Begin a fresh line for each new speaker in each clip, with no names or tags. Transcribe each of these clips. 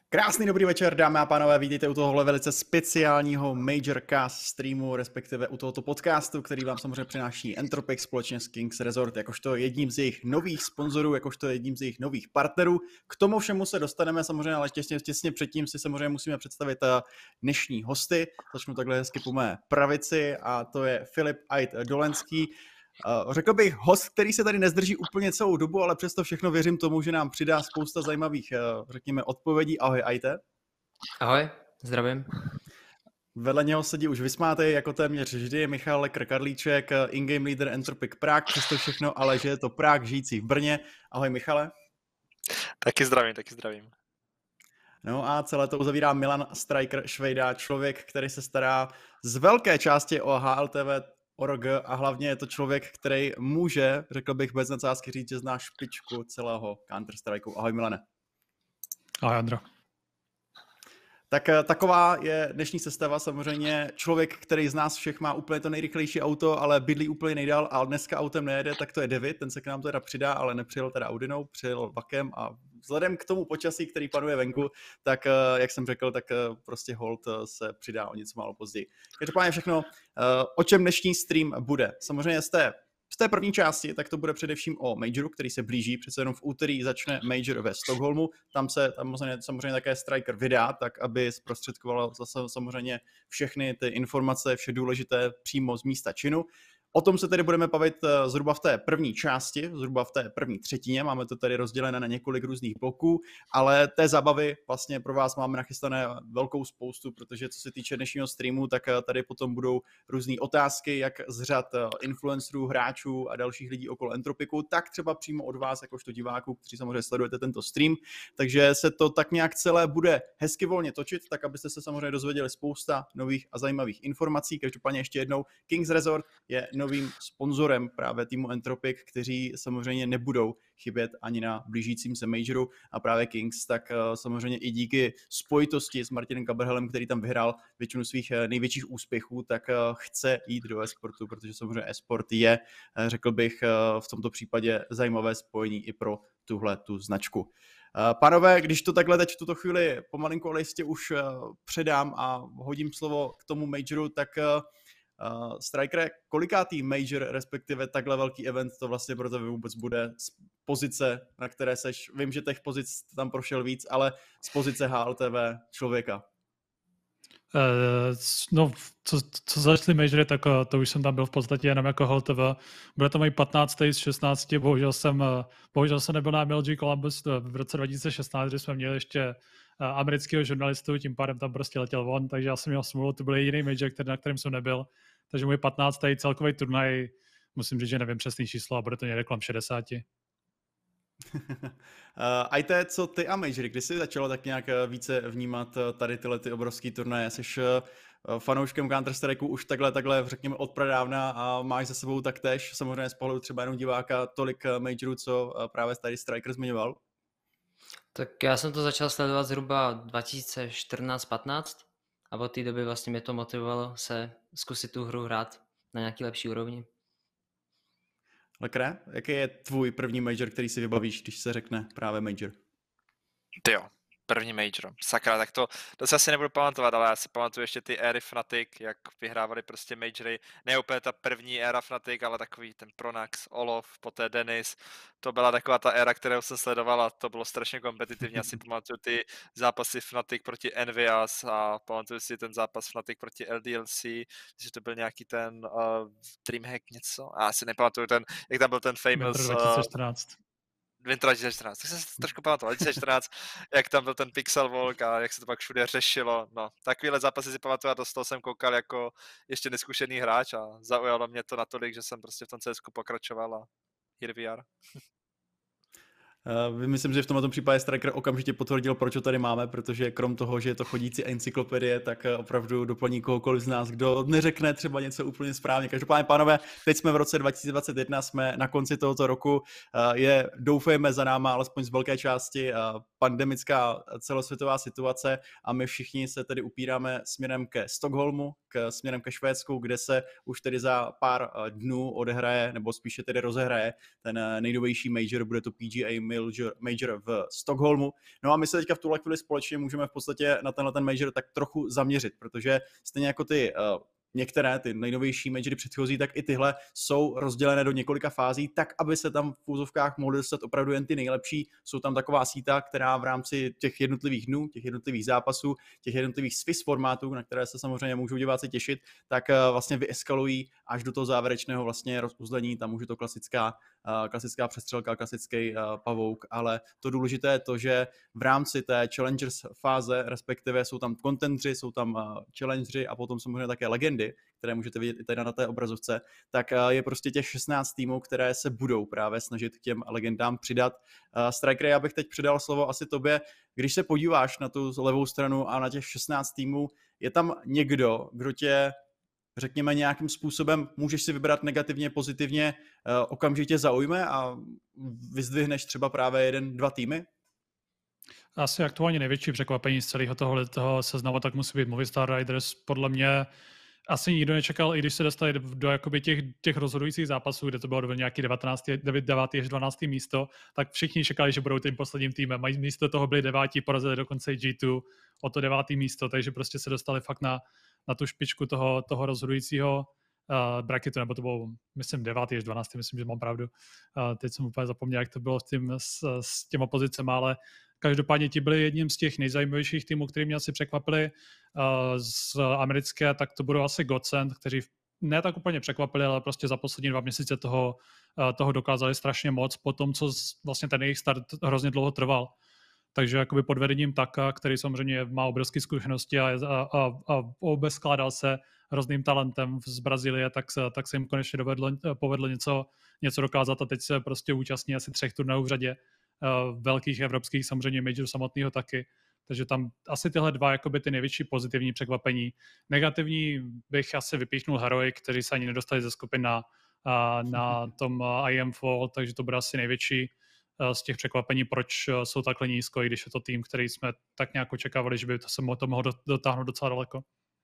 Krásný dobrý večer, dámy a pánové, vítejte u tohohle velice speciálního Major Cast streamu, respektive u tohoto podcastu, který vám samozřejmě přináší Entropic společně s Kings Resort, jakožto jedním z jejich nových sponzorů, jakožto jedním z jejich nových partnerů. K tomu všemu se dostaneme samozřejmě, ale těsně předtím si samozřejmě musíme představit dnešní hosty. Začnu takhle hezky po mé pravici a to je Filip Ait Dolenský. Řekl bych host, který se tady nezdrží úplně celou dobu, ale přesto všechno věřím tomu, že nám přidá spousta zajímavých, řekněme, odpovědí. Ahoj, Aite.
Ahoj, zdravím.
Vedle něho sedí už vysmátej jako téměř vždy Michal Lekr-Karlíček, in-game leader Entropic Prague, přesto všechno, ale že je to Prague žijící v Brně. Ahoj, Michale.
Taky zdravím.
No a celé to uzavírá Milan Striker Švejda, člověk, který se stará z velké části o HLTV org a hlavně je to člověk, který může, řekl bych bez nadsázky říct, že zná špičku celého Counter-Strikeu. Ahoj, Milane.
Ahoj, Andro.
Tak taková je dnešní sestava, samozřejmě člověk, který z nás všech má úplně to nejrychlejší auto, ale bydlí úplně nejdál a dneska autem nejede, tak to je David, ten se k nám teda přidá, ale nepřijel teda Audinou, přijel vakem a vzhledem k tomu počasí, který panuje venku, tak jak jsem řekl, tak prostě hold se přidá o něco málo později. Každopádně všechno, o čem dnešní stream bude. Samozřejmě z té první části, tak to bude především o Majoru, který se blíží, přece jenom v úterý začne Major ve Stockholmu, tam samozřejmě také Striker vydá, tak aby zprostředkoval zase samozřejmě všechny ty informace, vše důležité přímo z místa činu. O tom se tedy budeme bavit zhruba v té první části, zhruba v té první třetině, máme to tady rozdělené na několik různých bloků, ale té zábavy vlastně pro vás máme nachystané velkou spoustu, protože co se týče dnešního streamu, tak tady potom budou různé otázky, jak z řad influencerů, hráčů a dalších lidí okolo Entropiku, tak třeba přímo od vás, jakožto diváků, kteří samozřejmě sledujete tento stream, takže se to tak nějak celé bude hezky volně točit, tak abyste se samozřejmě dozvěděli spousta nových a zajímavých informací. Každopádně ještě jednou, Kings Resort je novým sponzorem právě týmu Entropic, kteří samozřejmě nebudou chybět ani na blížícím se Majoru a právě Kings, tak samozřejmě i díky spojitosti s Martinem Kabrhelem, který tam vyhrál většinu svých největších úspěchů, tak chce jít do e-sportu, protože samozřejmě e-sport je, řekl bych, v tomto případě zajímavé spojení i pro tu značku. Pánové, když to takhle teď v tuto chvíli pomalinku, ale jistě už předám a hodím slovo k tomu Majoru, tak Striker, kolikátý Major, respektive takhle velký event to vlastně pro tebe vůbec bude z pozice, na které seš, vím, že těch pozic tam prošel víc, ale z pozice HLTV člověka?
No, co začaly majory, tak to už jsem tam byl v podstatě jenom jako HLTV. Bude to můj 15. z 16, bohužel jsem nebyl na MLG Columbus v roce 2016, kdy jsme měli ještě amerického žurnalistu, tím pádem tam prostě letěl von, takže já jsem měl smůlu, to byl jediný major, na kterém jsem nebyl. Takže můj 15. celkový turnaj, musím říct, že nevím přesný číslo a bude to někde kolem 60.
Ajte, co ty a Majory, kdy jsi začalo tak nějak více vnímat tady tyhle ty obrovský turnaje? Jsi fanouškem Counter-Strikeu už takhle, řekněme, od pradávna a máš za sebou taktéž, samozřejmě z pohledu třeba jenom diváka, tolik Majorů, co právě tady Striker zmiňoval?
Tak já jsem to začal sledovat zhruba 2014-15 a od té doby vlastně mě to motivovalo se zkusit tu hru hrát na nějaký lepší úrovni.
Lekre, jaký je tvůj první Major, který si vybavíš, když se řekne právě Major?
Jo, první Major. Sakra, tak to se asi nebudu pamatovat, ale já si pamatuju ještě ty éry Fnatic, jak vyhrávali prostě Majory. Ne úplně ta první éra Fnatic, ale takový ten Pronax, Olof, poté Dennis. To byla taková ta éra, kterou jsem sledoval a to bylo strašně kompetitivní. Já si pamatuju ty zápasy Fnatic proti Envias a pamatuju si ten zápas Fnatic proti LDLC, že to byl nějaký ten Dreamhack něco. A já si nepamatuju ten, jak tam byl ten famous...
2014.
Winter 2014, tak jsem se trošku pamatoval, 2014, jak tam byl ten Pixel Walk a jak se to pak všude řešilo, no, takovýhle zápasy si pamatuju a do toho jsem koukal jako ještě neskušený hráč a zaujalo mě to natolik, že jsem prostě v tom CSku pokračoval a here we are.
Myslím, že v tomto případě Striker okamžitě potvrdil, proč ho tady máme, protože krom toho, že je to chodící encyklopedie, tak opravdu doplní kohokoliv z nás, kdo neřekne třeba něco úplně správně. Každopádně, pánové, teď jsme v roce 2021, jsme na konci tohoto roku, doufejme za náma, alespoň z velké části, pandemická celosvětová situace a my všichni se tedy upíráme směrem ke Stockholmu, směrem ke Švédsku, kde se už tedy za pár dnů odehraje, nebo spíše tedy rozehraje ten nejnovější major, bude to PGA Major v Stockholmu. No a my se teďka v tuhle chvíli společně můžeme v podstatě na tenhle ten major tak trochu zaměřit, protože stejně jako ty některé, ty nejnovější majory předchozí, tak i tyhle jsou rozdělené do několika fází, tak aby se tam v úzovkách mohly dostat opravdu jen ty nejlepší. Jsou tam taková síta, která v rámci těch jednotlivých dnů, těch jednotlivých zápasů, těch jednotlivých Swiss formátů, na které se samozřejmě můžou diváci těšit, tak vlastně vyeskalují až do toho závěrečného vlastně rozuzlení. Tam už je to klasická přestřelka, klasický pavouk, ale to důležité je to, že v rámci té Challengers fáze, respektive jsou tam contendři, jsou tam challengeri a potom samozřejmě také legendy, které můžete vidět i tady na té obrazovce, tak je prostě těch 16 týmů, které se budou právě snažit k těm legendám přidat. Striker, já bych teď předal slovo asi tobě. Když se podíváš na tu levou stranu a na těch 16 týmů, je tam někdo, kdo tě, řekněme, nějakým způsobem můžeš si vybrat negativně, pozitivně, okamžitě zaujme a vyzdvihneš třeba právě 1-2 týmy?
Asi aktuálně největší překvapení z celého toho seznamu tak musí být Movistar Riders. Podle mě asi nikdo nečekal, i když se dostali do jakoby těch rozhodujících zápasů, kde to bylo nějaký 9. až 12. místo, tak všichni čekali, že budou tím posledním týmem. Místo toho byli 9. porazili dokonce i G2 o to 9. místo, takže prostě se dostali fakt na tu špičku toho rozhodujícího bracketu, nebo to bylo, myslím, 9. až 12. myslím, že mám pravdu. Teď jsem úplně zapomněl, jak to bylo s těma pozicemi, ale každopádně ti byli jedním z těch nejzajímavějších týmů, který mě asi překvapili. Z americké, tak to budou asi Godsend, kteří ne tak úplně překvapili, ale prostě za poslední 2 měsíce toho dokázali strašně moc po tom, co vlastně ten jejich start hrozně dlouho trval. Takže jakoby pod vedením Taka, který samozřejmě má obrovské zkušenosti a obeskládal se hrozným talentem z Brazílie, tak se jim konečně povedlo něco dokázat a teď se prostě účastní asi 3 turnajů v řadě, velkých evropských, samozřejmě major samotného taky. Takže tam asi tyhle 2 jakoby ty největší pozitivní překvapení. Negativní bych asi vypíchnul Heroic, kteří se ani nedostali ze skupin na tom IM Fall, takže to bude asi největší z těch překvapení, proč jsou takhle nízko, i když je to tým, který jsme tak nějak očekávali, že by to se mohlo dotáhnout docela daleko.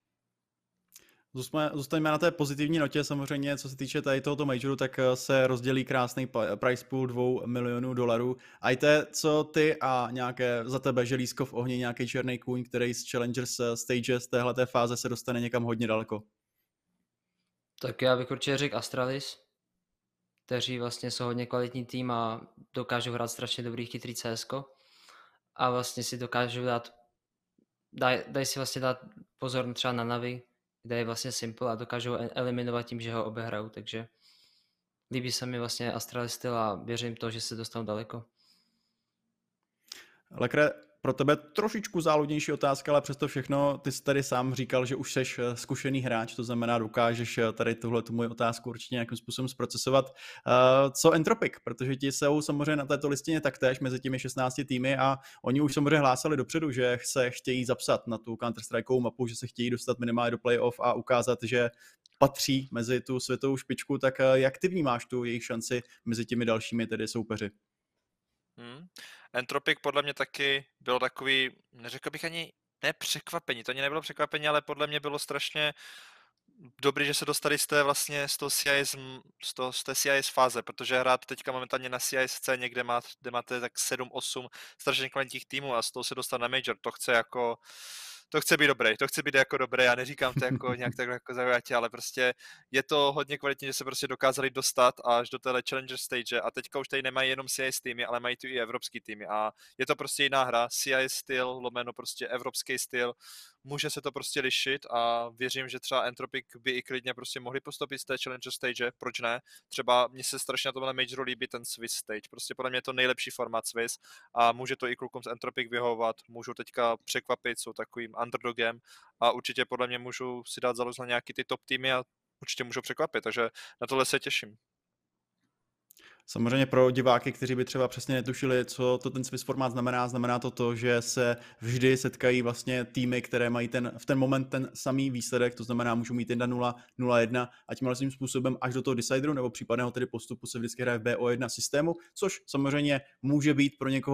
Zůstaňme na té pozitivní notě, samozřejmě, co se týče tady tohoto majoru, tak se rozdělí krásný price pool $2 milionů. Ajte, co ty a nějaké za tebe želízko v ohni, nějaký černý kůň, který z Challengers stage z téhleté fáze se dostane někam hodně daleko?
Tak já bych určitě řekl Astralis, kteří vlastně jsou hodně kvalitní tým a dokážou hrát strašně dobrý chytrý CSko a vlastně si dokážou dají si vlastně dát pozor třeba na Navi, kde je vlastně simple a dokážou eliminovat tím, že ho obehrajou, takže líbí se mi vlastně Astralis styl a věřím to, že se dostanou daleko.
Lekre, pro tebe trošičku záludnější otázka, ale přesto všechno, ty jsi tady sám říkal, že už seš zkušený hráč, to znamená, dokážeš tady tu moji otázku určitě nějakým způsobem zprocesovat. Co Entropic, protože ti jsou samozřejmě na této listině taktéž mezi těmi 16 týmy a oni už samozřejmě hlásali dopředu, že se chtějí zapsat na tu Counter-Strikeovou mapu, že se chtějí dostat minimálně do playoff a ukázat, že patří mezi tu světovou špičku, tak jak ty vnímáš tu jejich šanci mezi těmi dalšími tedy soupeři?
Entropic podle mě taky bylo takový, neřekl bych ani překvapení, to ani nebylo překvapení, ale podle mě bylo strašně dobrý, že se dostali z té vlastně z té CIS fáze, protože hrát teďka momentálně na CIS scéně, kde máte tak 7-8 strašně kvalitních týmů a z toho se dostat na Major, to chce být dobrý, to chce být jako dobré, já neříkám to jako nějak takhle jako zaujatě, ale prostě je to hodně kvalitní, že se prostě dokázali dostat až do téhle Challenger stage a teďka už tady nemají jenom CIS týmy, ale mají tu i evropský týmy a je to prostě jiná hra, CIS styl, lomeno prostě evropský styl, může se to prostě lišit a věřím, že třeba Entropic by i klidně prostě mohli postoupit z té Challenger stage, proč ne? Třeba mně se strašně na tomhle Majoru líbí ten Swiss stage, prostě podle mě je to nejlepší formát Swiss a může to i klukům z Entropic vyhovovat, můžou teďka překvapit, jsou takovým underdogem a určitě podle mě můžou si dát založit na nějaký ty top týmy a určitě můžou překvapit, takže na tohle se těším.
Samozřejmě pro diváky, kteří by třeba přesně netušili, co to ten Swiss formát znamená to, že se vždy setkají vlastně týmy, které mají v ten moment ten samý výsledek, to znamená, můžou mít 1-0, 0-1 a tím vlastním způsobem až do toho decideru nebo případného tedy postupu se vždycky hraje v BO1 systému, což samozřejmě může být pro někoho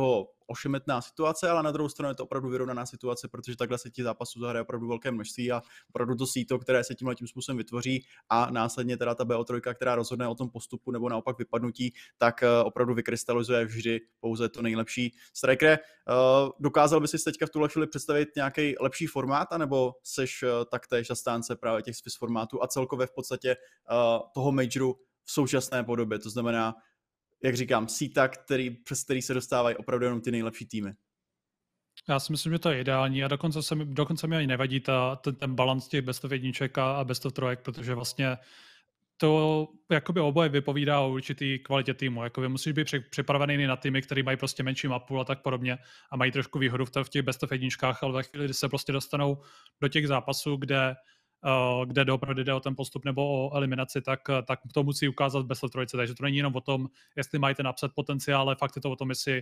ošemetná situace, ale na druhou stranu je to opravdu vyrovnaná situace, protože takhle se ti zápasů zahraje opravdu velké množství a opravdu to síto, které se tímhle tím způsobem vytvoří a následně teda ta BO3, která rozhodne o tom postupu nebo naopak vypadnutí, tak opravdu vykrystalizuje vždy pouze to nejlepší. Striker, dokázal by si teďka v tuhle chvíli představit nějaký lepší formát, anebo seš taktéž zastánce právě těch Swiss formátů a celkově v podstatě toho majoru v současné podobě, to znamená, jak říkám, síta, přes který se dostávají opravdu jenom ty nejlepší týmy.
Já si myslím, že to je ideální a dokonce mi ani nevadí ten balans těch best of jedniček a best of trojek, protože vlastně to jakoby oboje vypovídá o určitý kvalitě týmu. Jakoby musíš být připravený na týmy, který mají prostě menší mapu a tak podobně a mají trošku výhodu v těch best of jedničkách, ale ve chvíli, kdy se prostě dostanou do těch zápasů, kde doopravdy jde o ten postup nebo o eliminaci, tak to musí ukázat best of trojce. Takže to není jenom o tom, jestli mají ten upset potenciál, ale fakt je to o tom, jestli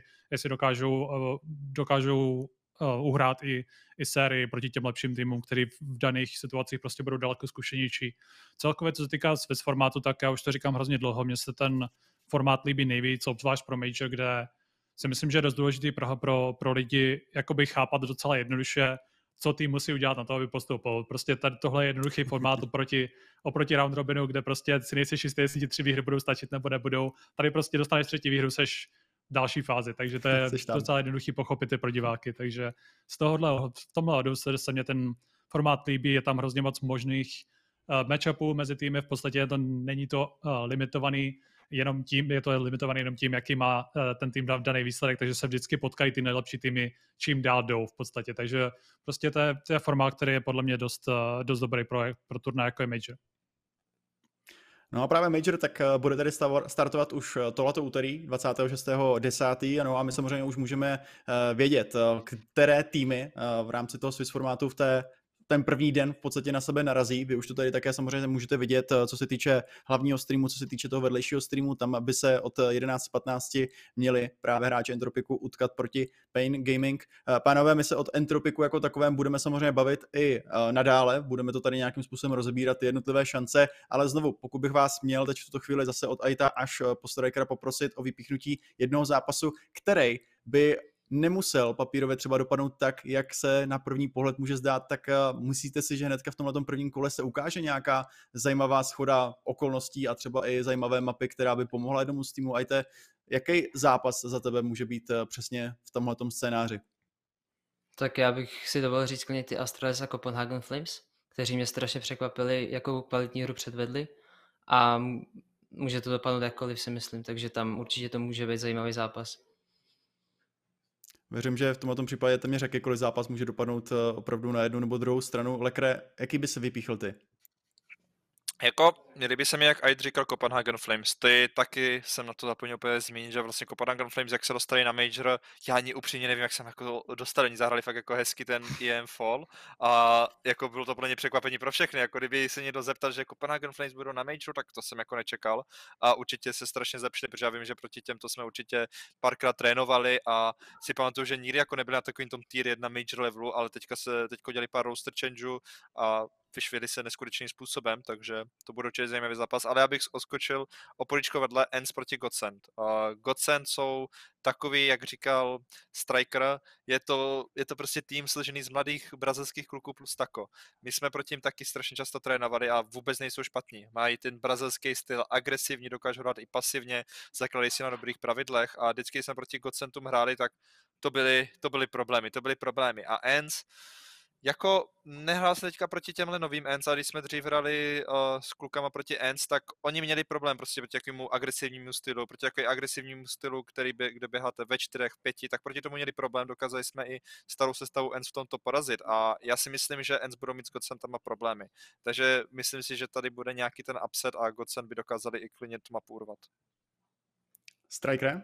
dokážou uhrát i sérii proti těm lepším týmům, který v daných situacích prostě budou daleko zkušenější. Celkově, co se týká Swiss formátu, tak já už to říkám hrozně dlouho, mně se ten formát líbí nejvíc, obzvlášť pro Major, kde si myslím, že je dost důležitý pro lidi jakoby chápat docela jednoduše, co tým musí udělat na to, aby postoupil. Prostě tady tohle je jednoduchý formát oproti round robinu, kde prostě si nejsi jistý, jestli ti 3 výhry budou stačit nebo nebudou. Tady prostě dostaneš 3. výhru, seš v další fázi, takže to je docela jednoduchý pochopit pro diváky. Takže v tomhle ohledu se mě ten formát líbí, je tam hrozně moc možných matchupů mezi týmy, v podstatě není to limitovaný jenom tím, je to limitovaný jenom tím, jaký má ten tým daný výsledek, takže se vždycky potkají ty nejlepší týmy, čím dál jdou v podstatě. Takže prostě to je formát, který je podle mě dost dobrý pro turnaj, jako je Major.
No a právě Major tak bude tedy startovat už tohleto úterý 26.10. No a my samozřejmě už můžeme vědět, které týmy v rámci toho Swiss formátu ten první den v podstatě na sebe narazí. Vy už to tady také samozřejmě můžete vidět, co se týče hlavního streamu, co se týče toho vedlejšího streamu, tam by se od 11.15 měli právě hráči Entropiku utkat proti Pain Gaming. Pánové, my se od Entropiku jako takovém budeme samozřejmě bavit i nadále, budeme to tady nějakým způsobem rozebírat, ty jednotlivé šance, ale znovu, pokud bych vás měl teď v tuto chvíli zase od Aita až po Strikera poprosit o vypíchnutí jednoho zápasu, který by nemusel papírově třeba dopadnout tak, jak se na první pohled může zdát, tak myslíte si, že hnedka v tomhle prvním kole se ukáže nějaká zajímavá shoda okolností a třeba i zajímavé mapy, která by pomohla jednomu z týmu. Ajte, jaký zápas za tebe může být přesně v tomhletom scénáři?
Tak já bych si dovolil říct klidně ty Astralis a Copenhagen Flames, kteří mě strašně překvapili, jakou kvalitní hru předvedli a může to dopadnout jakkoliv, si myslím, takže tam určitě to může být zajímavý zápas.
Věřím, že v tomto případě téměř jakýkoliv zápas může dopadnout opravdu na jednu nebo druhou stranu. Lekre, jaký by se vypíchl ty?
Jako, líbí se mi, jak Aid říkal Copenhagen Flames, ty taky jsem na to zapomněl úplně zmínit, že vlastně Copenhagen Flames, jak se dostali na Major, já ani upřímně nevím, jak jsem jako dostali, oni zahrali fakt jako hezky ten EM Fall a jako bylo to pro ně překvapení pro všechny, jako kdyby se někdo zeptal, že Copenhagen Flames budou na Majoru, tak to jsem jako nečekal a určitě se strašně zlepšili, protože já vím, že proti těmto jsme určitě párkrát trénovali a si pamatuju, že nikdy jako nebyli na takovým tom tier 1 Major levelu, ale teďko dělali pár roster changeů a vyšvěli se neskutečným způsobem, takže to bude určitě zajímavý zápas, ale já bych oskočil oporičko vedle ENCE proti Godsend. Godsend jsou takový, jak říkal Striker, je to prostě tým složený z mladých brazilských kluků plus tako. My jsme proti ním taky strašně často trénovali a vůbec nejsou špatní. Mají ten brazilský styl, agresivní, dokážou hrát i pasivně, zakladají si na dobrých pravidlech a vždycky, když jsme proti Godsendům hráli, tak to byly problémy. A ENCE jako nehrál se teďka proti těmhle novým ENCE, a když jsme dřív hrali s klukama proti ENCE, tak oni měli problém prostě proti takovému agresivnímu stylu, kde běháte ve 4, 5, tak proti tomu měli problém, dokázali jsme i starou sestavu ENCE v tomto porazit a já si myslím, že ENCE budou mít s Godsendama problémy. Takže myslím si, že tady bude nějaký ten upset a Godsend by dokázali i klidně tu mapu urvat.
Striker?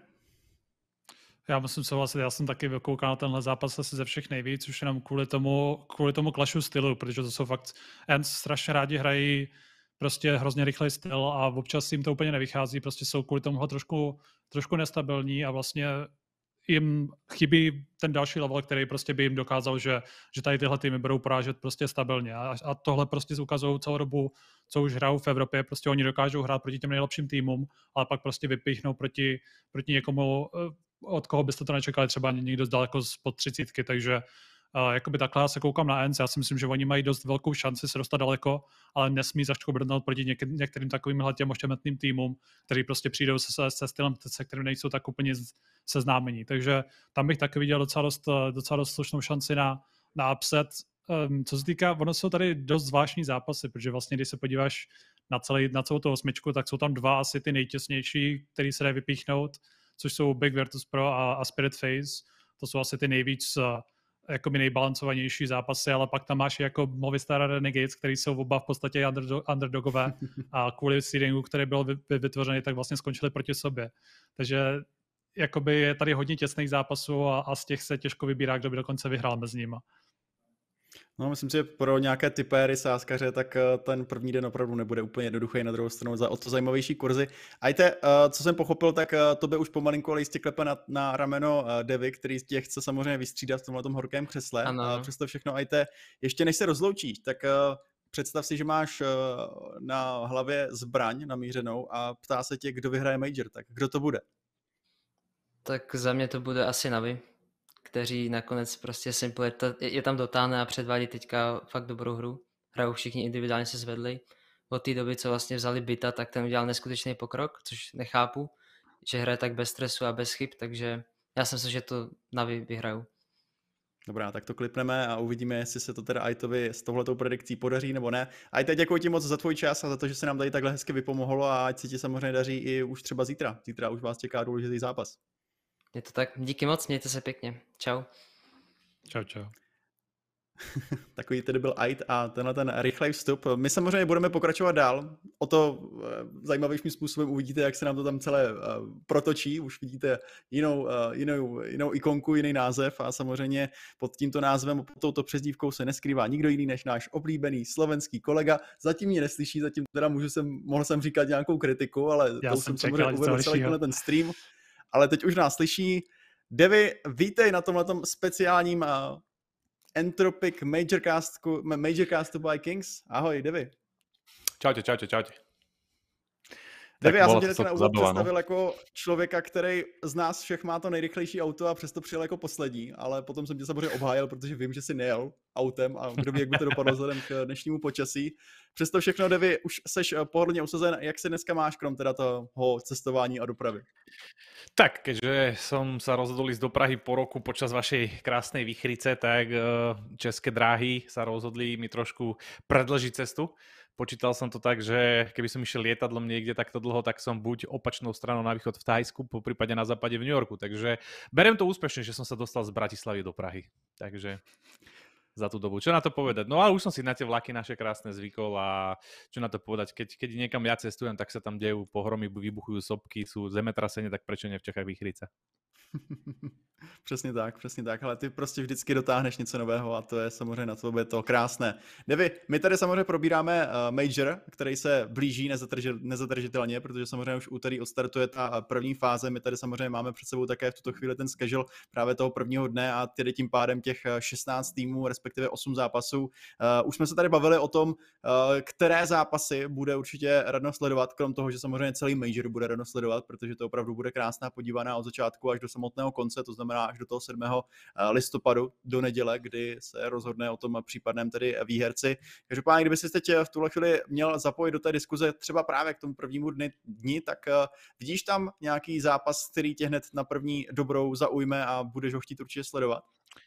Já musím souhlasit, já jsem taky koukal na tenhle zápas asi ze všech nejvíc, už jenom kvůli tomu clashu stylu, protože to jsou fakt, ENCE strašně rádi hrají prostě hrozně rychlej styl a občas jim to úplně nevychází, prostě jsou kvůli tomu trošku nestabilní a vlastně jim chybí ten další level, který prostě by jim dokázal, že tady tyhle týmy budou porážet prostě stabilně. A tohle prostě ukazují celou dobu, co už hrajou v Evropě. Prostě oni dokážou hrát proti těm nejlepším týmům, ale pak prostě vypíchnou proti někomu, od koho byste to nečekali, třeba někdo daleko spod 30, takže jakoby takhle já se koukám na ENC, já si myslím, že oni mají dost velkou šanci se dostat daleko, ale nesmí začít brnout proti některým takovýmhle těm ošemetným týmům, který prostě přijdou se stylem, se kterým nejsou tak úplně seznámení. Takže tam bych taky viděl docela dost slušnou šanci na upset. Co se týká, ono jsou tady dost zvláštní zápasy, protože vlastně, když se podíváš na celou tu osmičku, tak jsou tam dva asi ty nejtěsnější, který se dají vypíchnout, což jsou Big Virtus Pro a Spirit Phase. To jsou asi ty nejvíc jakoby nejbalancovanější zápasy, ale pak tam máš jako Movistar a Renegades, který jsou oba v podstatě underdogové a kvůli seedingu, který byl vytvořený, tak vlastně skončili proti sobě. Takže jakoby je tady hodně těsných zápasů a z těch se těžko vybírá, kdo by dokonce vyhrál mezi nimi.
No, myslím si, že pro nějaké typéry, sázkaře, tak ten první den opravdu nebude úplně jednoduchý, na druhou stranu za o to zajímavější kurzy. Ajte, co jsem pochopil, tak to by už pomalinku ale jistě klepe na rameno Devy, který tě chce samozřejmě vystřídat v tomhletom horkém křesle.
Ano.
Přesto všechno, Ajte, ještě než se rozloučíš, tak představ si, že máš na hlavě zbraň namířenou a ptá se tě, kdo vyhraje Major, tak kdo to bude?
Tak za mě to bude asi Navi, kteří nakonec prostě Simple je tam dotáhne a předvádí teďka fakt dobrou hru. Hrajou všichni individuálně se zvedli. Od té doby, co vlastně vzali Bita, tak ten udělal neskutečný pokrok, což nechápu, že hraje tak bez stresu a bez chyb, takže já si myslím, že to Navi vyhrajou.
Dobrá, tak to klipneme a uvidíme, jestli se to teda Ajtovi s touhletou predikcí podaří nebo ne. Ajte, děkuji ti moc za tvůj čas a za to, že se nám tady takhle hezky vypomohlo a ať se ti samozřejmě daří i už třeba zítra. Zítra už vás čeká důležitý zápas.
Je to tak, díky moc, mějte se pěkně. Čau.
Čau.
Takový tedy byl Ait a tenhle ten rychlej vstup. My samozřejmě budeme pokračovat dál. O to zajímavějším způsobem uvidíte, jak se nám to tam celé protočí. Už vidíte jinou ikonku, jiný název a samozřejmě pod tímto názvem, pod touto přezdívkou se neskrývá nikdo jiný než náš oblíbený slovenský kolega. Zatím mě neslyší, zatím teda mohl jsem říkat nějakou kritiku, ale
já
to jsem samozřejmě uvedl celý ten stream. Ale teď už nás slyší. Devy, vítej na tomhletom speciálním Entropic Majorcastu by Kings. Ahoj, Devy.
Čaute.
Devy, já jsem tě na úvod představil jako člověka, který z nás všech má to nejrychlejší auto a přesto přijel jako poslední, ale potom jsem tě samozřejmě obhájil, protože vím, že jsi nejel autem a kdo ví, jak by to dopadlo vzhledem k dnešnímu počasí. Přesto všechno, Devy, už seš pohodlně usazen. Jak se dneska máš, krom teda toho cestování a dopravy?
Tak, keďže som sa rozhodol ísť do Prahy po roku počas vašej krásnej výchrice, tak České dráhy sa rozhodli mi trošku predĺžiť cestu. Počítal som to tak, že keby som išiel lietadlom niekde takto dlho, tak som buď opačnou stranou na východ v Thajsku, po prípade na západe v New Yorku. Takže beriem to úspešne, že som sa dostal z Bratislavy do Prahy. Takže za tú dobu. Čo na to povedať? No ale už som si na tie vlaky naše krásne zvykol a čo na to povedať? Keď niekam ja cestujem, tak sa tam dejú pohromy, vybuchujú sopky, sú zemetrasenie, tak prečo nie v Čechách výchrice?
Přesně tak, ale ty prostě vždycky dotáhneš něco nového a to je samozřejmě na tobě to krásné. Devy, my tady samozřejmě probíráme Major, který se blíží nezadržitelně, protože samozřejmě už úterý odstartuje ta první fáze, my tady samozřejmě máme před sebou také v tuto chvíli ten schedule právě toho prvního dne a tedy tím pádem těch 16 týmů, respektive 8 zápasů. Už jsme se tady bavili o tom, které zápasy bude určitě radno sledovat, krom toho, že samozřejmě celý Major bude radno sledovat, protože to opravdu bude krásná podívaná od začátku až do samotného konce, to znamená až do toho 7. listopadu do neděle, kdy se rozhodne o tom případném tedy výherci. Každopádně, kdyby si teď v tuhle chvíli měl zapojit do té diskuze třeba právě k tomu prvnímu dni, tak vidíš tam nějaký zápas, který tě hned na první dobrou zaujme a budeš ho chtít určitě sledovat?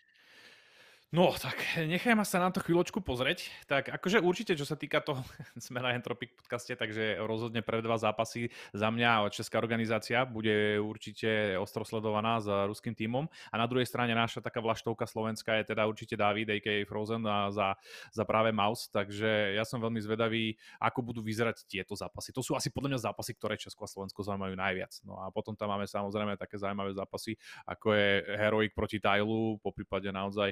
No, tak nechajme sa na to chvíľočku pozrieť. Tak akože určite, čo sa týka toho, sme na Entropic podcaste, takže rozhodne pre 2 zápasy za mňa česká organizácia bude určite ostro sledovaná s ruským tímom. A na druhej strane naša taká vlaštovka slovenská je teda určite David, a.k.a. Frozen za práve Mouse. Takže ja som veľmi zvedavý, ako budú vyzerať tieto zápasy. To sú asi podľa mňa zápasy, ktoré Česko a Slovensko zaujímajú najviac. No a potom tam máme samozrejme také zaujímavé zápasy, ako je Heroic proti Tylu, poprípade naozaj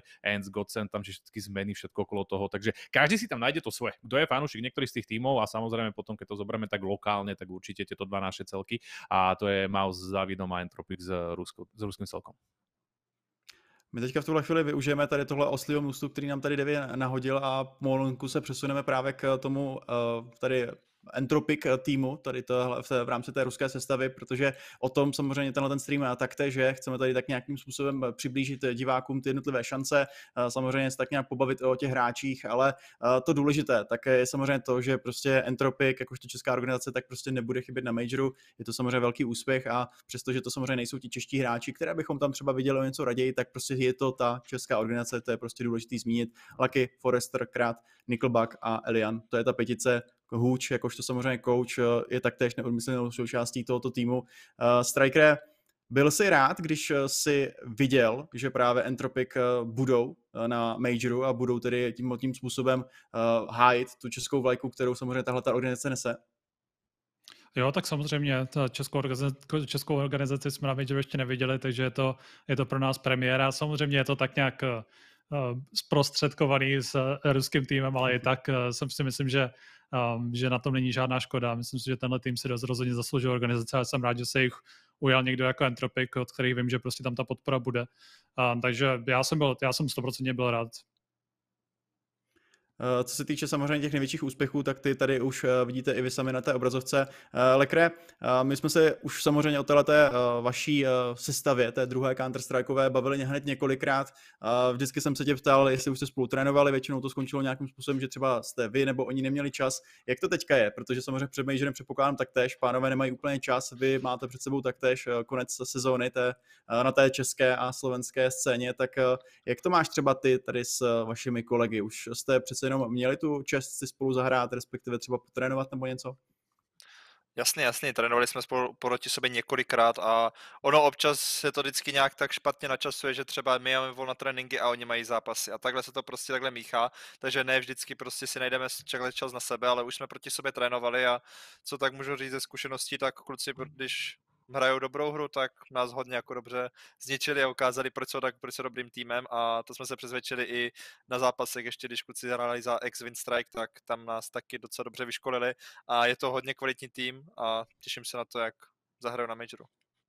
Giants, Godsend, tam všetky zmeny, všetko okolo toho, takže každý si tam nájde to svoje. Kto je fanúšik niektorých z tých tímov a samozrejme potom, keď to zoberieme tak lokálne, tak určite tieto dva naše celky a to je Mouse s Davidom a Entropic s ruským celkom.
My teďka v tuhle chvíli využijeme tady tohle oslího můstu, který nám tady Devi nahodil a pomalinku se přesuneme právě k tomu tady Entropic týmu, tady v rámci té ruské sestavy, protože o tom samozřejmě ten stream taktéž je. Chceme tady tak nějakým způsobem přiblížit divákům ty jednotlivé šance, samozřejmě se tak nějak pobavit o těch hráčích, ale to důležité tak je samozřejmě to, že prostě Entropic, jakožto česká organizace, tak prostě nebude chybět na majoru. Je to samozřejmě velký úspěch a přestože to samozřejmě nejsou ti čeští hráči, které bychom tam třeba viděli o něco raději, tak prostě je to ta česká organizace, to je prostě důležitý zmínit. Lucky, Forrester, Krat, Nickelback a Elian, to je ta petice. Hůč, jakožto samozřejmě coach, je taktéž neodmyslnou součástí tohoto týmu. Striker, byl jsi rád, když jsi viděl, že právě Entropic budou na majoru a budou tedy tím způsobem hájit tu českou vlajku, kterou samozřejmě tahle organizace nese?
Jo, tak samozřejmě českou organizaci jsme na majoru ještě neviděli, takže je to pro nás premiéra. Samozřejmě je to tak nějak zprostředkovaný s ruským týmem, ale i tak si myslím, že na tom není žádná škoda. Myslím si, že tenhle tým si rozhodně zasloužil organizace a jsem rád, že se jich ujal někdo jako Entropic, od kterých vím, že prostě tam ta podpora bude. Takže já jsem 100% byl rád.
Co se týče samozřejmě těch největších úspěchů, tak ty tady už vidíte i vy sami na té obrazovce. Lekre, my jsme se už samozřejmě o téhleté vaší sestavě, té druhé Counter-Strikeové, bavili hned několikrát. Vždycky jsem se tě ptal, jestli už jste spolu trénovali, většinou to skončilo nějakým způsobem, že třeba jste vy nebo oni neměli čas. Jak to teďka je? Protože samozřejmě před majorem předpokládám taktéž, pánové nemají úplně čas, vy máte před sebou taktéž konec sezóny na té české a slovenské scéně, tak jak to máš třeba ty tady s vašimi kolegy? Už jste přece jenom měli tu čest si spolu zahrát, respektive třeba potrénovat nebo něco?
Jasně, trénovali jsme spolu proti sobě několikrát a ono občas se to vždycky nějak tak špatně načasuje, že třeba my máme volné tréninky a oni mají zápasy a takhle se to prostě takhle míchá, takže ne vždycky prostě si najdeme čas na sebe, ale už jsme proti sobě trénovali a co tak můžu říct ze zkušeností, tak kluci, když hrajou dobrou hru, tak nás hodně jako dobře zničili a ukázali, proč jsou dobrým týmem a to jsme se přesvědčili i na zápasech, ještě když kluci hráli za X-Win Strike, tak tam nás taky docela dobře vyškolili a je to hodně kvalitní tým a těším se na to, jak zahrajou na majoru.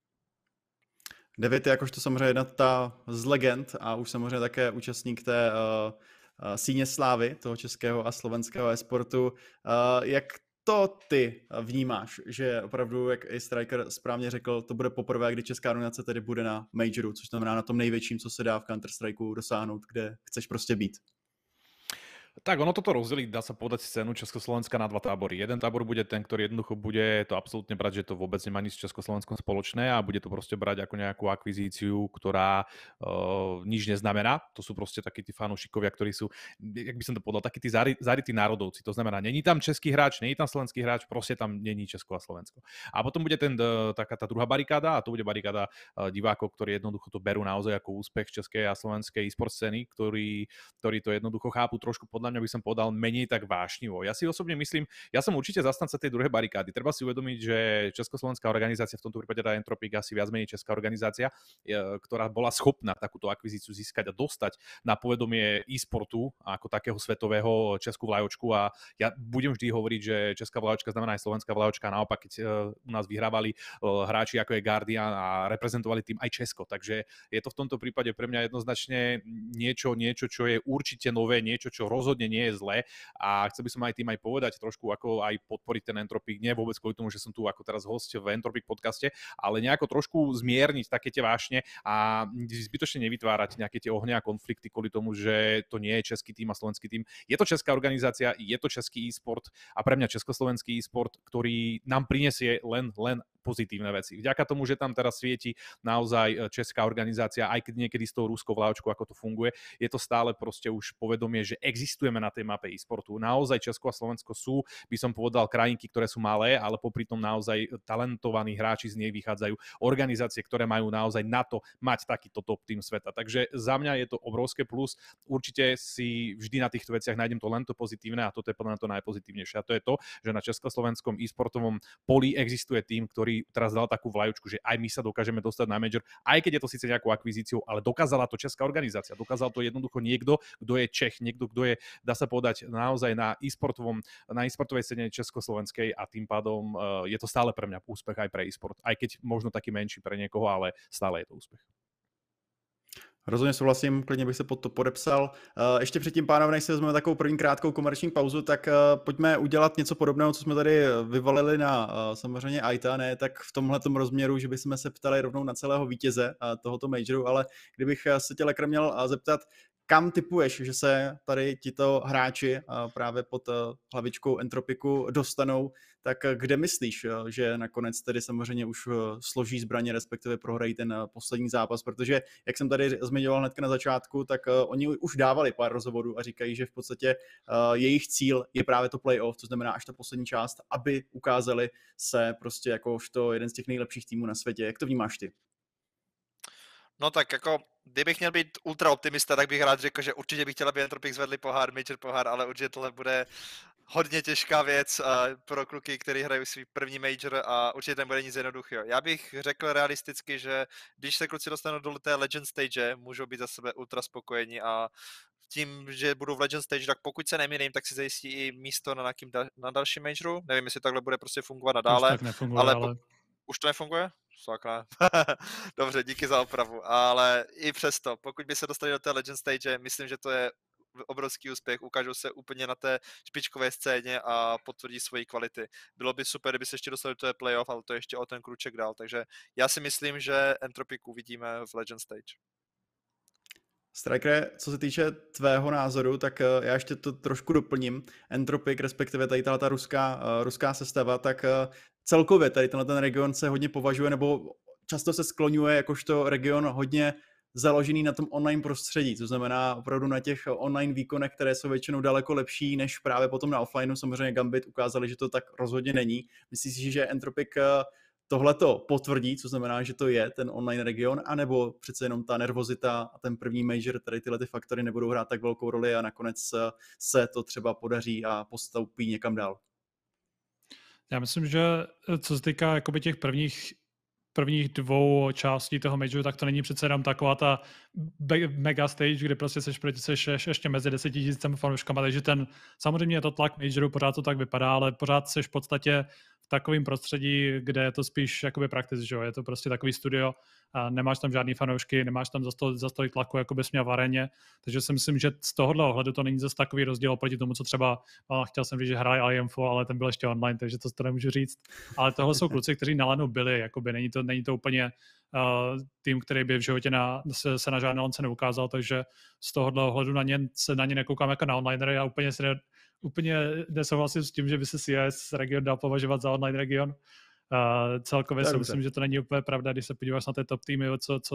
David je jakožto samozřejmě jedna z legend a už samozřejmě také účastník té síně slávy toho českého a slovenského e-sportu. Jak to ty vnímáš, že opravdu, jak i Striker správně řekl, to bude poprvé, kdy česká organizace tedy bude na majoru, což znamená na tom největším, co se dá v Counter-Strikeu dosáhnout, kde chceš prostě být.
Tak ono toto rozdelí, dá sa povedať, scénu Československa na dva tábory. Jeden tábor bude ten, ktorý jednoducho bude to absolútne brať, že to vôbec nemá nič s Československom spoločné a bude to proste brať ako nejakú akvizíciu, ktorá nič neznamená. To sú proste takí tí fanúšikovia, ktorí sú, jak by som to povedal, takí tí zarytí národovci. To znamená, není tam český hráč, není tam slovenský hráč, proste tam není Česko a Slovensko. A potom bude taká tá druhá barikáda a to bude barikáda divákov, ktorí jednoducho to berú naozaj ako úspech českej a slovenskej e-sport scény, ktorí to jednoducho chápu trošku podľa mňa by som povedal menej tak vášnivo. Ja si osobne myslím, ja som určite zastanca tej druhej barikády. Treba si uvedomiť, že československá organizácia, v tomto prípade tá Entropic, asi viac menej česká organizácia, ktorá bola schopná takúto akvizíciu získať a dostať na povedomie e-sportu ako takého svetového českú vlajočku a ja budem vždy hovoriť, že česká vlajočka znamená aj slovenská vlajočka, naopak keď u nás vyhrávali hráči ako je Guardian a reprezentovali tým aj Česko. Takže je to v tomto prípade pre mňa jednoznačne niečo, čo je určite nové, niečo, čo rozhodne nie je zlé a chcel by som aj tým aj povedať trošku, ako aj podporiť ten Entropic, nie vôbec kvôli tomu, že som tu ako teraz host v Entropic podcaste, ale nejako trošku zmierniť také tie vášne a zbytočne nevytvárať nejaké tie ohňa a konflikty kvôli tomu, že to nie je český tým a slovenský tým. Je to česká organizácia, je to český e-sport a pre mňa československý e-sport, ktorý nám prinesie len pozitívne veci. Vďaka tomu, že tam teraz svieti naozaj česká organizácia, aj keď niekedy s tou ruskou vláčkou, ako to funguje, je to stále proste už povedomie, že existujeme na tej mape e-sportu. Naozaj Česko a Slovensko sú, by som povedal, krajinky, ktoré sú malé, ale popri tom naozaj talentovaní hráči z nej vychádzajú, organizácie, ktoré majú naozaj na to mať takýto top tým sveta. Takže za mňa je to obrovské plus. Určite si vždy na týchto veciach nájdem to len to pozitívne a toto je podľa mňa to najpozitívnejšie. A to je to, že na československom e-sportovom poli existuje tým, ktorý ktorý teraz dal takú vlajočku, že aj my sa dokážeme dostať na major, aj keď je to síce nejakou akvizíciou, ale dokázala to česká organizácia, dokázal to jednoducho niekto, kto je Čech, niekto, kto je, dá sa povedať, naozaj na e-sportovej scéne československej a tým pádom je to stále pre mňa úspech aj pre e-sport, aj keď možno taký menší pre niekoho, ale stále je to úspech.
Rozhodně souhlasím, klidně bych se pod to podepsal. Ještě předtím, pánové, než si vezmeme takovou první krátkou komerční pauzu, tak pojďme udělat něco podobného, co jsme tady vyvalili na samozřejmě AITA, ne tak v tomhletom rozměru, že bychom se ptali rovnou na celého vítěze tohoto majoru, ale kdybych se tě, Lekr, měl zeptat, kam tipuješ, že se tady tito hráči právě pod hlavičkou Entropiku dostanou, tak kde myslíš, že nakonec tedy samozřejmě už složí zbraně, respektive prohrají ten poslední zápas, protože, jak jsem tady zmiňoval hnedka na začátku, tak oni už dávali pár rozhovorů a říkají, že v podstatě jejich cíl je právě to playoff, to znamená až ta poslední část, aby ukázali se prostě jakožto jeden z těch nejlepších týmů na světě. Jak to vnímáš ty?
No tak jako, kdybych měl být ultra optimista, tak bych rád řekl, že určitě bych chtěl, aby Entropic zvedli pohár, major pohár, ale určitě tohle bude hodně těžká věc pro kluky, kteří hrají svůj první major a určitě nebude nic jednoduchého. Já bych řekl realisticky, že když se kluci dostanou do té Legend stage, můžou být za sebe ultra spokojení a tím, že budou v Legend stage, tak pokud se nemýlím, tak si zajistí i místo na dalším majoru. Nevím, jestli takhle bude prostě fungovat nadále.
Už tak nefunguje, ale...
Už to nefunguje? Sakra. Dobře, díky za opravu. Ale i přesto, pokud by se dostali do té Legend stage, myslím, že to je obrovský úspěch. Ukážou se úplně na té špičkové scéně a potvrdí svoji kvality. Bylo by super, kdyby se ještě dostali do té playoff, ale to ještě o ten kruček dál. Takže já si myslím, že Entropic uvidíme v Legend stage.
Striker, co se týče tvého názoru, tak já ještě to trošku doplním. Entropic, respektive tady ta ruská sestava, tak celkově tady ten region se hodně považuje, nebo často se skloňuje jakožto region hodně založený na tom online prostředí, to znamená opravdu na těch online výkonech, které jsou většinou daleko lepší než právě potom na offlineu. Samozřejmě Gambit ukázali, že to tak rozhodně není. Myslíš si, že Entropic tohleto potvrdí, co znamená, že to je ten online region, anebo přece jenom ta nervozita a ten první major, tady tyhle ty faktory nebudou hrát tak velkou roli a nakonec se to třeba podaří a postoupí někam dál?
Já myslím, že co se týká jakoby těch prvních dvou částí toho majoru, tak to není přece jenom taková ta mega stage, kde prostě seš ještě mezi 10 000 fanouškama, takže samozřejmě je to tlak majoru, pořád to tak vypadá, ale pořád seš v podstatě v takovém prostředí, kde je to spíš jakoby practice, že jo, je to prostě takový studio a nemáš tam žádný fanoušky, nemáš tam za stolik tlaku, jako bys měl v aréně, takže si myslím, že z tohohle ohledu to není zase takový rozdíl oproti tomu, co třeba, chtěl jsem říct, že hraje IMFO, ale ten byl ještě online, takže to nemůžu říct, ale tohle jsou kluci, kteří na LANu byli, jakoby není to úplně tým, který by v životě se na žádné lance neukázal, takže z tohohle ohledu na ně nekoukám jako na onlinery a úplně nesouhlasím s tím, že by se CS region dal považovat za online region. Celkově si myslím, že to není úplně pravda, když se podíváš na ty top týmy,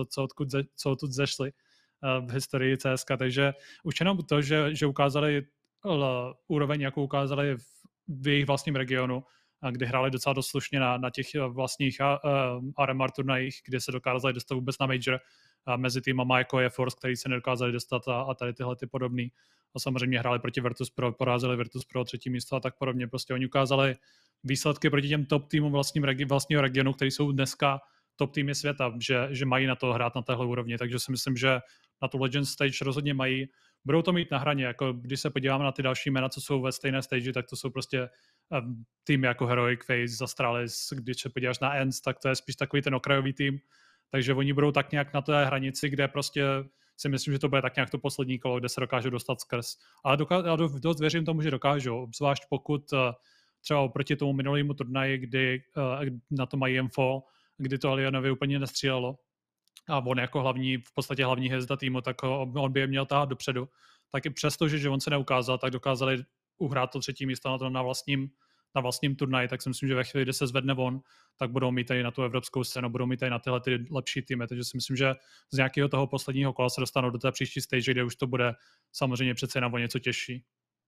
co odtud zešly v historii CSK, takže už jenom to, že ukázali úroveň, jakou ukázali v jejich vlastním regionu, kdy hráli docela dost slušně na těch vlastních RMR turnajích, kde se dokázali dostat vůbec na major mezi týmama, jako je Force, který se nedokázali dostat a tady tyhle ty podobný. A samozřejmě hráli proti Virtus.pro, porazili Virtus.pro 3. místo a tak podobně. Prostě oni ukázali výsledky proti těm top týmům vlastního regionu, který jsou dneska top týmy světa, že mají na to hrát na téhle úrovni. Takže si myslím, že na tu Legend stage rozhodně mají. Budou to mít na hraně, jako když se podíváme na ty další jména, co jsou ve stejné stage, tak to jsou prostě týmy jako Heroic, FaZe, Astralis. Když se podíváš na ENCE, tak to je spíš takový ten okrajový tým. Takže oni budou tak nějak na té hranici, kde prostě si myslím, že to bude tak nějak to poslední kolo, kde se dokážou dostat skrz. Ale já dost věřím tomu, že dokážou, zvlášť pokud třeba oproti tomu minulému turnaji, kdy na to mají info, kdy to Alionovi úplně nestřílelo a on jako v podstatě hlavní hvězda týmu, tak on by je měl tahat dopředu. Tak i přesto, že on se neukázal, tak dokázali uhrát to 3. místo na vlastním turnaji, tak si myslím, že ve chvíli, kdy se zvedne on, tak budou mít tady na tu evropskou scénu, budou mít tady na tyhle ty lepší týmy, takže si myslím, že z nějakého toho posledního kola se dostanou do té příští stage, kde už to bude samozřejmě přece jenom o něco těžší.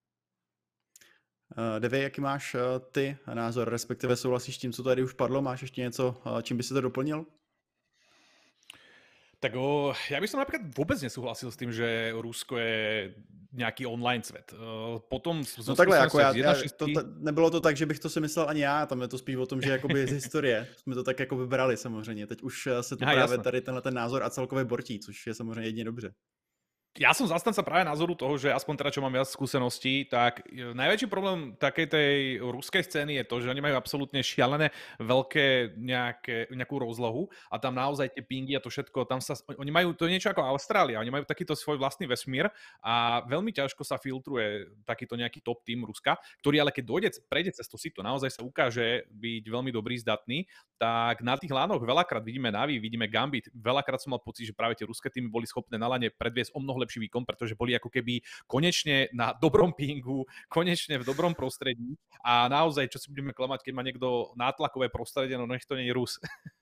Devi, jaký máš ty názor, respektive souhlasíš s tím, co tady už padlo? Máš ještě něco, čím by si to doplnil?
Tak ja by som napríklad vôbec nesúhlasil s tým, že Rusko je nějaký online svět. Potom
No takhle, jako
nebylo
nebylo to tak, že bych to si myslel ani já, tam je to spíš o tom, že jakoby z historie jsme to tak jako vybrali samozřejmě. Teď už se to právě tady tenhle ten názor a celkově bortí, což je samozřejmě jedině dobře.
Ja som zastanca práve názoru toho, že aspoň teda, čo mám viac skúseností, tak najväčší problém takej tej ruskej scény je to, že oni majú absolútne šialené veľké nejakú rozlohu a tam naozaj tie pingy a to všetko, tam sa, oni majú, to je niečo ako Austrália, oni majú takýto svoj vlastný vesmír a veľmi ťažko sa filtruje takýto nejaký top tým Ruska, ktorý ale keď prejde cez to sito, naozaj sa ukáže byť veľmi dobrý, zdatný, tak na tých lánoch veľakrát vidíme Navi, vidíme Gambit, veľakrát som mal pocit, že práve tie ruské týmy boli schopné na lane predviesť o mnoho lepší výkon, pretože boli ako keby konečne na dobrom pingu, konečne v dobrom prostredí a naozaj, čo si budeme klamať, keď má niekto nátlakové prostredie, no nech to nie je Rus.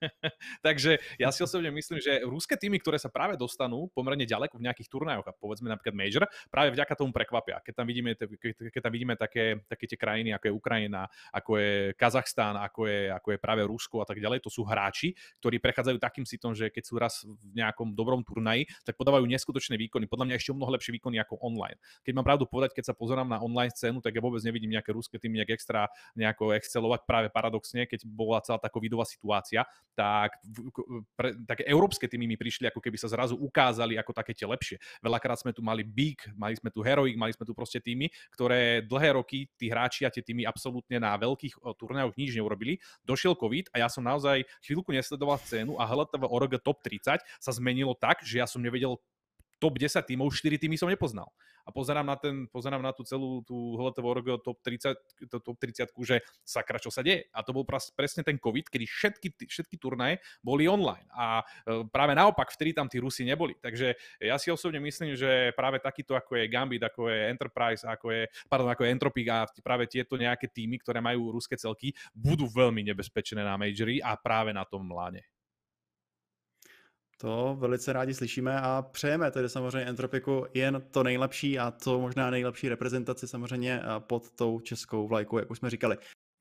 Takže ja si osobne myslím, že ruské týmy, ktoré sa práve dostanú pomerne ďaleko v nejakých turnajoch a povedzme napríklad Major, práve vďaka tomu prekvapia. Keď tam vidíme také tie krajiny, ako je Ukrajina, ako je Kazachstán, ako je práve Rusko a tak ďalej, to sú hráči, ktorí prechádzajú takým sitom, že keď sú raz v nejakom dobrom turnaji, tak podávajú neskutočné výkony. Podľa mňa ešte o mnoho lepšie výkony ako online. Keď mám pravdu povedať, keď sa pozerám na online scénu, tak ja vôbec nevidím nejaké ruské týmy nejak extra nejako excelovať. Práve paradoxne, keď bola celá tá covidová situácia, tak také európske týmy mi prišli, ako keby sa zrazu ukázali ako také tie lepšie. Veľakrát sme tu mali Big, mali sme tu Heroic, mali sme tu proste týmy, ktoré dlhé roky tí hráči a tie týmy absolútne na veľkých turnajoch nič neurobili. Došiel COVID a ja som naozaj chvíľku nesledoval scénu a HLTV Org Top 30 sa zmenilo tak, že ja som nevedel top 10 tímov, 4 týmy som nepoznal. A pozerám na tú celú tú HLTV Org top 30, že sakra, čo sa deje. A to bol presne ten COVID, kedy všetky turnaje boli online. A práve naopak, vtedy tam tí Rusi neboli. Takže ja si osobne myslím, že práve takýto, ako je Gambit, ako je Enterprise, ako je Entropic a práve tieto nejaké týmy, ktoré majú ruské celky, budú veľmi nebezpečné na Majory a práve na tom láne.
To velice rádi slyšíme a přejeme tedy samozřejmě Entropiku jen to nejlepší a to možná nejlepší reprezentaci samozřejmě pod tou českou vlajkou, jak už jsme říkali.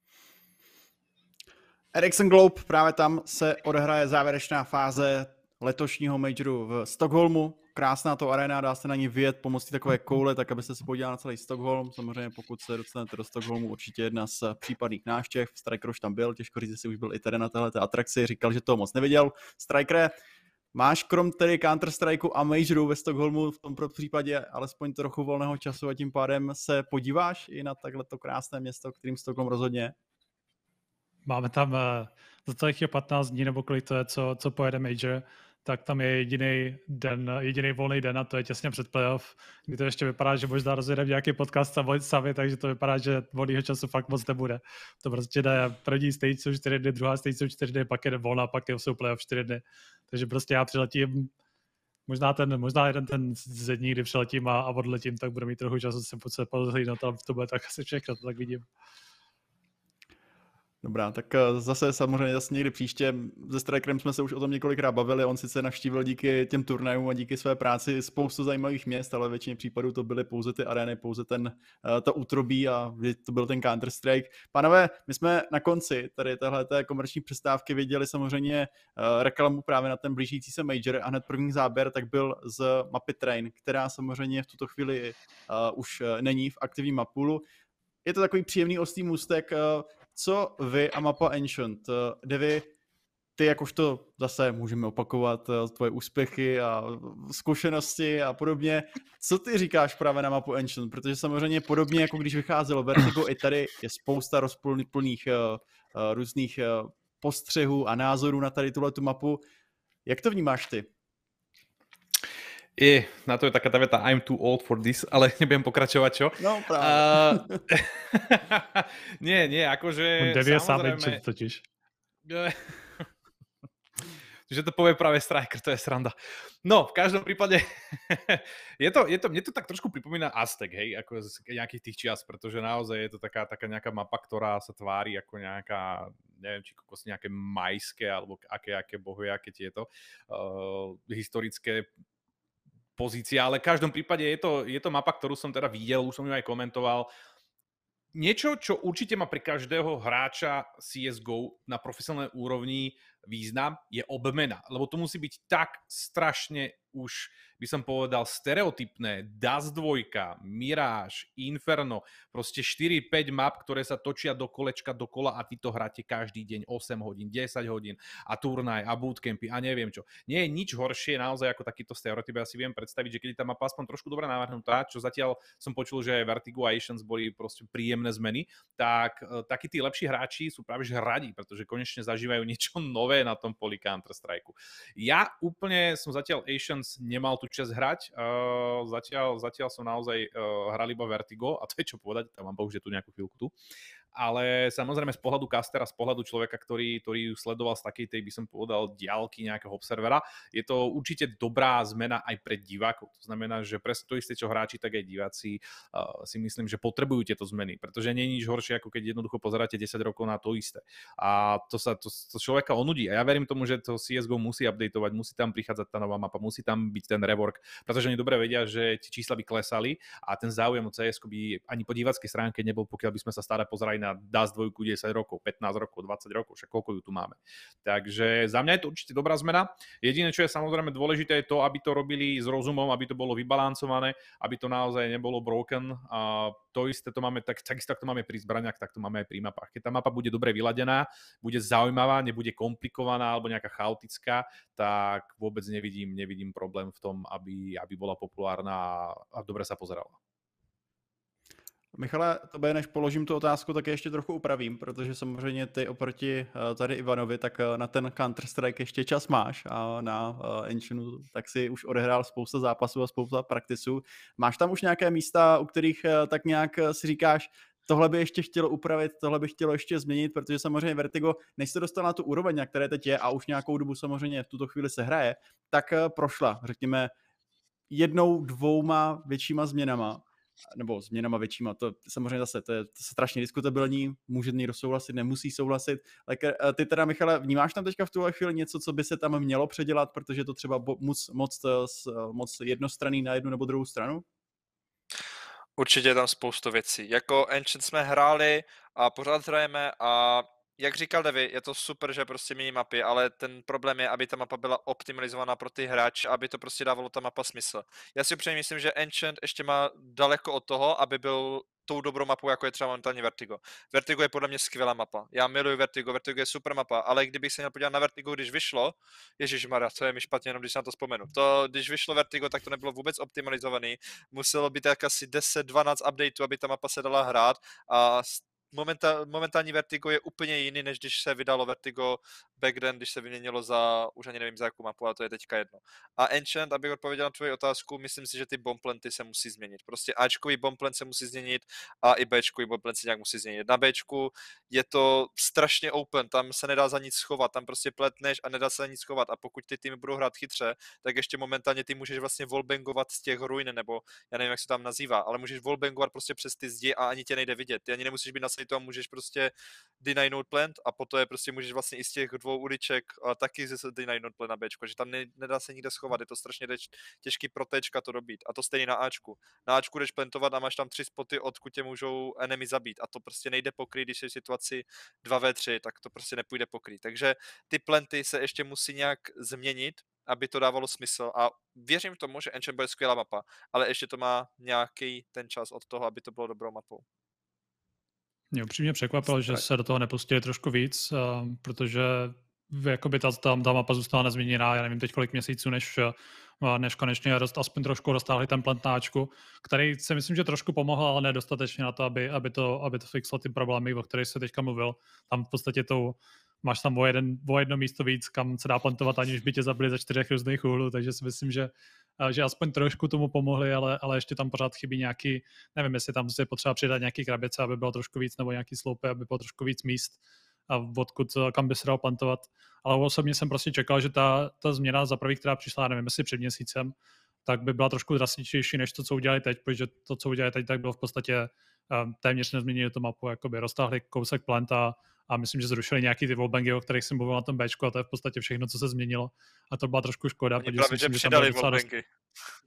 Ericsson Globe, právě tam se odehraje závěrečná fáze letošního majoru v Stockholmu. Krásná to arena, dá se na ní vyjet pomocí takové koule, tak abyste se podívali na celý Stockholm. Samozřejmě pokud se dostanete do Stockholmu, určitě jedna z případných návštěv. Striker už tam byl, těžko říct, jestli už byl i tady na této atrakci, říkal, že toho moc neviděl. Striker, máš krom tedy Counter-Strikeu a Majoru ve Stockholmu v tom případě alespoň trochu volného času a tím pádem se podíváš i na takhleto krásné město, kterým Stockholm rozhodně?
Máme tam za celých 15 dní, nebo kolik to je, co pojede Major, tak tam je jediný volný den a to je těsně před playoff, kdy to ještě vypadá, že možná rozjedeme nějaký podcast sami, takže to vypadá, že volného času fakt moc nebude. To prostě jde první stage jsou 4 dny, druhá stage jsou 4 dny, pak je volna, pak jsou playoff 4 dny. Takže prostě já přiletím, možná jeden ten ze dní, kdy přiletím a odletím, tak budu mít trochu času se pozhlídnout, ale to bude tak asi všechno, to tak vidím.
Dobrá, tak zase samozřejmě někdy příště. Se Strikerem jsme se už o tom několikrát bavili, on sice navštívil díky těm turnajům a díky své práci spoustu zajímavých měst, ale většině případů to byly pouze ty arény, pouze to útrobí a to byl ten Counter-Strike. Pánové, my jsme na konci tady téhleté komerční přestávky viděli samozřejmě reklamu právě na ten blížící se Major a hned první záběr tak byl z mapy Train, která samozřejmě v tuto chvíli už není v aktivním mapulu. Je to takový příjemný ostrý můstek. Co vy a mapa Ancient? Devi, ty jakožto zase můžeme opakovat tvoje úspěchy a zkušenosti a podobně. Co ty říkáš právě na mapu Ancient? Protože samozřejmě podobně jako když vycházelo Vertigo, i tady je spousta rozplných různých postřehů a názorů na tady tuhletu mapu. Jak to vnímáš ty?
Na to je taká tá veta I'm too old for this, ale nebudem pokračovať, čo?
No práve.
Nie, akože...
On devie sám Ancient totiž.
Že to povie práve Striker, to je sranda. No, v každom prípade mne to tak trošku pripomína Aztek, hej, ako z nejakých tých čias, pretože naozaj je to taká nejaká mapa, ktorá sa tvári ako nejaká, neviem, či kokos nejaké majské, alebo aké bohujaké tieto historické pozícia, ale v každom prípade je to mapa, ktorú som teda videl, už som ju aj komentoval. Niečo, čo určite má pre každého hráča CSGO na profesionálnej úrovni význam, je obmena, lebo to musí byť tak strašne už by som povedal stereotypné Dust 2, Mirage, Inferno, proste 4-5 map, ktoré sa točia do kolečka dokola a vy to hráte každý deň 8 hodín, 10 hodín a turnaj a bootcampy a neviem čo. Nie je nič horšie naozaj ako takýto stereotyp. Ja si viem predstaviť, že keď tá mapa aspoň trošku dobre navrhnutá, čo zatiaľ som počul, že Vertigo a Asians boli proste príjemné zmeny, tak takí tí lepší hráči sú práve že radi, pretože konečne zažívajú niečo nové na tom poli Counter-Strike. Ja úplne som zatiaľ Asians nemal tú časť hrať, zatiaľ som naozaj hral iba Vertigo a to je čo povedať, tam mám bohu, že tu nejakú chvíľku tu. Ale samozrejme z pohľadu castera, z pohľadu človeka, ktorý ju sledoval z takej tej, by som povedal, diaľky nejakého observera, je to určite dobrá zmena aj pre divákov. To znamená, že presne to isté, čo hráči, tak aj diváci si myslím, že potrebujú tieto zmeny, pretože nie je nič horšie, ako keď jednoducho pozeráte 10 rokov na to isté. A to človeka onudí. A ja verím tomu, že to CSGO musí updateovať, musí tam prichádzať tá nová mapa, musí tam byť ten rework, pretože oni dobre vedia, že tie čísla by klesali a ten záujem o CSGO by ani po diváckej stránke nebol, pokiaľ by sme sa stále pozerali na Dust 2 10 rokov, 15 rokov, 20 rokov, však koľko ju tu máme. Takže za mňa je to určite dobrá zmena. Jediné, čo je samozrejme dôležité, je to, aby to robili s rozumom, aby to bolo vybalancované, aby to naozaj nebolo broken. A to isté to máme, takisto ak to máme pri zbraniach, tak to máme aj pri mapách. Keď tá mapa bude dobre vyladená, bude zaujímavá, nebude komplikovaná alebo nejaká chaotická, tak vôbec nevidím problém v tom, aby bola populárna a dobre sa pozerala.
Michale, tobě než položím tu otázku, tak ještě trochu upravím, protože samozřejmě ty oproti tady Ivanovi, tak na ten Counter-Strike ještě čas máš a na Enchinu tak si už odehrál spousta zápasů a spousta praktisů. Máš tam už nějaké místa, u kterých tak nějak si říkáš, tohle by ještě chtělo upravit, tohle by chtělo ještě změnit, protože samozřejmě Vertigo, než se dostal na tu úroveň, na které teď je a už nějakou dobu samozřejmě v tuto chvíli se hraje, tak prošla, řekněme, 1-2 většíma změnama, nebo změnama většíma, to samozřejmě zase, to je strašně diskutabilní, může někdo souhlasit, nemusí souhlasit. Ty teda, Michale, vnímáš tam teďka v tuhle chvíli něco, co by se tam mělo předělat, protože to třeba moc jednostranný na jednu nebo druhou stranu?
Určitě je tam spoustu věcí. Jako Ancient jsme hráli a pořád hrajeme a jak říkal Devi, je to super, že prostě mění mapy, ale ten problém je, aby ta mapa byla optimalizovaná pro ty hráče, aby to prostě dávalo ta mapa smysl. Já si upřímně myslím, že Ancient ještě má daleko od toho, aby byl tou dobrou mapou, jako je třeba momentálně Vertigo. Vertigo je podle mě skvělá mapa. Já miluji Vertigo, Vertigo je super mapa, ale kdybych se měl podívat na Vertigo, když vyšlo, ježišmarja, to je mi špatně, jenom když na to vzpomenu. Když vyšlo Vertigo, tak to nebylo vůbec optimalizovaný. Muselo být tak asi 10-12 updateů, aby ta mapa se dala hrát a momentální Vertigo je úplně jiný, než když se vydalo Vertigo back then, když se vyměnilo za, už ani nevím za jakou mapu, ale to je teďka jedno. A Enchant, abych odpověděl na tvoji otázku, myslím si, že ty bombplanty se musí změnit. Prostě Ačkový bombplant se musí změnit a i Bčkový bombplant se nějak musí změnit. Na Bčku je to strašně open, tam se nedá za nic schovat, tam prostě pletneš a nedá se za nic schovat a pokud ty týmy budou hrát chytře, tak ještě momentálně ty můžeš vlastně wallbangovat z těch ruin, nebo já nevím, jak se tam nazývá, ale můžeš wallbangovat prostě přes ty zdi a ani tě nejde vidět. Ty ani nemusíš být na sejtu a můžeš prostě deny node plant a potom je prostě můžeš vlastně i z těch 2 uliček taky deny node plant na Bčko, že tam nedá se nikde schovat, je to strašně těžký pro Tčka to dobít a to stejně na Ačku. Na Ačku jdeš plantovat a máš tam 3 spoty, odkud tě můžou enemy zabít a to prostě nejde pokrýt, když je v situaci 2v3, tak to prostě nepůjde pokrýt. Takže ty planty se ještě musí nějak změnit, aby to dávalo smysl a věřím tomu, že Enchant bude skvělá mapa, ale ještě to má nějaký ten čas od toho, aby to bylo dobrou mapou.
Mě upřímně překvapilo, že se do toho nepustili trošku víc, protože jakoby ta mapa zůstala nezměněná, já nevím teď kolik měsíců, než konečně aspoň trošku roztáhli ten plantnáčku, který si myslím, že trošku pomohl, ale nedostatečně na to, aby to fixlo ty problémy, o kterých se teďka mluvil. Tam v podstatě máš tam o jedno místo víc, kam se dá plantovat, aniž by tě zabili ze 4 různých úhlů, takže si myslím, že aspoň trošku tomu pomohli, ale ještě tam pořád chybí nějaký, nevím, jestli tam je potřeba přidat nějaký krabice, aby bylo trošku víc, nebo nějaký sloupy, aby bylo trošku víc míst, a kam by se dalo plantovat. Ale osobně jsem prostě čekal, že ta změna za první, která přišla, nevím, jestli před měsícem, tak by byla trošku drastičtější než to, co udělali teď, protože to, co udělali teď, tak bylo v podstatě téměř nezměnili tu mapu, jakoby roztáhli kousek planta a myslím, že zrušili nějaký ty wallbangy, o kterých jsem mluvil na tom Bčku a to je v podstatě všechno, co se změnilo a to byla trošku škoda.
Oni právě, že přidali wallbangy.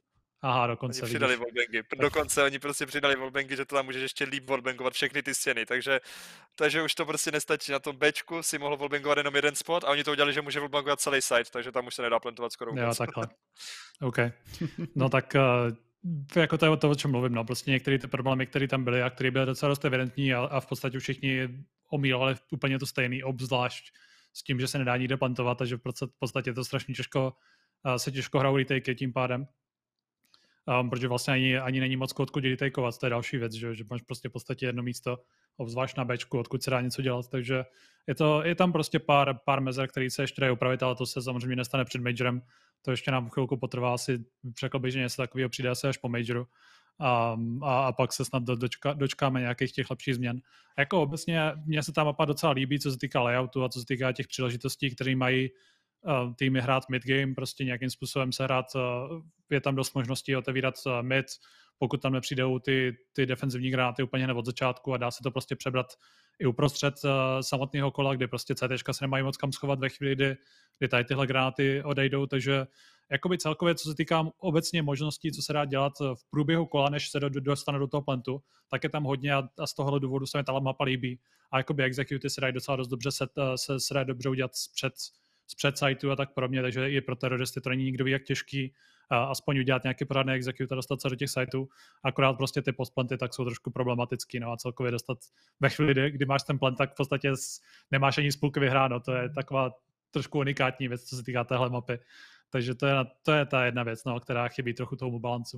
Aha,
Oni
dokonce,
přidali
vidíš.
wallbangy. Dokonce oni prostě přidali wallbangy, že to tam můžeš ještě líp wallbangovat všechny ty stěny, takže už to prostě nestačí. Na tom Bčku si mohl wallbangovat jenom jeden spot a oni to udělali, že může wallbangovat celý site, takže tam už se nedá plantovat skoro
Jo,
vůbec.
takhle. OK. No tak jako to je to, o čem mluvím. No. Prostě některé ty problémy, které tam byly a které byly docela dost evidentní a v podstatě všichni omílali úplně to stejný, obzvlášť s tím, že se nedá nikde plantovat a že v podstatě je to strašně těžko, se těžko hrajou retake tím pádem. Protože vlastně ani není moc odkud retakeovat, to je další věc, že máš prostě v podstatě jedno místo, obzvlášť na Bčku, odkud se dá něco dělat, takže je tam prostě pár mezer, který se ještě dají opravit, ale to se samozřejmě nestane před majorem, to ještě nám chvilku potrvá, asi řekl bych, že něco takového přijde asi až po majoru a pak se snad dočkáme nějakých těch lepších změn. A jako obecně mně se ta mapa docela líbí, co se týká layoutu a co se týká těch příležitostí, které mají týmy hrát mid-game, prostě nějakým způsobem se hrát, je tam dost možností otevírat mid, pokud tam nepřijdou ty defenzivní granáty úplně hned od začátku a dá se to prostě přebrat i uprostřed samotného kola, kde prostě CTčka se nemají moc kam schovat ve chvíli, kdy tady tyhle granáty odejdou, takže jakoby celkově, co se týká obecně možností, co se dá dělat v průběhu kola, než se dostane do toho plantu, tak je tam hodně a z tohohle důvodu se mi ta mapa líbí. A jakoby executy se dají docela dost dobře se dají dobře udělat zpřed siteu a tak podobně, takže i pro teroristy to není nikdo ví, jak těžký aspoň udělat nějaký pořádný execute a dostat se do těch sitů. Akorát prostě ty postplanty tak jsou trošku problematický, no a celkově dostat ve chvíli, kdy máš ten plant, tak v podstatě nemáš ani z půlky vyhráno. To je taková trošku unikátní věc, co se týká téhle mapy. Takže to je ta jedna věc, no, která chybí trochu tomu balancu.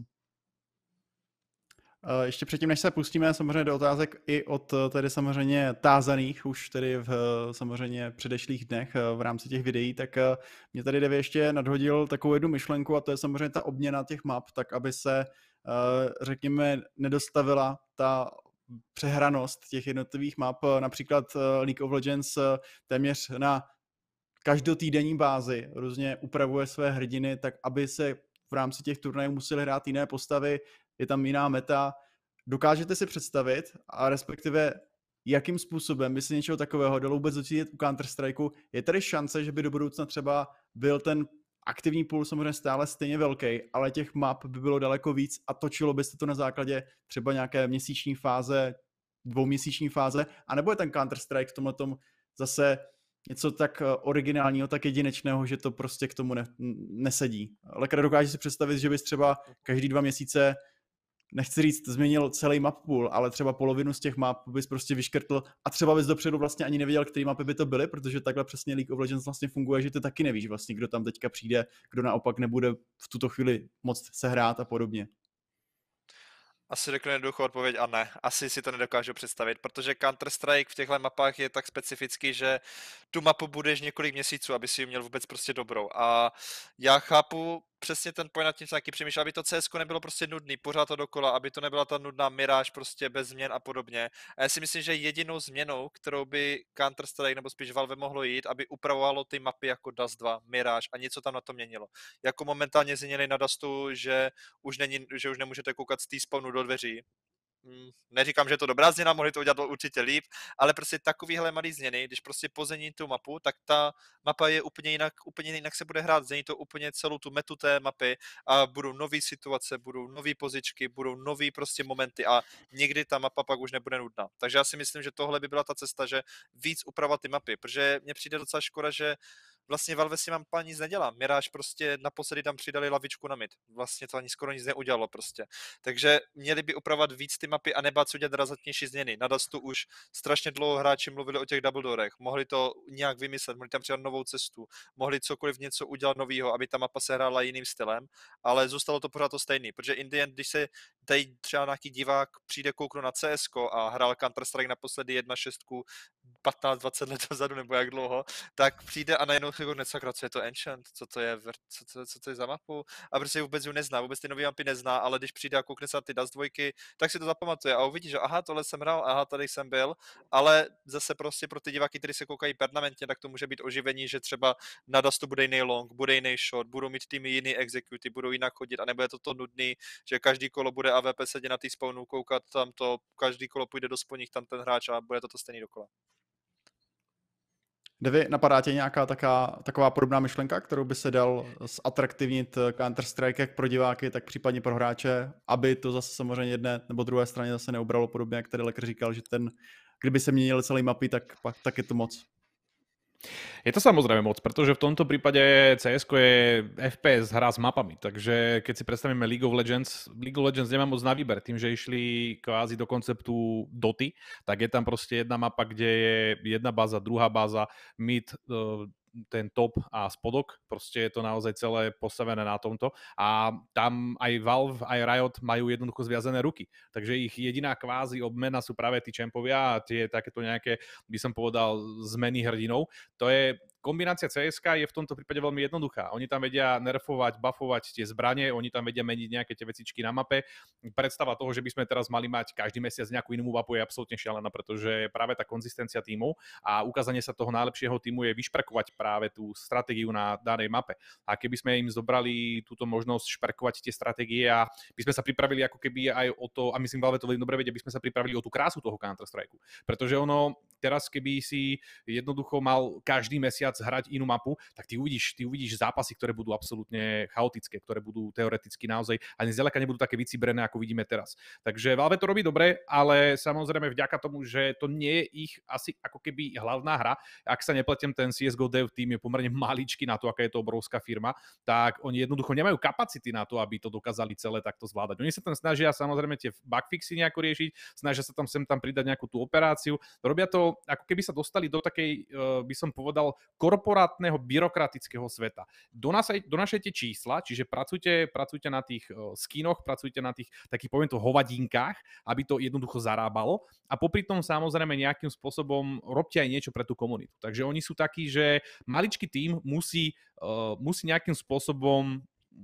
Ještě předtím, než se pustíme samozřejmě do otázek i od tedy samozřejmě tázaných už tedy v samozřejmě předešlých dnech v rámci těch videí, tak mě tady Devi ještě nadhodil takovou jednu myšlenku a to je samozřejmě ta obměna těch map, tak aby se řekněme nedostavila ta přehranost těch jednotlivých map, například League of Legends téměř na každotýdenní bázi různě upravuje své hrdiny, tak aby se v rámci těch turnajů museli hrát jiné postavy, je tam jiná meta. Dokážete si představit a respektive jakým způsobem by se něčeho takového dalo vůbec docílit u Counter-Strikeu? Je tady šance, že by do budoucna třeba byl ten aktivní pool samozřejmě stále stejně velký, ale těch map by bylo daleko víc a točilo byste to na základě třeba nějaké měsíční fáze, dvouměsíční fáze, anebo je ten Counter-Strike v tomhletom zase něco tak originálního, tak jedinečného, že to prostě k tomu nesedí. Ale dokážeš si představit, že bys třeba každý 2 měsíce, nechci říct, změnil celý map pool, ale třeba polovinu z těch map bys prostě vyškrtl a třeba bys dopředu vlastně ani nevěděl, který mapy by to byly, protože takhle přesně League of Legends vlastně funguje, že ty taky nevíš vlastně, kdo tam teďka přijde, kdo naopak nebude v tuto chvíli moc sehrát a podobně.
Asi řeknu jednoduchou odpověď a ne. Asi si to nedokážu představit, protože Counter-Strike v těchto mapách je tak specifický, že tu mapu budeš několik měsíců, aby si ji měl vůbec prostě dobrou. A já chápu přesně ten point, nad tím taky přemýšlel, aby to CS nebylo prostě nudný, pořád to dokola, aby to nebyla ta nudná miráž prostě bez změn a podobně. A já si myslím, že jedinou změnou, kterou by Counter-Strike nebo spíš Valve mohlo jít, aby upravovalo ty mapy jako Dust 2, Mirage a něco tam na to měnilo. Jako momentálně změnili na Dustu, že už nemůžete koukat z T-spawnu do dveří. Neříkám, že je to dobrá změna, mohli to udělat určitě líp, ale prostě takovýhle malý změny, když prostě pozmění tu mapu, tak ta mapa je úplně jinak se bude hrát, změní to úplně celou tu metu té mapy a budou nové situace, budou nové pozičky, budou nové prostě momenty a někdy ta mapa pak už nebude nudná. Takže já si myslím, že tohle by byla ta cesta, že víc upravovat ty mapy, protože mně přijde docela škoda, že vlastně Valve si mapa nic nedělá. Mirage prostě naposledy tam přidali lavičku na mid. Vlastně to ani skoro nic neudělalo prostě. Takže měli by upravovat víc ty mapy a nebát se udělat razantnější změny. Na Dustu už strašně dlouho hráči mluvili o těch double doorech. Mohli to nějak vymyslet, mohli tam přidat novou cestu, mohli cokoliv něco udělat nového, aby ta mapa se hrála jiným stylem, ale zůstalo to pořád to stejný, protože in the end, když se tady třeba nějaký divák přijde kouknout na CSko a hrál Counter-Strike naposledy 1.6 15-20 let dozadu nebo jak dlouho, tak přijde a najednou sakra, co je to Ancient, co to je za mapu a prostě vůbec ji nezná, vůbec ty nový mapy nezná, ale když přijde a koukne se na ty Dust 2, tak si to zapamatuje a uvidí, že aha, tohle jsem hrál, aha, tady jsem byl, ale zase prostě pro ty diváky, kteří se koukají permanentně, tak to může být oživení, že třeba na Dustu bude jiný long, bude jiný shot, budou mít týmy jiný executy, budou jinak chodit a nebude to nudný, že každý kolo bude AWP sedět na tý spawnu, koukat tam to, každý kolo půjde do sponích tam ten hráč a bude to stejný dokola.
Davy, napadá tě nějaká taková podobná myšlenka, kterou by se dal zatraktivnit Counter-Strike jak pro diváky, tak případně pro hráče, aby to zase samozřejmě jedné nebo druhé straně zase neubralo, podobně jak tady Lekr říkal, že kdyby se měnil celý mapy, tak je to moc.
Je to samozrejme moc, pretože v tomto prípade CS je FPS hra s mapami, takže keď si predstavíme League of Legends nemá moc na výber, tým, že išli kvázi do konceptu Doty, tak je tam proste jedna mapa, kde je jedna báza, druhá báza, mid, ten top a spodok, proste je to naozaj celé postavené na tomto a tam aj Valve, aj Riot majú jednoducho zviazané ruky, takže ich jediná kvázi obmena sú práve tí čempovia a tie takéto nejaké, by som povedal, zmeny hrdinov. To je kombinácia CSK je v tomto prípade veľmi jednoduchá. Oni tam vedia nerfovať, buffovať tie zbranie, oni tam vedia meniť nejaké tie vecičky na mape. Predstava toho, že by sme teraz mali mať každý mesiac nejakú inú mapu je absolútne šialená, pretože práve tá konzistencia tímov a ukázanie sa toho najlepšieho tímu je vyšperkovať práve tú stratégiu na danej mape. A keby sme im zobrali túto možnosť šperkovať tie stratégie a by sme sa pripravili ako keby aj o to, a myslím, Valve to veľmi dobre vedia, by sme sa pripravili o tú krásu toho Counter-Strike. Pretože ono teraz, keby si jednoducho mal každý mesiac hrať inú mapu, tak ty uvidíš zápasy, ktoré budú absolútne chaotické, ktoré budú teoreticky naozaj ani zďaleka nebudú také vycibrené, ako vidíme teraz. Takže Valve to robí dobre, ale samozrejme vďaka tomu, že to nie je ich asi ako keby hlavná hra. Ak sa nepletiem, ten CSGO Dev tým je pomerne maličký na to, aká je to obrovská firma, tak oni jednoducho nemajú kapacity na to, aby to dokázali celé takto zvládať. Oni sa tam snažia samozrejme tie bugfixy nejako riešiť, snažia sa tam sem tam pridať nejakú tú operáciu. Robia to, ako keby sa dostali do takej, by som povedal, korporátneho byrokratického sveta. Donašajte čísla, čiže pracujte na tých skinoch, pracujte na tých takých, poviem to, hovadinkách, aby to jednoducho zarábalo a popri tom samozrejme nejakým spôsobom robte aj niečo pre tú komunitu. Takže oni sú takí, že maličký tím musí nejakým spôsobom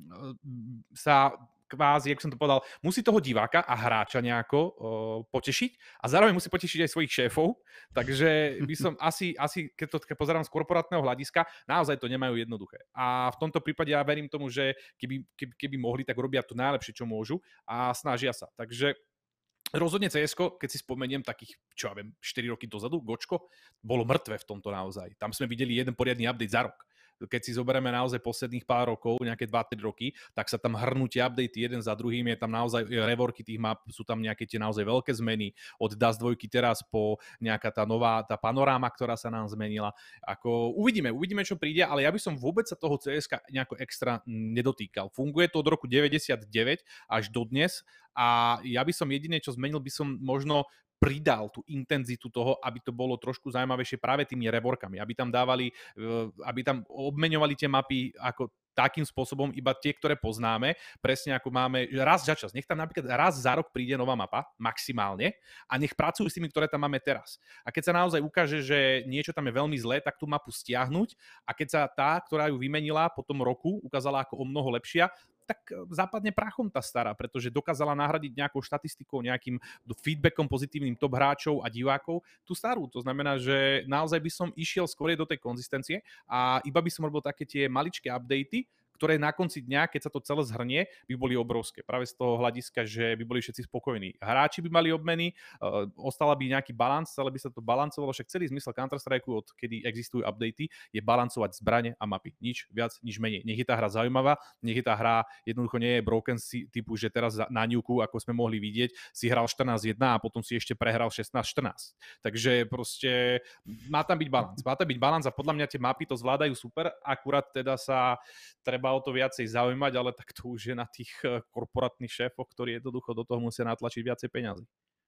sa kvázi, jak som to povedal, musí toho diváka a hráča nejako potešiť a zároveň musí potešiť aj svojich šéfov, takže by som asi keď to pozerám z korporátneho hľadiska, naozaj to nemajú jednoduché. A v tomto prípade ja verím tomu, že keby mohli, tak robia to najlepšie, čo môžu a snažia sa. Takže rozhodne CSko, keď si spomeniem takých, čo ja viem, 4 roky dozadu, Gočko, bolo mŕtve v tomto naozaj. Tam sme videli jeden poriadny update za rok. Keď si zoberieme naozaj posledných pár rokov, nejaké 2-3 roky, tak sa tam hrnú tie updaty jeden za druhým, je tam naozaj reworky tých map, sú tam nejaké tie naozaj veľké zmeny, od Dust 2 teraz po nejaká tá nová, tá panoráma, ktorá sa nám zmenila. Ako uvidíme, čo príde, ale ja by som vôbec sa toho CSK nejako extra nedotýkal. Funguje to od roku 99 až do dnes a ja by som jediné, čo zmenil, by som možno pridal tú intenzitu toho, aby to bolo trošku zaujímavejšie práve tými reworkami, aby tam dávali, aby tam obmeňovali tie mapy ako takým spôsobom iba tie, ktoré poznáme, presne ako máme raz za čas. Nech tam napríklad raz za rok príde nová mapa, maximálne, a nech pracujú s tými, ktoré tam máme teraz. A keď sa naozaj ukáže, že niečo tam je veľmi zlé, tak tú mapu stiahnuť a keď sa tá, ktorá ju vymenila po tom roku, ukázala ako o mnoho lepšia, tak západne prachom tá stará, pretože dokázala nahradiť nejakou štatistikou, nejakým feedbackom pozitívnym top hráčov a divákov tú starú. To znamená, že naozaj by som išiel skôr do tej konzistencie a iba by som robil také tie maličké updaty, ktoré na konci dňa, keď sa to celé zhrnie, by boli obrovské. Práve z toho hľadiska, že by boli všetci spokojní. Hráči by mali obmeny, ostala by nejaký balans, celé by sa to balancovalo, však celý zmysel Counter-Strike, od kedy existujú updaty, je balancovať zbrane a mapy. Nič viac, nič menej. Nech je tá hra zaujímavá, nech je tá hra jednoducho nie je broken typu, že teraz na Nuku, ako sme mohli vidieť, si hral 14-1 a potom si ešte prehral 16-14. Takže proste má tam byť balans. Má tam byť balans a podľa mňa tie mapy to zvládajú super, akurát teda sa treba o to viacej zaujímať, ale tak to už je na tých korporátnych šéfoch, ktorí jednoducho do toho musia natlačiť viacej peňazí.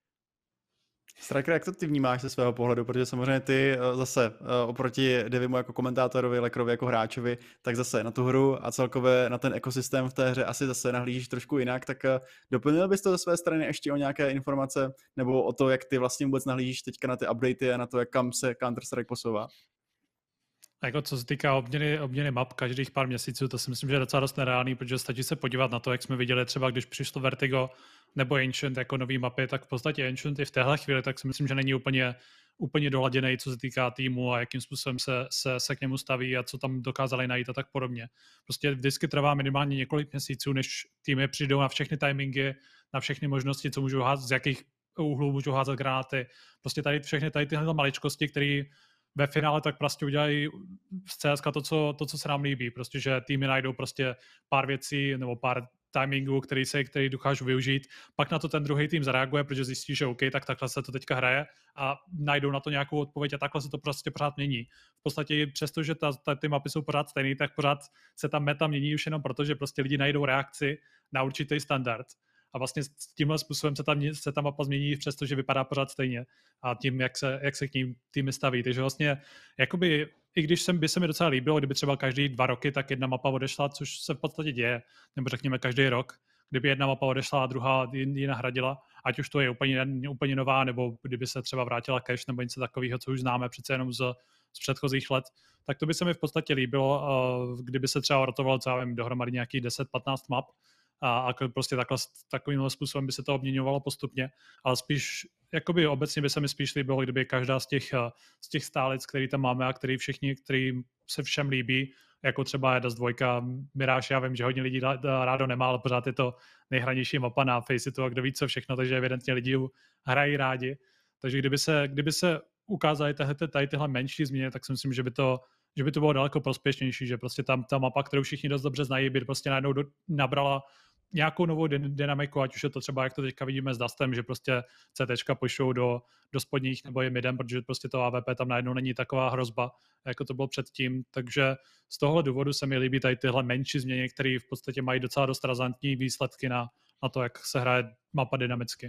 Striker, jak to ty vnímáš ze svého pohledu, protože samozřejmě ty zase oproti Devimu jako komentátorovi, Lekrovi jako hráčovi, tak zase na tu hru a celkově na ten ekosystém v té hře asi zase nahlížíš trošku jinak, tak doplnil bys to ze své strany ještě o nějaké informace nebo o to, jak ty vlastně vůbec nahlížíš teďka na ty updaty a na to, jak kam se Counter-Strike posouvá?
Jako co se týká obměny map každých pár měsíců, to si myslím, že je docela dost nereálný, protože stačí se podívat na to, jak jsme viděli třeba, když přišlo Vertigo nebo Ancient jako nový mapy, tak v podstatě Ancient i v téhle chvíli, tak si myslím, že není úplně doladěný, co se týká týmu a jakým způsobem se k němu staví a co tam dokázali najít a tak podobně. Prostě vždycky trvá minimálně několik měsíců, než týmy přijdou na všechny timingy, na všechny možnosti, co můžou házet, z jakých úhlů můžou házet granáty. Prostě všechny tyhle maličkosti, které ve finále tak prostě udělají z CSK to, co se nám líbí, prostě, že týmy najdou prostě pár věcí nebo pár timingů, který dokážu využít, pak na to ten druhý tým zareaguje, protože zjistí, že OK, tak takhle se to teďka hraje a najdou na to nějakou odpověď a takhle se to prostě pořád mění. V podstatě přesto, že ty mapy jsou pořád stejný, tak pořád se ta meta mění už jenom proto, že prostě lidi najdou reakci na určitý standard. A vlastně s tímhle způsobem se ta mapa změní, přestože vypadá pořád stejně. A tím, jak se k ním týmy staví. Takže vlastně, jakoby, i když by se mi docela líbilo, kdyby třeba každý 2 roky tak jedna mapa odešla, což se v podstatě děje, nebo řekněme každý rok, kdyby jedna mapa odešla a druhá ji nahradila, ať už to je úplně nová, nebo kdyby se třeba vrátila cache nebo něco takového, co už známe přece jenom z předchozích let, tak to by se mi v podstatě líbilo, kdyby se třeba rotovalo, co já vím, dohromady nějakých 10-15 map, a prostě takovým způsobem by se to obměňovalo postupně, ale spíš, jakoby obecně by se mi spíš líbilo, kdyby každá z těch stálic, který tam máme a který se všem líbí, jako třeba Edas 2, Mirage, já vím, že hodně lidí rádo nemá, ale pořád je to nejhranější mapa na Faceitu a kdo ví co všechno, takže evidentně lidi hrají rádi. Takže kdyby se ukázaly tyhle menší změny, tak si myslím, že by to bylo daleko prospěšnější, že prostě tam ta mapa, kterou všichni dost dobře znají, by prostě najednou nabrala nějakou novou dynamiku, ať už je to třeba, jak to teďka vidíme s Dustem, že prostě CTčka pošlou do spodních nebo je midem, protože prostě to AVP tam najednou není taková hrozba, jako to bylo předtím. Takže z tohohle důvodu se mi líbí tady tyhle menší změny, které v podstatě mají docela dost razantní výsledky na to, jak se hraje mapa dynamicky.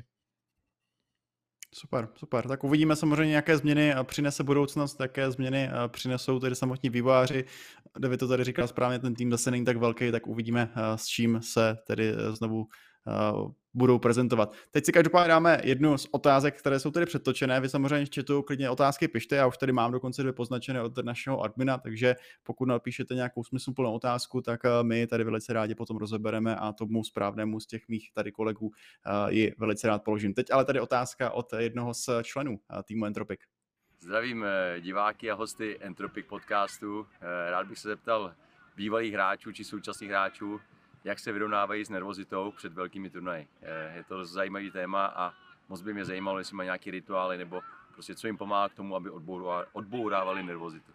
Super. Tak uvidíme samozřejmě, jaké změny přinese budoucnost, jaké změny přinesou tedy samotní vývojáři. David to tady říkal správně, ten tým zase není tak velký, tak uvidíme, s čím se tedy znovu budou prezentovat. Teď si každopádně dáme jednu z otázek, které jsou tedy předtočené. Vy samozřejmě v chatu klidně otázky pište, já už tady mám dokonce 2 poznačené od našeho admina, takže pokud napíšete nějakou smysluplnou otázku, tak my tady velice rádi potom rozebereme a tomu správnému z těch mých tady kolegů ji velice rád položím. Teď ale tady otázka od jednoho z členů týmu Entropic.
Zdravím diváky a hosty Entropic podcastu. Rád bych se zeptal bývalých hráčů či současných hráčů, jak se vyrovnávají s nervozitou před velkými turnaji. Je to zajímavý téma a moc by mě zajímalo, jestli mají nějaké rituály nebo prostě co jim pomáhá k tomu, aby odbourávali nervozitu.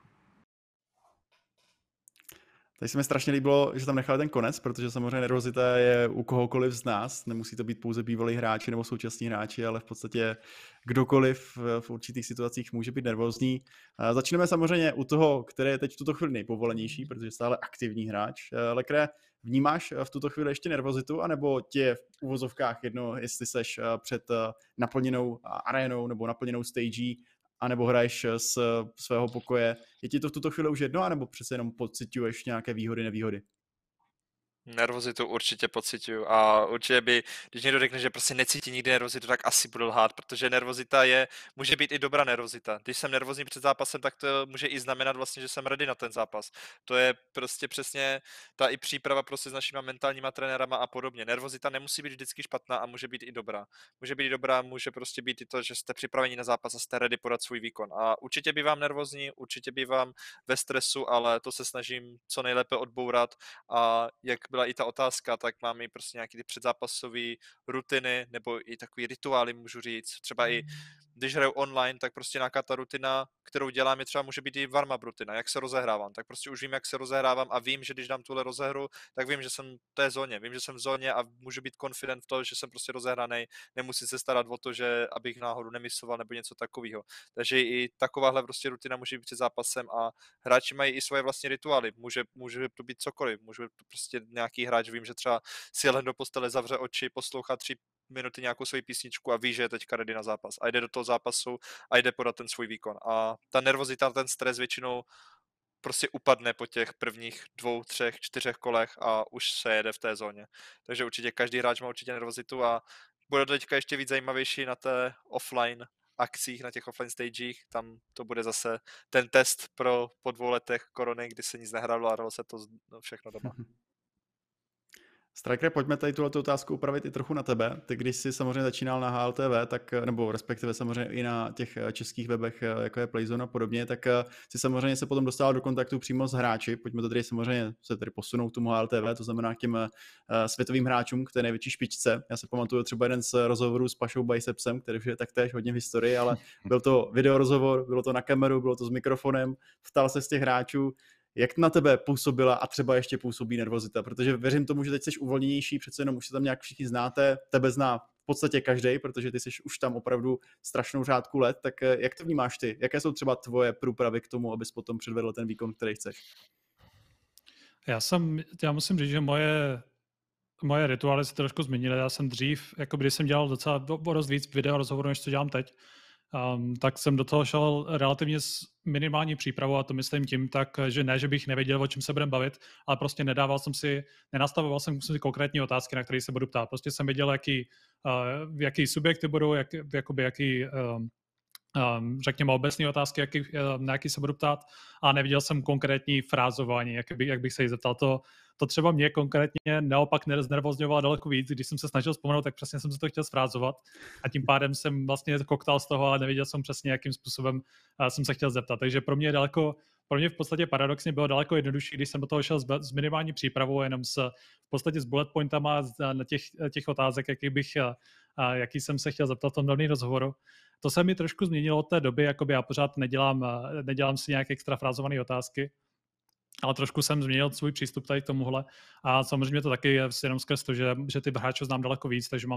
Tady se mi strašně líbilo, že tam nechali ten konec, protože samozřejmě nervozita je u kohokoliv z nás, nemusí to být pouze bývalí hráči nebo současní hráči, ale v podstatě kdokoliv v určitých situacích může být nervózní. Začneme samozřejmě u toho, který je teď v tuto chvíli nejpovolenější, protože stále aktivní hráč. Lekre, vnímáš v tuto chvíli ještě nervozitu, anebo tě v uvozovkách jedno, jestli seš před naplněnou arénou nebo naplněnou stagí, anebo hraješ z svého pokoje. Je ti to v tuto chvíli už jedno, anebo přece jenom pociťuješ nějaké výhody, nevýhody?
Nervozitu určitě pociťuju a určitě když někdo řekne, že prostě necítí nikdy nervozitu, tak asi budu lhát, protože nervozita může být i dobrá nervozita. Když jsem nervózní před zápasem, tak to může i znamenat vlastně, že jsem ready na ten zápas. To je prostě přesně ta i příprava prostě s našimi mentálníma trenérama a podobně. Nervozita nemusí být vždycky špatná a může být i dobrá. Může prostě být i to, že jste připraveni na zápas a jste ready podat svůj výkon. A určitě bývám nervózní, určitě bývám ve stresu, ale to se snažím co nejlépe odbourat a jak byla i ta otázka, tak máme i prostě nějaké ty předzápasové rutiny nebo i takový rituály, můžu říct. Třeba i když hraju online, tak prostě nějaká ta rutina, kterou dělám, je třeba může být i warm-up rutina, jak se rozehrávám. Tak prostě už vím, jak se rozehrávám a vím, že když dám tuhle rozehru, tak vím, že jsem v té zóně. Vím, že jsem v zóně a můžu být confident v tom, že jsem prostě rozehranej, nemusím se starat o to, že abych náhodou nemisoval nebo něco takového. Takže i takováhle prostě rutina může být před zápasem a hráči mají i svoje vlastní rituály. Může to být cokoliv, může to prostě nějaký hráč, vím, že třeba si lehne do postele, zavře oči, poslouchá 3 minuty nějakou svoji písničku a ví, že je teďka ready na zápas a jde do toho zápasu a jde podat ten svůj výkon. A ta nervozita, ten stres většinou prostě upadne po těch prvních 2, 3, 4 kolech a už se jede v té zóně. Takže určitě každý hráč má určitě nervozitu a bude to teďka ještě víc zajímavější na té offline akcích, na těch offline stagech. Tam to bude zase ten test po 2 letech korony, kdy se nic nehrálo a hralo se to všechno doma.
Striker, pojďme tady tuhle otázku upravit i trochu na tebe. Ty, když jsi samozřejmě začínal na HLTV, tak, nebo respektive samozřejmě i na těch českých webech, jako je Playzone a podobně, tak si samozřejmě se potom dostal do kontaktu přímo s hráči. Pojďme to tady samozřejmě se tady posunout k tomu HLTV, to znamená k těm světovým hráčům, k té největší špičce. Já se pamatuju třeba jeden z rozhovorů s Pašou Bicepsem, který už je taktéž hodně v historii, ale byl to videorozhovor, bylo to na kameru, bylo to s mikrofonem, ptal se z těch hráčů. Jak na tebe působila a třeba ještě působí nervozita? Protože věřím tomu, že teď jsi uvolněnější, přece jenom už se tam nějak všichni znáte, tebe zná v podstatě každý, protože ty jsi už tam opravdu strašnou řádku let, tak jak to vnímáš ty? Jaké jsou třeba tvoje průpravy k tomu, abys potom předvedl ten výkon, který chceš?
Já musím říct, že moje rituály se trošku změnily. Já jsem dřív, jako když jsem dělal docela dost víc video rozhovorů, než co dělám teď, tak jsem do toho šel relativně s minimální přípravou a to myslím tím tak, že ne, že bych nevěděl, o čem se budeme bavit, ale prostě nenastavoval jsem si konkrétní otázky, na které se budu ptát. Prostě jsem věděl, jaký subjekty budou, jaký řekněme obecné otázky, na jaký se budu ptát a neviděl jsem konkrétní frázování, jak bych se jí zeptal. To třeba mě konkrétně naopak znervozňovalo daleko víc, když jsem se snažil vzpomenout, tak přesně jsem se to chtěl zfrázovat a tím pádem jsem vlastně koktal z toho, ale nevěděl jsem přesně, jakým způsobem jsem se chtěl zeptat. Takže pro mě v podstatě paradoxně bylo daleko jednodušší, když jsem do toho šel s minimální přípravou, jenom v podstatě s bullet pointama na těch otázek, jaký jsem se chtěl zeptat v tom daném rozhovoru. To se mi trošku změnilo od té doby, jakoby já pořád nedělám si nějaké extra frázované otázky, ale trošku jsem změnil svůj přístup tady k tomuhle a samozřejmě to taky je jenom skrz to, že ty hráče znám daleko víc, takže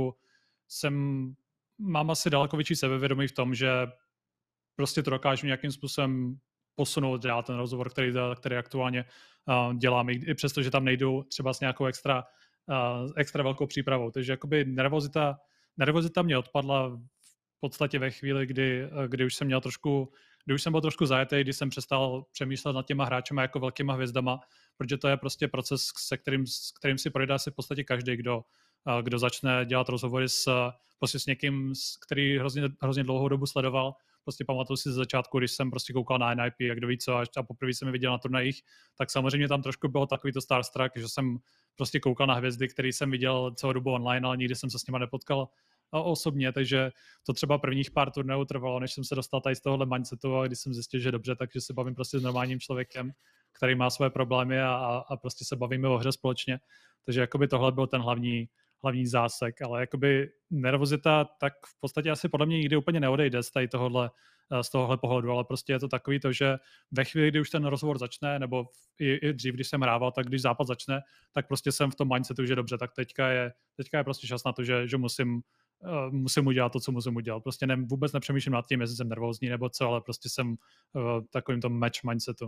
mám asi daleko větší sebevědomí v tom, že prostě to dokážu nějakým způsobem posunout dál ten rozhovor, který aktuálně dělám, i přesto, že tam nejdu třeba s nějakou extra velkou přípravou. Takže jakoby nervozita mě odpadla v podstatě ve chvíli, kdy už jsem byl trošku zajetý, když jsem přestal přemýšlet nad těma hráčema jako velkýma hvězdama, protože to je prostě proces, s kterým si projde asi v podstatě každý, kdo začne dělat rozhovory s někým, který hrozně dlouhou dobu sledoval. Prostě pamatuju si ze začátku, když jsem prostě koukal na NIP a kdo ví co, a poprvé jsem je viděl na turnajích, tak samozřejmě tam trošku bylo takový to starstruck, že jsem prostě koukal na hvězdy, který jsem viděl celou dobu online, ale nikdy jsem se s nima nepotkal osobně, takže to třeba prvních pár turnajů trvalo, než jsem se dostal tady z tohohle mindsetu a když jsem zjistil, že dobře, takže se bavím prostě s normálním člověkem, který má svoje problémy a prostě se bavíme o hře společně. Takže jakoby tohle byl ten hlavní zásek, ale jakoby nervozita tak v podstatě asi podle mě nikdy úplně neodejde z tohohle pohledu, ale prostě je to takový to, že ve chvíli, kdy už ten rozhovor začne, nebo i dřív, když jsem hrával, tak když zápas začne, tak prostě jsem v tom mindsetu, že dobře, tak teďka je prostě čas na to, že musím udělat to, co musím udělat. Prostě vůbec nepřemýšlím nad tím, jestli jsem nervózní nebo co, ale prostě jsem v takovým tom match mindsetu.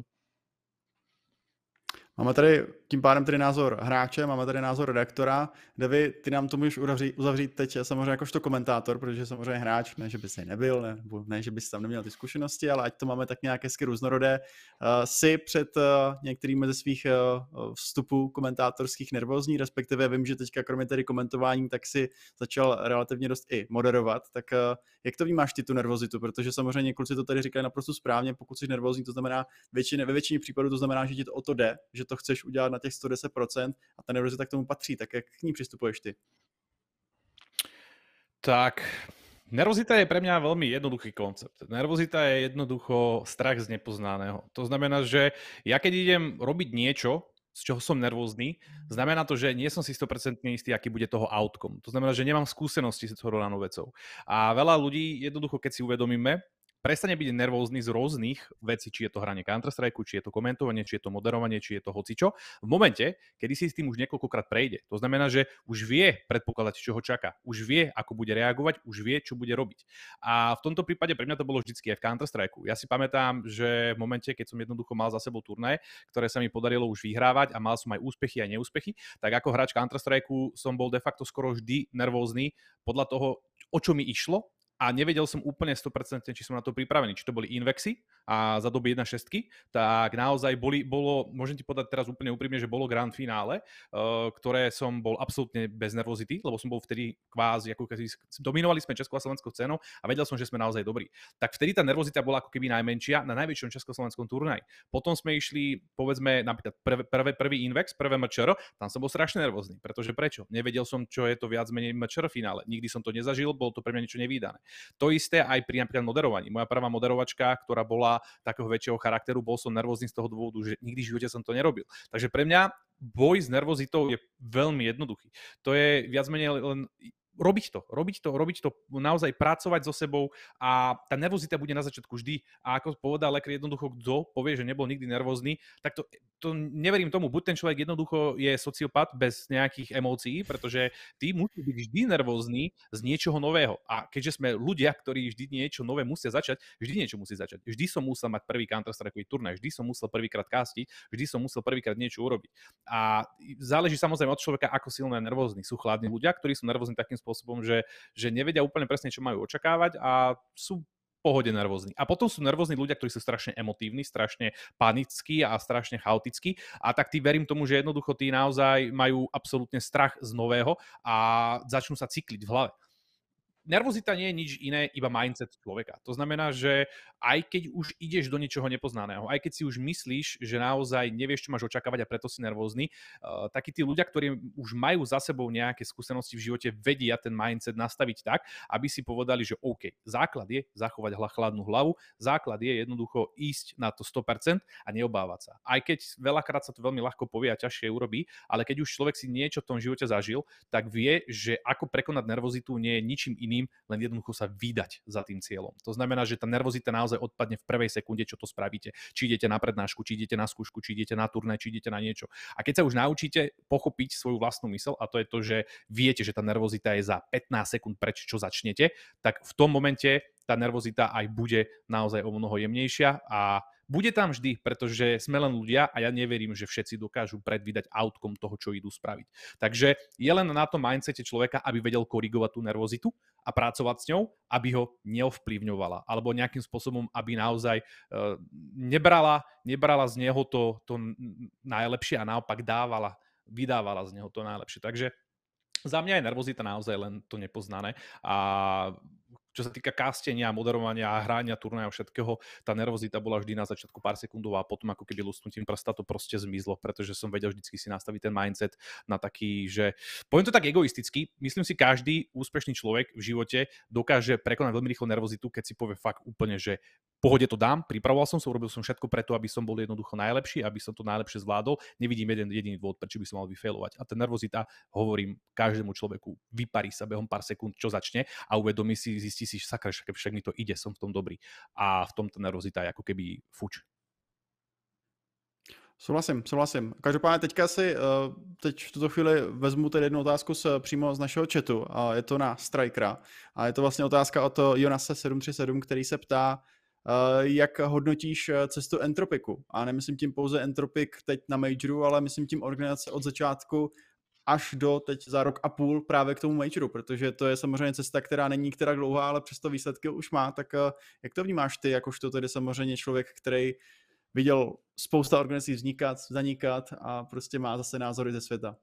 Máme tady tím pádem tedy názor hráče, máme tady názor redaktora. Davy, ty nám to můžeš uzavřít teď samozřejmě jakožto komentátor, protože samozřejmě hráč, ne, že bys nebyl, ne, že bys tam neměl ty zkušenosti, ale ať to máme tak nějak hezky různorodé. Jsi před některými ze svých vstupů komentátorských nervózní, respektive vím, že teďka kromě tedy komentování, tak si začal relativně dost i moderovat. Tak jak to vnímáš ty tu nervozitu? Protože samozřejmě kluci to tady říkají naprosto správně, pokud jsi nervózní, to znamená ve většině případů to znamená, že ti to o to jde, že to chceš udělat na těch 110% a ta nervozita k tomu patří. Tak jak k ní přistupuješ ty?
Tak, nervozita je pre mňa veľmi jednoduchý koncept. Nervozita je jednoducho strach z nepoznaného. To znamená, že ja keď idem robiť niečo, z čoho som nervózny, znamená to, že nie som si 100% istý, aký bude toho outcome. To znamená, že nemám skúsenosti s toho danou vecou. A veľa ľudí jednoducho, keď si uvedomíme, prestane byť nervózny z rôznych vecí, či je to hranie Counter-Strike, či je to komentovanie, či je to moderovanie, či je to hocičo. V momente, kedy si s tým už niekoľkokrát prejde, to znamená, že už vie predpokladať, čo ho čaká, už vie, ako bude reagovať, už vie, čo bude robiť. A v tomto prípade pre mňa to bolo vždycky aj v Counter-Strike. Ja si pamätám, že v momente, keď som jednoducho mal za sebou turnaje, ktoré sa mi podarilo už vyhrávať a mal som aj úspechy a neúspechy, tak ako hráč Counter-Strike som bol de facto skoro vždy nervózny podľa toho, o čo mi išlo a nevedel som úplne 100%, či som na to pripravený. Či to boli Invexy a za doby 1.6, tak naozaj môžem ti povedať teraz úplne úprimne, že bolo grand finále, ktoré som bol absolútne bez nervozity, lebo som bol vtedy kvázi, ako keď dominovali sme československou scénou a vedel som, že sme naozaj dobrí. Tak vtedy tá nervozita bola ako keby najmenšia na najväčšom československom turnaji. Potom sme išli, povedzme, napríklad prvý Invex, prvé MČR, tam som bol strašne nervózny, pretože prečo? Nevedel som, čo je to viac menej MČR finále. Nikdy som to nezažil, bolo to pre mňa niečo nevídané. To isté aj pri napríklad moderovaní. Moja prvá moderovačka, ktorá bola takého väčšieho charakteru, bol som nervózny z toho dôvodu, že nikdy v živote som to nerobil. Takže pre mňa boj s nervozitou je veľmi jednoduchý. To je viac menej len robiť to, naozaj pracovať so sebou a tá nervozita bude na začiatku vždy. A ako povedal lekár, jednoducho, kto povie, že nebol nikdy nervózny, tak to neverím tomu. Buď ten človek jednoducho je sociopat bez nejakých emócií, pretože ty musí byť vždy nervózny z niečoho nového. A keďže sme ľudia, ktorí vždy niečo nové musia začať, vždy niečo musí začať. Vždy som musel mať prvý Counter-Strikeový turnaj, vždy som musel prvýkrát castiť, vždy som musel prvýkrát niečo urobiť. A záleží samozrejme od človeka, ako silno je nervózny. Sú chladní ľudia, ktorí sú nervózni takým spôsobom, že nevedia úplne presne, čo majú očakávať a sú pohode nervózni. A potom sú nervózni ľudia, ktorí sú strašne emotívni, strašne panickí a strašne chaotickí. A tak tí verím tomu, že jednoducho tí naozaj majú absolútne strach z nového a začnú sa cykliť v hlave. Nervozita nie je nič iné, iba mindset človeka. To znamená, že aj keď už ideš do niečoho nepoznaného, aj keď si už myslíš, že naozaj nevieš, čo máš očakávať a preto si nervózny, takí tí ľudia, ktorí už majú za sebou nejaké skúsenosti v živote, vedia ten mindset nastaviť tak, aby si povedali, že OK, základ je zachovať chladnú hlavu, základ je jednoducho ísť na to 100% a neobávať sa. Aj keď veľakrát sa to veľmi ľahko povie a ťažšie urobí, ale keď už človek si niečo v tom živote zažil, tak vie, že ako prekonať nervozitu nie je ničím iným, len jednoducho sa vydať za tým cieľom. To znamená, že tá nervozita naozaj odpadne v prvej sekunde, čo to spravíte. Či idete na prednášku, či idete na skúšku, či idete na turnaj, či idete na niečo. A keď sa už naučíte pochopiť svoju vlastnú myseľ, a to je to, že viete, že tá nervozita je za 15 sekúnd preč, čo začnete, tak v tom momente tá nervozita aj bude naozaj o mnoho jemnejšia a bude tam vždy, pretože sme len ľudia a ja neverím, že všetci dokážu predvídať outcome toho, čo idú spraviť. Takže je len na tom mindsete človeka, aby vedel korigovať tú nervozitu a pracovať s ňou, aby ho neovplyvňovala. Alebo nejakým spôsobom, aby naozaj nebrala z neho to najlepšie a naopak vydávala z neho to najlepšie. Takže za mňa je nervozita naozaj len to nepoznané a čo sa týka castenia, moderovania, hrania, turnaja všetkého, tá nervozita bola vždy na začiatku pár sekundová a potom ako keby lusknutím prsta to proste zmizlo, pretože som vedel vždycky si nastaviť ten mindset na taký, že poviem to tak egoisticky, myslím si, každý úspešný človek v živote dokáže prekonať veľmi rýchlo nervozitu, keď si povie fakt úplne, že pohode to dám, pripravoval som sa, urobil som všetko preto, aby som bol jednoducho najlepší, aby som to najlepšie zvládol. Nevidím jeden jediný dôvod, prečo by som mal vyfailovať. A tá nervozita, hovorím každému človeku, vyparí sa behom pár sekúnd, čo začne a uvedomí si, zistí si, sakra, však mi to ide, som v tom dobrý. A v tom tá nervozita je ako keby fuč.
Souhlasím. Každopádně teďka teď v tuto chvíli vezmu tedy jednu otázku přímo z našeho chatu a je to na Strikera. A je to vlastně otázka od Jonase 737, který se ptá, jak hodnotíš cestu Entropiku. A nemyslím tím pouze Entropik teď na Majoru, ale myslím tím organizace od začátku až do teď za rok a půl právě k tomu Majoru, protože to je samozřejmě cesta, která není která dlouhá, ale přesto výsledky už má. Tak jak to vnímáš ty, jakožto tedy samozřejmě člověk, který viděl spousta organizací vznikat, zanikat a prostě má zase názory ze světa?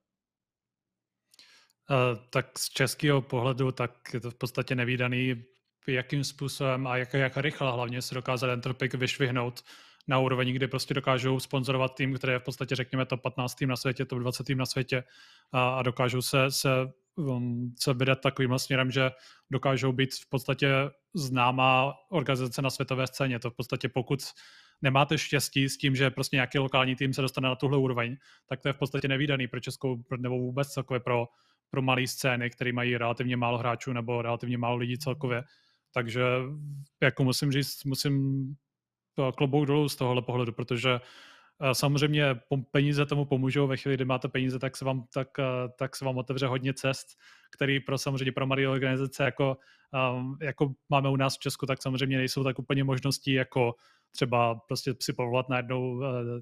Tak z českého pohledu tak je to v podstatě nevídaný, jakým způsobem a jak rychle hlavně se dokázal Entropik vyšvihnout na úroveň, kdy prostě dokážou sponzorovat tým, který je v podstatě, řekněme, top 15 tým na světě, top 20 tým na světě a dokážou se vydat takovým směrem, že dokážou být v podstatě známá organizace na světové scéně. To v podstatě pokud nemáte štěstí s tím, že prostě nějaký lokální tým se dostane na tuhle úroveň, tak to je v podstatě nevídaný pro českou nebo vůbec celkově pro malé scény, které mají relativně málo hráčů nebo relativně málo lidí celkově. Takže jako musím říct, klobouk dolů z tohohle pohledu, protože samozřejmě peníze tomu pomůžou. Ve chvíli, kdy máte peníze, tak se vám otevře hodně cest, který samozřejmě pro malé organizace, jako máme u nás v Česku, tak samozřejmě nejsou tak úplně možností, jako třeba prostě si povolat najednou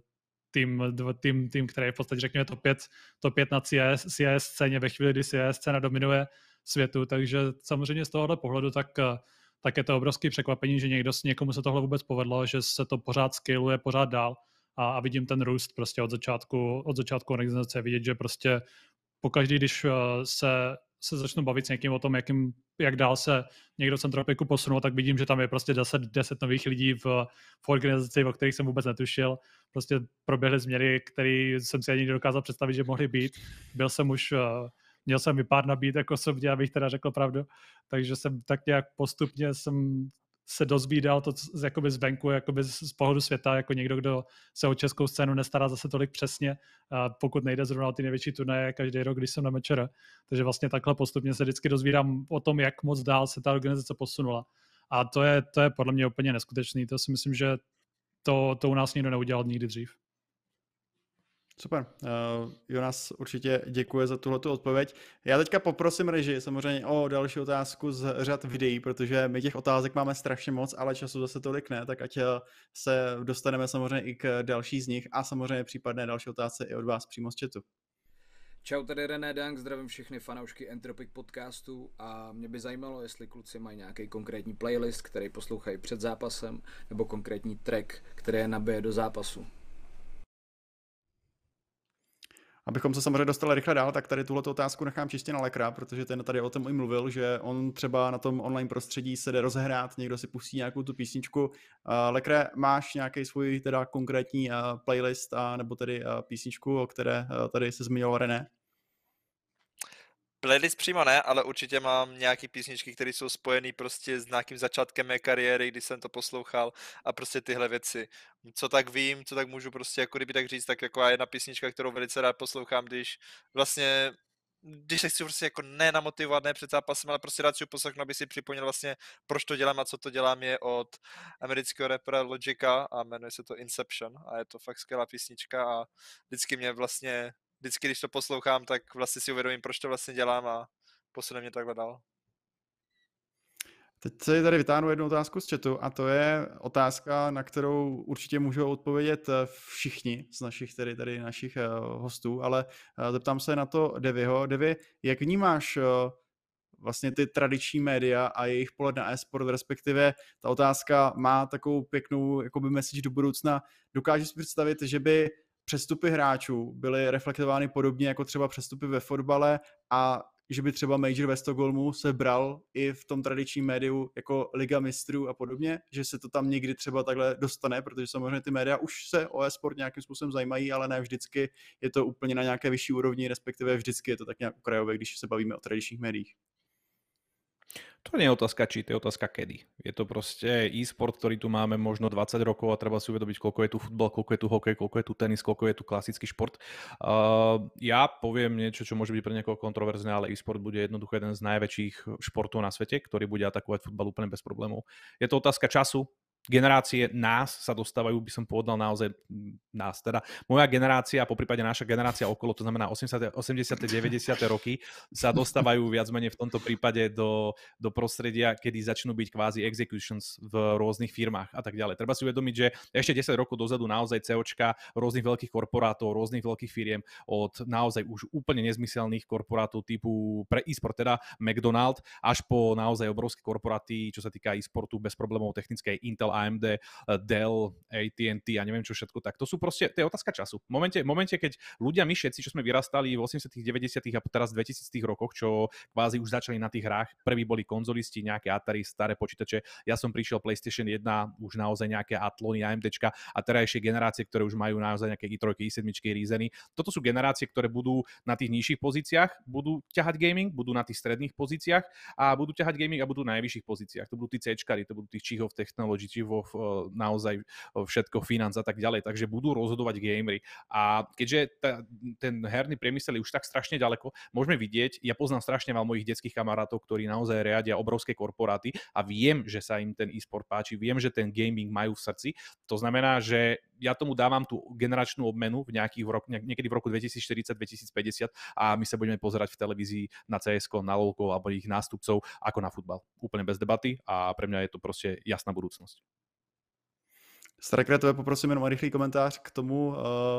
tým, který je v podstatě, řekněme, top 5 na CS scéně ve chvíli, kdy CS scéna dominuje světu. Takže samozřejmě z tohohle pohledu tak tak je to obrovské překvapení, že někomu se tohle vůbec povedlo, že se to pořád scaluje, pořád dál a vidím ten růst prostě od začátku organizace, vidět, že prostě pokaždý, když se začnu bavit s někým o tom, jak dál se někdo z Entropiku posunul, tak vidím, že tam je prostě 10 nových lidí v organizaci, o kterých jsem vůbec netušil. Prostě proběhly změny, které jsem si ani nedokázal představit, že mohly být. Měl jsem i pár nabít jako osobně, abych teda řekl pravdu. Takže jsem tak nějak postupně se dozvídal to jakoby zvenku, jakoby z pohledu světa, jako někdo, kdo se o českou scénu nestará zase tolik přesně, pokud nejde zrovna o ty největší turnaje každý rok, když jsem na mečer. Takže vlastně takhle postupně se vždycky dozvídám o tom, jak moc dál se ta organizace posunula. A to je podle mě úplně neskutečný. To si myslím, že to u nás nikdo neudělal nikdy dřív.
Super. Jonas určitě děkuje za tuhletu odpověď. Já teďka poprosím režii samozřejmě o další otázku z řad videí, protože my těch otázek máme strašně moc, ale času zase tolik ne, tak ať se dostaneme samozřejmě i k další z nich a samozřejmě případné další otázce i od vás přímo z chatu.
Čau, tady René Dank, zdravím všechny fanoušky Entropic podcastu a mě by zajímalo, jestli kluci mají nějaký konkrétní playlist, který poslouchají před zápasem, nebo konkrétní track, který je nabije do zápasu.
Abychom se samozřejmě dostali rychle dál, tak tady tuhleto otázku nechám čistě na Lekra, protože ten tady o tom i mluvil, že on třeba na tom online prostředí se jde rozehrát, někdo si pustí nějakou tu písničku. Lekre, máš nějaký svůj teda konkrétní playlist nebo tedy písničku, o které tady se zmiňoval René?
Playlist přímo ne, ale určitě mám nějaký písničky, které jsou spojený prostě s nějakým začátkem mé kariéry, když jsem to poslouchal a prostě tyhle věci. Co tak vím, co tak můžu prostě jako kdyby tak říct, tak jako jedna písnička, kterou velice rád poslouchám, když se chci prostě jako nenamotivovat, ne před zápasem, ale prostě rád si poslechnu, aby si připomněl vlastně, proč to dělám a co to dělám, je od amerického rapera Logika a jmenuje se to Inception a je to fakt skvělá písnička a vždycky, když to poslouchám, tak vlastně si uvědomím, proč to vlastně dělám a posune mě takhle dál.
Teď se tady vytáhnu jednu otázku z chatu a to je otázka, na kterou určitě můžou odpovědět všichni z našich hostů, ale zeptám se na to Devyho. Devy, jak vnímáš vlastně ty tradiční média a jejich pohled na e-sport, respektive ta otázka má takovou pěknou jakoby message do budoucna. Dokážeš si představit, že by přestupy hráčů byly reflektovány podobně jako třeba přestupy ve fotbale a že by třeba Major ve Stockholmu se bral i v tom tradičním médiu jako Liga mistrů a podobně, že se to tam někdy třeba takhle dostane, protože samozřejmě ty média už se o e-sport nějakým způsobem zajímají, ale ne vždycky je to úplně na nějaké vyšší úrovni, respektive vždycky je to tak nějak okrajové, když se bavíme o tradičních médiích.
To nie je otázka či, to je otázka kedy. Je to proste e-sport, ktorý tu máme možno 20 rokov a treba si uvedomiť, koľko je tu futbal, koľko je tu hokej, koľko je tu tenis, koľko je tu klasický šport. Ja poviem niečo, čo môže byť pre niekoho kontroverzné, ale e-sport bude jednoducho jeden z najväčších športov na svete, ktorý bude atakovať futbal úplne bez problémov. Je to otázka času. Generácie nás sa dostávajú, by som povedal naozaj nás, teda moja generácia a poprípade naša generácia okolo, to znamená 80. 90. roky, sa dostávajú viac menej v tomto prípade do prostredia, kedy začnú byť kvázi executions v rôznych firmách a tak ďalej. Treba si uvedomiť, že ešte 10 rokov dozadu naozaj COčka rôznych veľkých korporátov, rôznych veľkých firiem od naozaj už úplne nezmyselných korporátov typu pre e-sport, teda McDonald, až po naozaj obrovské korporáty, čo sa týka e-sportu bez problémov technickej Intel, AMD, Dell, AT&T a neviem čo všetko, tak to sú proste, to je otázka času. V momente, keď ľudia, my všetci, čo sme vyrastali v 80., 90. a teraz 2000. rokoch, čo kvázi už začali na tých hrách, prví boli konzolisti, nejaké Atari, staré počítače, ja som prišiel PlayStation 1, už naozaj nejaké Atlony, AMDčka a terajšie generácie, ktoré už majú naozaj nejaké i3, i7, Ryzeny. Toto sú generácie, ktoré budú na tých nižších pozíciách, budú ťahať gaming, budú na tých stredných pozíciách a budú ťahať gaming a budú na najvyšších pozíciách. To budú tí C-čkari, to budú tí Chief of Technology, naozaj všetko financ a tak ďalej, takže budú rozhodovať gamery. A keďže ten herný priemysel je už tak strašne ďaleko, môžeme vidieť, ja poznám strašne veľa mojich detských kamarátov, ktorí naozaj riadia obrovské korporáty a viem, že sa im ten e-sport páči, viem, že ten gaming majú v srdci. To znamená, že ja tomu dávam tú generačnú obmenu niekedy v roku 2040-2050 a my sa budeme pozerať v televízii na CS:ko, na LoLko alebo ich nástupcov ako na futbal. Úplne bez debaty a pre mňa je to proste jasná budúcnosť.
Starkre, tebe poprosím jenom o rychlý komentář k tomu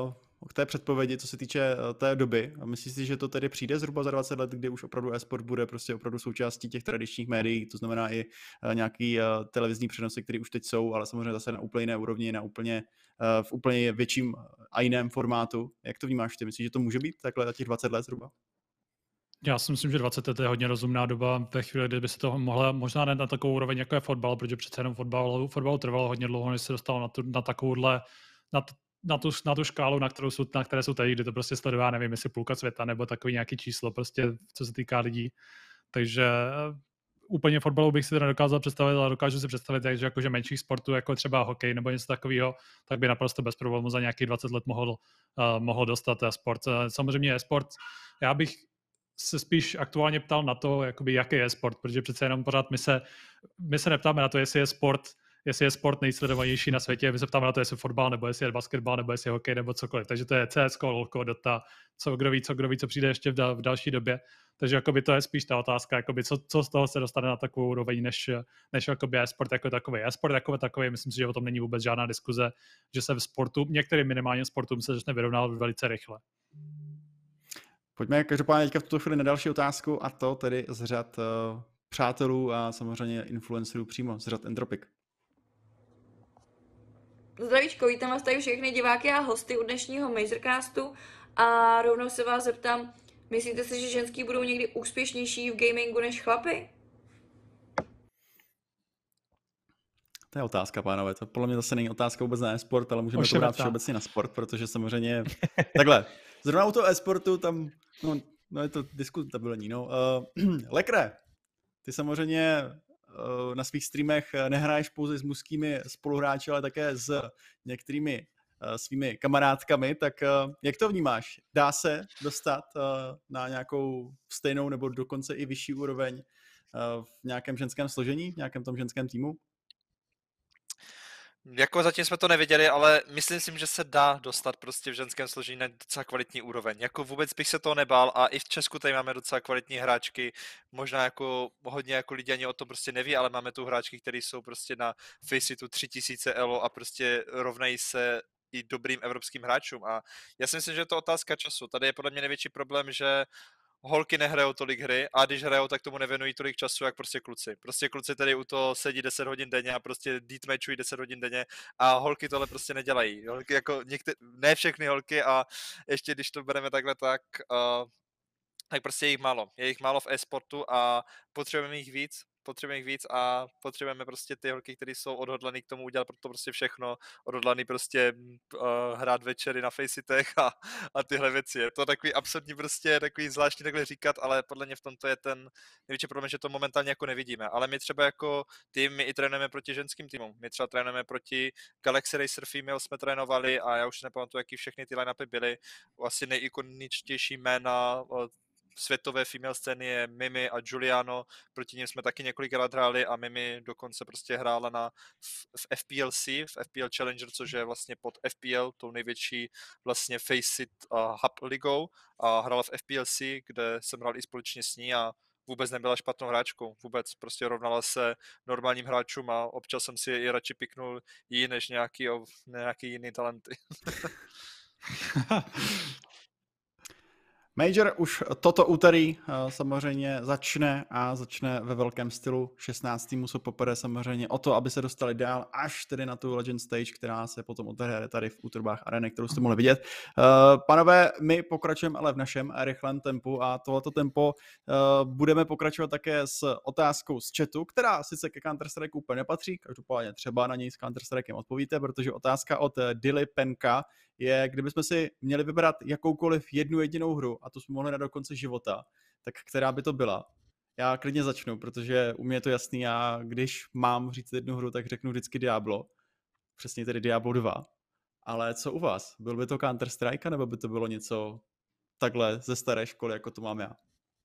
k té předpovědi, co se týče té doby. A myslíš si, že to tedy přijde zhruba za 20 let, kdy už opravdu e-sport bude prostě opravdu součástí těch tradičních médií, to znamená i nějaký televizní přenosy, které už teď jsou, ale samozřejmě zase na úplně jiné úrovni, v úplně větším a jiném formátu. Jak to vnímáš ty? Myslíš, že to může být takhle za těch 20 let zhruba?
Já si myslím, že 20 let je hodně rozumná doba ve chvíli, kdyby se to mohla možná ne na takovou úroveň, jako je fotbal, protože přece jenom fotbal trvalo hodně dlouho, než se dostalo na takovouhle, na tu škálu, na které jsou tady, kdy to prostě sleduje, nevím, jestli půlka světa, nebo takový nějaký číslo, prostě co se týká lidí. Takže úplně fotbalu bych si to nedokázal představit, ale dokážu si představit, že jakože menších sportů, jako třeba hokej nebo něco takového, tak by naprosto bez problémů za nějakých 20 let mohl dostat sport. Samozřejmě sport, já bych se spíš aktuálně ptal na to, jakoby, jaký je sport, protože přece jenom pořád my se neptáme na to, jestli je sport nejsledovanější na světě, my se ptáme na to, jestli je fotbal, nebo jestli je basketbal, nebo jestli je hokej, nebo cokoliv. Takže to je CSko, LOLko, Dota, kdo ví, co přijde ještě v další době. Takže jakoby to je spíš ta otázka, jakoby co z toho se dostane na takovou úroveň, než jakoby e-sport jako takový. E-sport jako takový, myslím si, že o tom není vůbec žádná diskuze, že se v sportu, některým minimálně sportům se začne vyrovnávat velice rychle.
Pojďme každopádně teďka v tuto chvíli na další otázku, a to tedy z řad přátelů a samozřejmě influencerů přímo z řad Entropic.
Zdravíčko, vítám vás tady všechny diváky a hosty u dnešního Majorcastu a rovnou se vás zeptám, myslíte si, že ženský budou někdy úspěšnější v gamingu než chlapy?
To je otázka, pánové. To podle mě zase není otázka vůbec na e-sport, ale můžeme to brát všeobecně na sport, protože samozřejmě takhle. Zrovna u toho e-sportu tam, no je to diskutabilní. No. Lekre, ty samozřejmě na svých streamech nehraješ pouze s mužskými spoluhráči, ale také s některými svými kamarádkami, tak jak to vnímáš? Dá se dostat na nějakou stejnou nebo dokonce i vyšší úroveň v nějakém ženském složení, v nějakém tom ženském týmu?
Jako zatím jsme to neviděli, ale myslím si, že se dá dostat prostě v ženském složení na docela kvalitní úroveň. Jako vůbec bych se toho nebál a i v Česku tady máme docela kvalitní hráčky, možná jako hodně jako lidi ani o tom prostě neví, ale máme tu hráčky, které jsou prostě na Faceitu 3000 elo a prostě rovnají se i dobrým evropským hráčům a já si myslím, že je to otázka času. Tady je podle mě největší problém, že holky nehrajou tolik hry a když hrajou, tak tomu nevěnují tolik času, jak prostě kluci. Prostě kluci tady u toho sedí 10 hodin denně a prostě deathmatchují 10 hodin denně a holky tohle prostě nedělají. Holky jako ne všechny holky a ještě když to bereme takhle, tak prostě je jich málo. Je jich málo v e-sportu a potřebujeme jich víc a potřebujeme prostě ty holky, které jsou odhodlaný k tomu udělat pro to prostě všechno, odhodlaný prostě hrát večery na Faceitech a tyhle věci. Je to takový absurdní prostě, takový zvláštní takhle říkat, ale podle mě v tomto je ten největší problém, že to momentálně jako nevidíme. Ale my třeba jako tým, my i trénujeme proti ženským týmům. My třeba trénujeme proti Galaxy Racer Female jsme trénovali a já už nepamatuju, jaký všechny ty line-upy byly. Asi nejikoničtější jména světové female scény je Mimi a Giuliano, proti nim jsme taky několikrát hráli a Mimi dokonce prostě hrála v FPLC, v FPL Challenger, což je vlastně pod FPL, tou největší vlastně Faceit hub ligou a hrála v FPLC, kde jsem hrál i společně s ní a vůbec nebyla špatnou hráčkou, vůbec prostě rovnala se normálním hráčům a občas jsem si i radši piknul jí než nějaký jiný talenty.
Major už toto úterý samozřejmě začne ve velkém stylu. 16 týmů se popere samozřejmě o to, aby se dostali dál až tedy na tu Legend Stage, která se potom odehraje tady v útrobách areny, kterou jste mohli vidět. Panové, my pokračujeme ale v našem rychlém tempu a tohleto tempo budeme pokračovat také s otázkou z chatu, která sice ke Counter-Strike úplně nepatří, každopádně třeba na něj s Counter-Strikem odpovíte, protože otázka od Dilly Penka je, kdybychom si měli vybrat jakoukoliv jednu jedinou hru, a to jsme mohli na do konce života, tak která by to byla? Já klidně začnu, protože u mě je to jasný, já když mám říct jednu hru, tak řeknu vždycky Diablo, přesně tedy Diablo 2. Ale co u vás? Byl by to Counter-Strike, nebo by to bylo něco takhle ze staré školy, jako to mám já?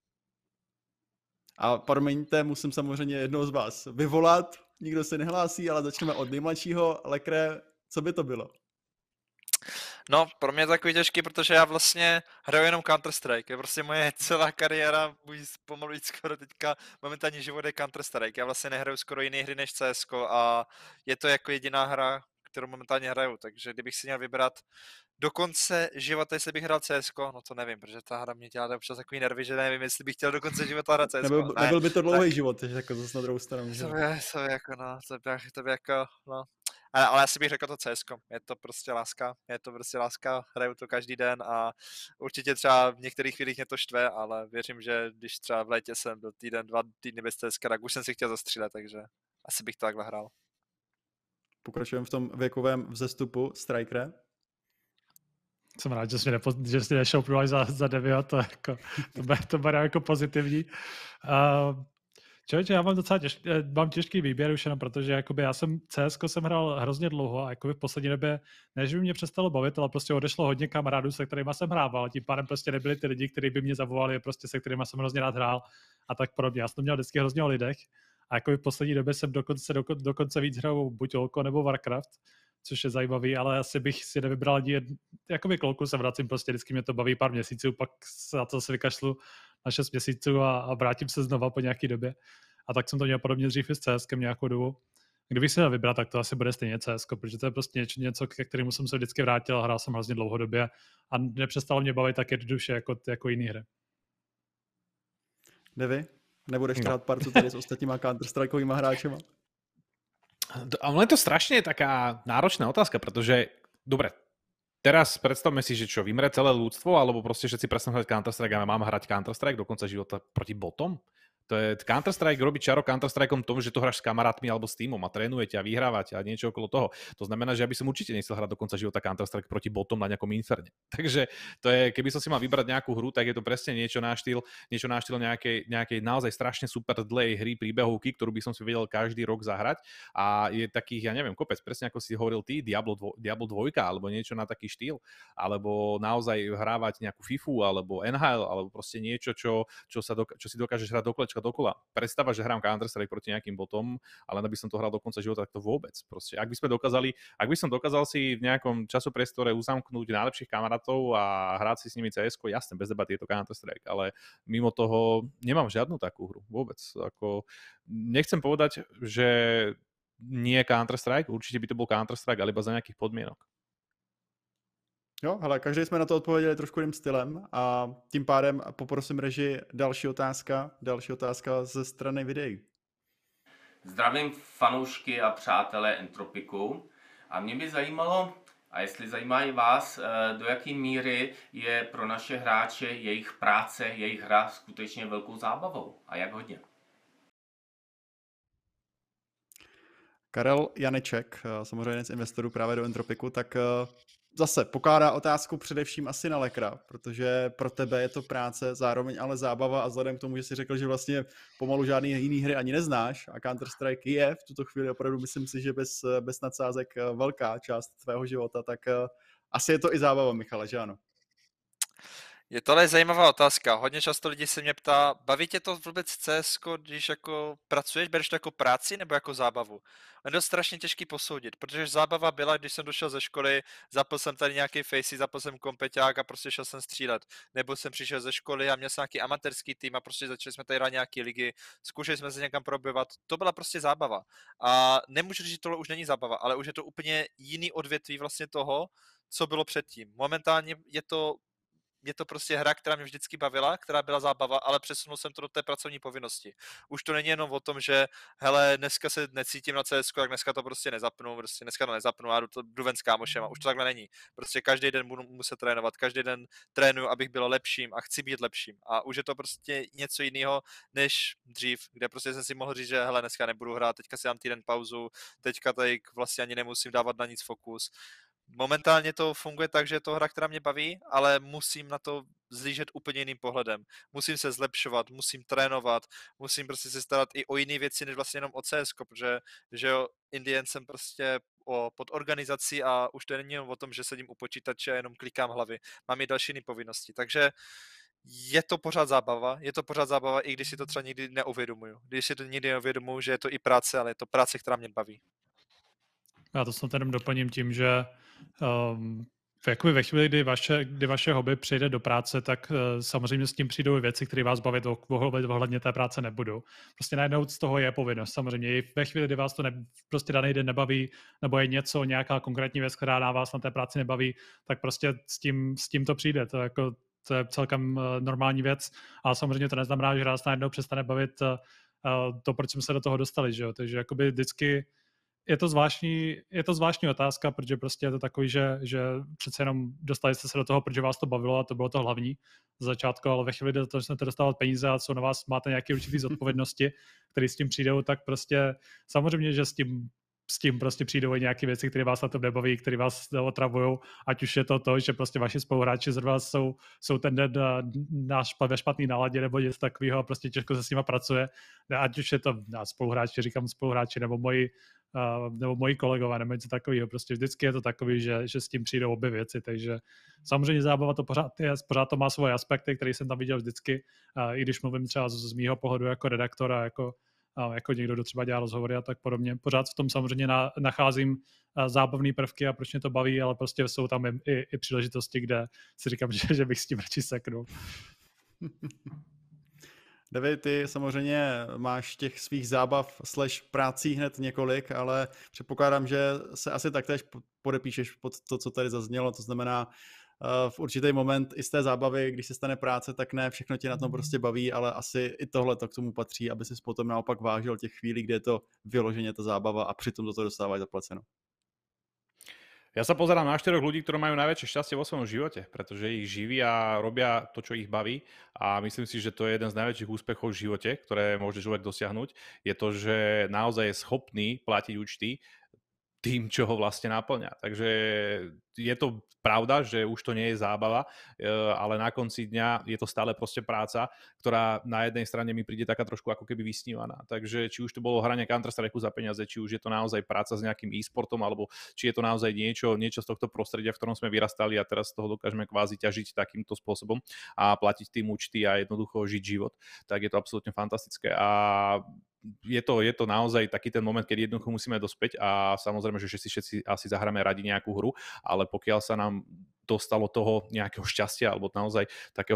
A promiňte, musím samozřejmě jednoho z vás vyvolat, nikdo se nehlásí, ale začneme od nejmladšího. Lekre, co by to bylo?
No, pro mě je to takový těžký, protože já vlastně hraju jenom Counter-Strike. Je prostě moje celá kariéra, můj pomalu skoro teďka momentálně život je Counter-Strike. Já vlastně nehraju skoro jiné hry než CSko a je to jako jediná hra, kterou momentálně hraju. Takže kdybych si měl vybrat do konce života, jestli bych hrál CSko, no to nevím, protože ta hra mě dělá občas takový nervy, že nevím, jestli bych chtěl do konce života hrát CSko.
Nebyl by to dlouhý život, takže jako zase na druhou stranu. Že?
To je jako, no, to by jako, no. Ale asi bych řekl to CSko, je to prostě láska, hraju to každý den a určitě třeba v některých chvílích mě to štve, ale věřím, že když třeba v létě jsem byl týden, 2 týdny bez CSka, tak už jsem si chtěl zastřílet, takže asi bych to takhle hrál.
Pokračujeme v tom věkovém vzestupu. Strikere?
Jsem rád, že jsi nešel za 9, to beru jako pozitivní. Člověče, já mám docela těžký výběr už jenom, protože jakoby já jsem CSko jsem hrál hrozně dlouho a jakoby v poslední době, než by mě přestalo bavit, ale prostě odešlo hodně kamarádů, se kterými jsem hrával, tím pádem prostě nebyli ty lidi, kteří by mě zavolali, prostě se kterými jsem hrozně rád hrál a tak podobně. Já jsem to měl vždycky hrozně o lidech a jakoby v poslední době jsem dokonce víc hrál buď Olko nebo Warcraft, což je zajímavý, ale asi bych si nevybral ani jakoby kolku se vracím, prostě vždycky mě to baví pár měsíců, pak za to se vykašlu na 6 měsíců a vrátím se znova po nějaký době. A tak jsem to měl podobně dřív i s CSkem nějakou dobu. Kdybych si měl vybrat, tak to asi bude stejně CSko, protože to je prostě něco, ke kterému jsem se vždycky vrátil a hrál jsem hrozně dlouhodobě a nepřestalo mě bavit tak jednoduše jako jiný hry.
Devy? Nebudeš hrát partu tady s ostatníma Counter-Strikeovýma hráčema?
A ono je to strašne taká náročná otázka, pretože, dobre, teraz predstavme si, že čo, vymre celé ľudstvo, alebo proste všetci prestanú hrať Counter-Strike a mám hrať Counter-Strike do konca života proti botom? To je Counter-Strike robí čaro Counter-Strikeom tom, že to hráš s kamarátmi alebo s týmom a trénujete a vyhrávate a niečo okolo toho. To znamená, že ja by som určite nechcel hrať do konca života Counter-Strike proti botom na nejakom inferne. Takže to je, keby som si mal vybrať nejakú hru, tak je to presne niečo na štýl nejakej naozaj strašne super dlhej hry príbehovky, ktorú by som si vedel každý rok zahrať a je takých, ja neviem, kopec, presne ako si hovoril ty, Diablo 2 alebo niečo na taký štýl, alebo naozaj hrávať nejakú FIFU alebo NHL alebo proste niečo, čo si dokážeš hrať do kolečka dokola. Predstava, že hrám Counter-Strike proti nejakým botom, ale aby som to hral do konca života, tak to vôbec. Proste, ak by som dokázal si v nejakom časopriestore uzamknúť najlepších kamarátov a hrať si s nimi CS-ko, jasne, bez debaty je to Counter-Strike, ale mimo toho nemám žiadnu takú hru. Vôbec. Ako, nechcem povedať, že nie Counter-Strike, určite by to bol Counter-Strike, ale iba za nejakých podmienok.
Jo, hele, každý jsme na to odpověděli trošku jiným stylem a tím pádem poprosím režii další otázka ze strany videí.
Zdravím fanoušky a přátelé Entropiku a mě by zajímalo, a jestli zajímá i vás, do jaké míry je pro naše hráče jejich práce, jejich hra skutečně velkou zábavou a jak hodně.
Karel Janeček, samozřejmě jeden z investorů právě do Entropiku, tak zase pokládá otázku především asi na Lekra, protože pro tebe je to práce, zároveň ale zábava a vzhledem k tomu, že jsi řekl, že vlastně pomalu žádný jiný hry ani neznáš a Counter-Strike je v tuto chvíli opravdu, myslím si, že bez nadsázek velká část tvého života, tak asi je to i zábava, Michale, že ano?
Je tohle zajímavá otázka. Hodně často lidi se mě ptá, baví tě to vůbec CSko, když jako pracuješ, bereš to jako práci nebo jako zábavu? Je to strašně těžký posoudit, protože zábava byla, když jsem došel ze školy, zapl jsem tady nějaký facey, zapl jsem kompeťák a prostě šel jsem střílet. Nebo jsem přišel ze školy a měl jsem nějaký amatérský tým a prostě začali jsme tady hrát nějaký ligy, zkoušeli jsme se někam probovat. To byla prostě zábava. A nemůžu říct, že tohle už není zábava, ale už je to úplně jiný odvětví vlastně toho, co bylo předtím. Momentálně je to prostě hra, která mě vždycky bavila, která byla zábava, ale přesunul jsem to do té pracovní povinnosti. Už to není jenom o tom, že hele, dneska se necítím na CS, tak dneska to prostě nezapnu, a jdu ven s kámošem a už to takhle není. Prostě každý den budu muset trénovat, každý den trénuju, abych byl lepším a chci být lepším. A už je to prostě něco jiného než dřív, kde prostě jsem si mohl říct, že hele, dneska nebudu hrát, teďka si dám týden pauzu, teďka tady vlastně ani nemusím dávat na nic fokus. Momentálně to funguje tak, že je to hra, která mě baví, ale musím na to zlížet úplně jiným pohledem. Musím se zlepšovat, musím trénovat, musím prostě se starat i o jiné věci, než vlastně jenom o CS, protože že jo, Indian jsem prostě pod organizací a už to není jenom o tom, že sedím u počítače a jenom klikám hlavy. Mám i další jiné povinnosti, takže je to pořád zábava, i když si to třeba nikdy neuvědomuju. Když si to nikdy neuvědomuju, že je to i práce, ale je to práce, která mě baví.
Já to snad jenom doplním tím, že jakoby ve chvíli, kdy vaše hobby přijde do práce, tak samozřejmě s tím přijdou věci, které vás bavit ohledně té práce nebudou. Prostě najednou z toho je povinnost. Samozřejmě i ve chvíli, kdy vás to prostě daný den nebaví, nebo je nějaká konkrétní věc, která na vás na té práci nebaví, tak prostě s tím to přijde. To je celkem normální věc, ale samozřejmě to neznamená, že nás najednou přestane bavit to, proč jsme se do toho dostali, že jo? Takže jakoby vždycky je to zvláštní otázka, protože prostě je to takový, že přece jenom dostali jste se do toho, protože vás to bavilo a to bylo to hlavní z začátku, ale ve chvíli, kdy to začnete dostávat peníze a co na vás máte nějaké určitý zodpovědnosti, které s tím přijdou, tak prostě samozřejmě, že s tím prostě přijdou i nějaké věci, které vás na to nebaví, které vás otravují, ať už je to, že prostě vaši spoluhráči zrovna jsou ten den ve špatný náladě nebo něco takového a prostě těžko se s nima pracuje, ať už je to spoluhráči, říkám spoluhráči, nebo moji kolegové, nebo něco takového. Prostě vždycky je to takový, že s tím přijdou obě věci, takže samozřejmě zábava to pořád to má svoje aspekty, které jsem tam viděl vždycky, i když mluvím třeba z mýho pohledu jako redaktor a jako někdo, kdo třeba dělá rozhovory a tak podobně. Pořád v tom samozřejmě nacházím zábavné prvky a proč mě to baví, ale prostě jsou tam i příležitosti, kde si říkám, že bych s tím radši seknul.
David, ty samozřejmě máš těch svých zábav / prací hned několik, ale předpokládám, že se asi taktéž podepíšeš pod to, co tady zaznělo, to znamená v určitý moment i z té zábavy, když se stane práce, tak ne všechno tě na tom prostě baví, ale asi i tohle to k tomu patří, aby ses potom naopak vážil těch chvílí, kde je to vyloženě ta zábava a přitom toto dostávají zaplaceno.
Ja sa pozerám na 4 ľudí, ktorí majú najväčšie šťastie vo svojom živote, pretože ich živí a robia to, čo ich baví a myslím si, že to je jeden z najväčších úspechov v živote, ktoré môže človek dosiahnuť, je to, že naozaj je schopný platiť účty tým, čo ho vlastne naplňa. Takže je to pravda, že už to nie je zábava, ale na konci dňa je to stále proste práca, ktorá na jednej strane mi príde taká trošku ako keby vysnívaná. Takže či už to bolo hranie Counter-Strike za peniaze, či už je to naozaj práca s nejakým e-sportom, alebo či je to naozaj niečo z tohto prostredia, v ktorom sme vyrastali a teraz z toho dokážeme kvázi ťažiť takýmto spôsobom a platiť tým účty a jednoducho žiť život, tak je to absolútne fantastické. A je to naozaj taký ten moment, keď jednoducho musíme dospäť a samozrejme, že všetci asi zahráme radi nejakú hru, ale pokiaľ sa nám dostalo toho nejakého šťastia alebo naozaj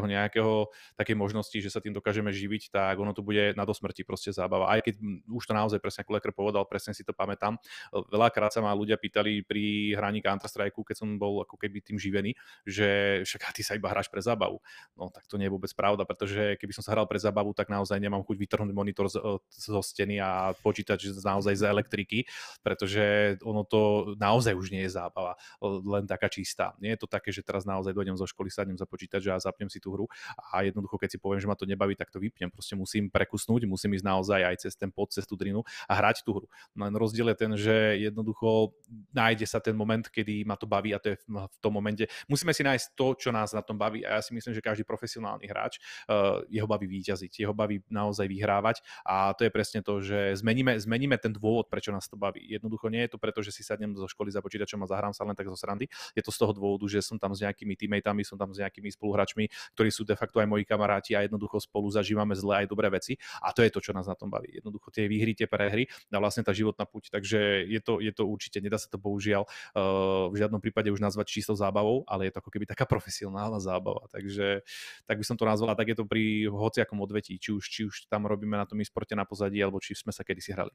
takej možnosti, že sa tým dokážeme živiť, tak ono to bude na dosmrti proste zábava. Aj keď už to naozaj presne ako Lekr povedal, presne si to pamätám. Veľakrát sa ma ľudia pýtali pri hraní Counter-Strike, keď som bol ako keby tým živený, že však ty sa iba hráš pre zábavu. No tak to nie je vôbec pravda, pretože keby som sa hral pre zábavu, tak naozaj nemám chuť vytrhnúť monitor zo steny a počítač naozaj z elektriky, pretože ono to naozaj už nie je zábava, len taká čistá. Nie je to také, že teraz naozaj dojdem zo školy, sadnem za počítač a zapnem si tú hru a jednoducho, keď si poviem, že ma to nebaví, tak to vypnem. Proste musím prekusnúť, musím ísť naozaj aj cez ten pod, cez tú drinu a hrať tú hru. No len rozdiel je ten, že jednoducho nájde sa ten moment, kedy ma to baví a to je v tom momente. Musíme si nájsť to, čo nás na tom baví a ja si myslím, že každý profesionálny hráč jeho baví víťaziť, jeho baví naozaj vyhrávať a to je presne to, že zmeníme ten dôvod, prečo nás to baví. Jednoducho nie je to preto, že si sadnem zo školy za počítačom a zahrám sa len tak zo srandy. Je to z toho dôvodu, že som tam s nejakými teammateami, som tam s nejakými spoluhráčmi, ktorí sú de facto aj moji kamaráti a jednoducho spolu zažívame zlé aj dobré veci a to je to, čo nás na tom baví. Jednoducho tie výhry, tie prehry a vlastne tá životná puť, takže je to určite, nedá sa to bohužiaľ v žiadnom prípade už nazvať čistou zábavou, ale je to ako keby taká profesionálna zábava, takže tak by som to nazvala, tak je to pri hociakom odvetí, či už tam robíme na tom e-sporte na pozadí, alebo či sme sa kedysi hrali.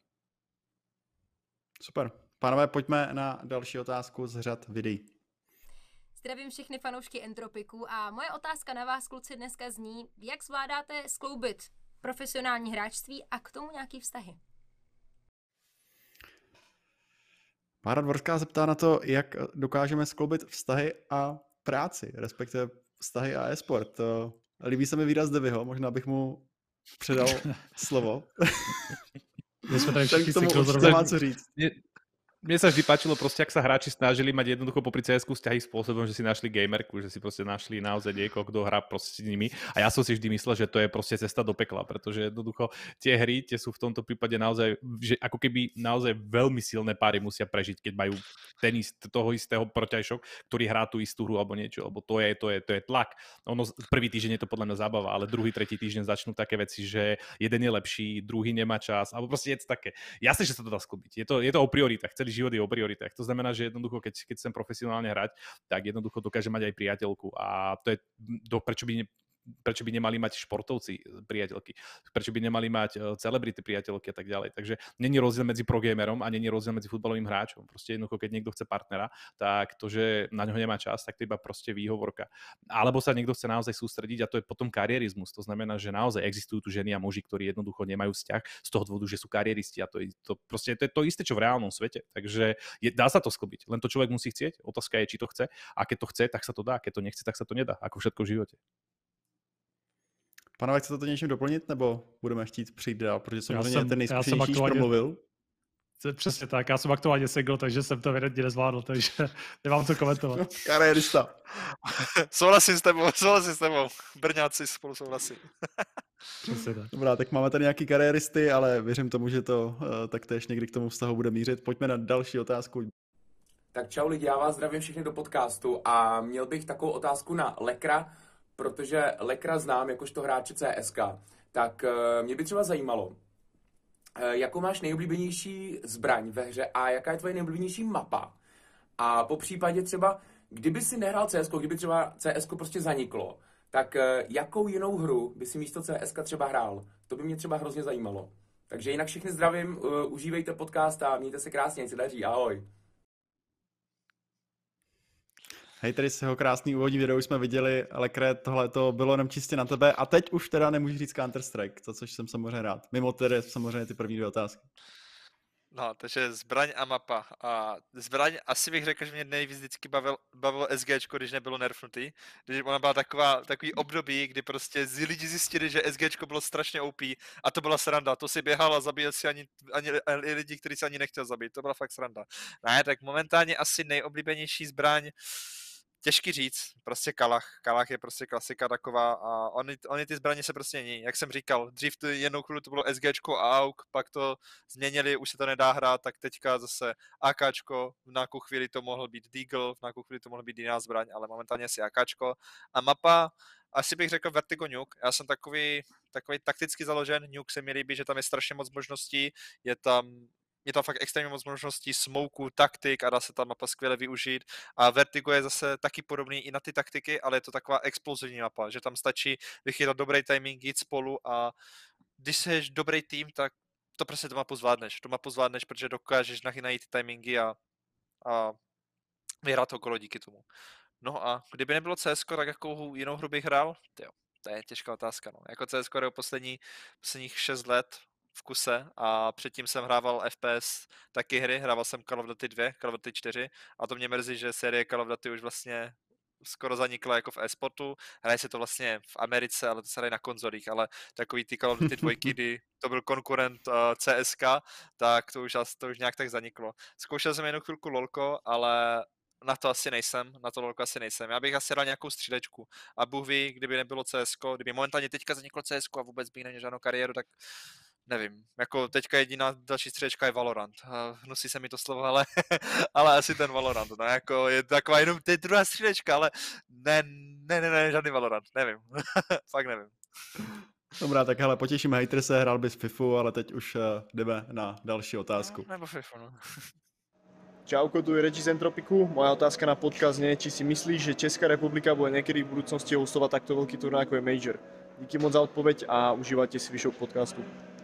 Super. Pánové, pojďme na další otázku z řad videí.
Zdravím všechny fanoušky Entropiku a moje otázka na vás, kluci, dneska zní, jak zvládáte skloubit profesionální hráčství a k tomu nějaký vztahy?
Mára Dvorská se ptá na to, jak dokážeme skloubit vztahy a práci, respektive vztahy a e-sport. Líbí se mi výraz Devyho, možná bych mu předal slovo.
My jsme tady všichni
k tomu určitě má co říct.
Mne sa vždy páčilo proste, ak sa hráči snažili mať jednoducho popri CS-ku vzťahy spôsobom, že si našli gamerku, že si proste našli naozaj niekoho, kto hrá proste s nimi. A ja som si vždy myslel, že to je proste cesta do pekla, pretože jednoducho tie hry, tie sú v tomto prípade naozaj, že ako keby naozaj veľmi silné páry musia prežiť, keď majú toho istého protiajšok, ktorý hrá tú istú hru alebo niečo, lebo to je tlak. Ono prvý týždeň je to podľa mňa zábava, ale druhý, tretí týždeň začnú také veci, že jeden je lepší, druhý nemá čas, alebo proste je to také. Jasne, že sa to dá sklobiť. Je to o prioritách. Celý život je o prioritách. To znamená, že jednoducho, keď chcem profesionálne hrať, tak jednoducho dokáže mať aj priateľku a to je prečo by nemali mať športovci priateľky, prečo by nemali mať celebrity priateľky a tak ďalej. Takže není rozdiel medzi progamerom a není rozdiel medzi futbalovým hráčom. Proste jednoducho, keď niekto chce partnera, tak to, že na ňo nemá čas, tak to iba proste výhovorka. Alebo sa niekto chce naozaj sústrediť a to je potom karierizmus. To znamená, že naozaj existujú tu ženy a muži, ktorí jednoducho nemajú vzťah z toho dôvodu, že sú kariéristi a to je to isté, čo v reálnom svete. Takže dá sa to sklbiť. Len to človek musí chcieť. Otázka je, či to chce. A keď to chce, tak sa to dá. Keď to nechce, tak sa to nedá. Ako všetko v živote.
Panové, chcete to něčím doplnit, nebo budeme chtít přijít dál, protože samozřejmě ten nejzkušenější promluvil.
Přesně tak, já jsem aktuálně single, takže jsem to evidentně nezvládl, takže nemám co komentovat.
Kariérista.
Souhlasím s tebou. Brňáci spolu souhlasí.
Přesně tak.
Dobrá, tak máme tady nějaký kariéristy, ale věřím tomu, že to taktéž někdy k tomu vztahu bude mířit. Pojďme na další otázku.
Tak čau lidi, já vás zdravím všechny do podcastu a měl bych takovou otázku na Lekra, protože Lekra znám jakožto hráče CSK, tak mě by třeba zajímalo, jakou máš nejoblíbenější zbraň ve hře a jaká je tvoje nejoblíbenější mapa. A po případě třeba, kdyby si nehrál CSK, kdyby třeba CSK prostě zaniklo, tak jakou jinou hru by si místo CSK třeba hrál? To by mě třeba hrozně zajímalo. Takže jinak všechny zdravím, užívejte podcast a mějte se krásně, ať se daří, ahoj.
Hej, tady z jeho krásný úvodní video už jsme viděli, Lekre, tohle to bylo jenom čistě na tebe a teď už teda nemůžu říct Counter-Strike, za což jsem samozřejmě rád. Mimo tedy samozřejmě ty první dvě otázky.
No, takže zbraň a mapa. A zbraň asi bych řekl, že mě nejvíc vždycky bavilo SGčko, když nebylo nerfnutý. Když ona byla takový období, kdy prostě lidi zjistili, že SGčko bylo strašně OP a to byla sranda. To si běhal a zabíjel si ani lidi, kteří si ani nechtěl zabít. To byla fakt sranda. Ne, tak momentálně asi nejoblíbenější zbraň, těžký říct, prostě Kalach. Kalach je prostě klasika taková a oni ty zbraně se prostě mění. Jak jsem říkal, dřív to jednou chvíli to bylo SGčko a AUK, pak to změnili, už se to nedá hrát, tak teďka zase AKčko, v nějakou chvíli to mohl být Deagle, v nějakou chvíli to mohl být jiná zbraň, ale momentálně asi AKčko. A mapa, asi bych řekl Vertigo Nuke. Já jsem takový takticky založen, Nuke se mi líbí, že tam je strašně moc možností, je tam fakt extrémně moc možností, smoku, taktik a dá se ta mapa skvěle využít. A Vertigo je zase taky podobný i na ty taktiky, ale je to taková explozivní mapa, že tam stačí vychytat dobrý timing, jít spolu a když jsi dobrý tým, tak to prostě tu mapu zvládneš, protože dokážeš najít ty timingy a vyhrát okolo díky tomu. No a kdyby nebylo CSko, tak jakou jinou hru bych hrál? Tyjo, to je těžká otázka. No. Jako CSko je posledních 6 let v kuse a předtím jsem hrával FPS taky hry, hrával jsem Call of Duty 2, Call of Duty 4 a to mě mrzí, že série Call of Duty už vlastně skoro zanikla jako v e-sportu. Hraje se to vlastně v Americe, ale to se hraje na konzolích, ale takový ty Call of Duty 2, kdy to byl konkurent CSK, tak to už nějak tak zaniklo. Zkoušel jsem jednu chvilku LOLko, ale na to LOLko asi nejsem. Já bych asi dal nějakou střílečku. A Bůh ví, kdyby nebylo CSko, kdyby momentálně teďka zaniklo CSko a vůbec bych neměl žádnou kariéru, tak nevím. Jako teďka jediná další střílečka je Valorant. Hnusí se mi to slovo, ale asi ten Valorant. No jako je taková jenom, to je druhá střílečka, ale ne, žádný Valorant. Nevím. Fakt nevím.
Dobrá, tak hele, potěšíme hejtrise, hrál bys FIFU, ale teď už jdeme na další otázku.
No, nebo FIFU, no.
Čauko, tu je Reči z Entropiku. Moja otázka na podcast je, či si myslíš, že Česká republika bude niekedy v budúcnosti hostovať takto veľký turnaj ako je Major. Díky moc za odpoveď a užívajte si vyšok podcastu.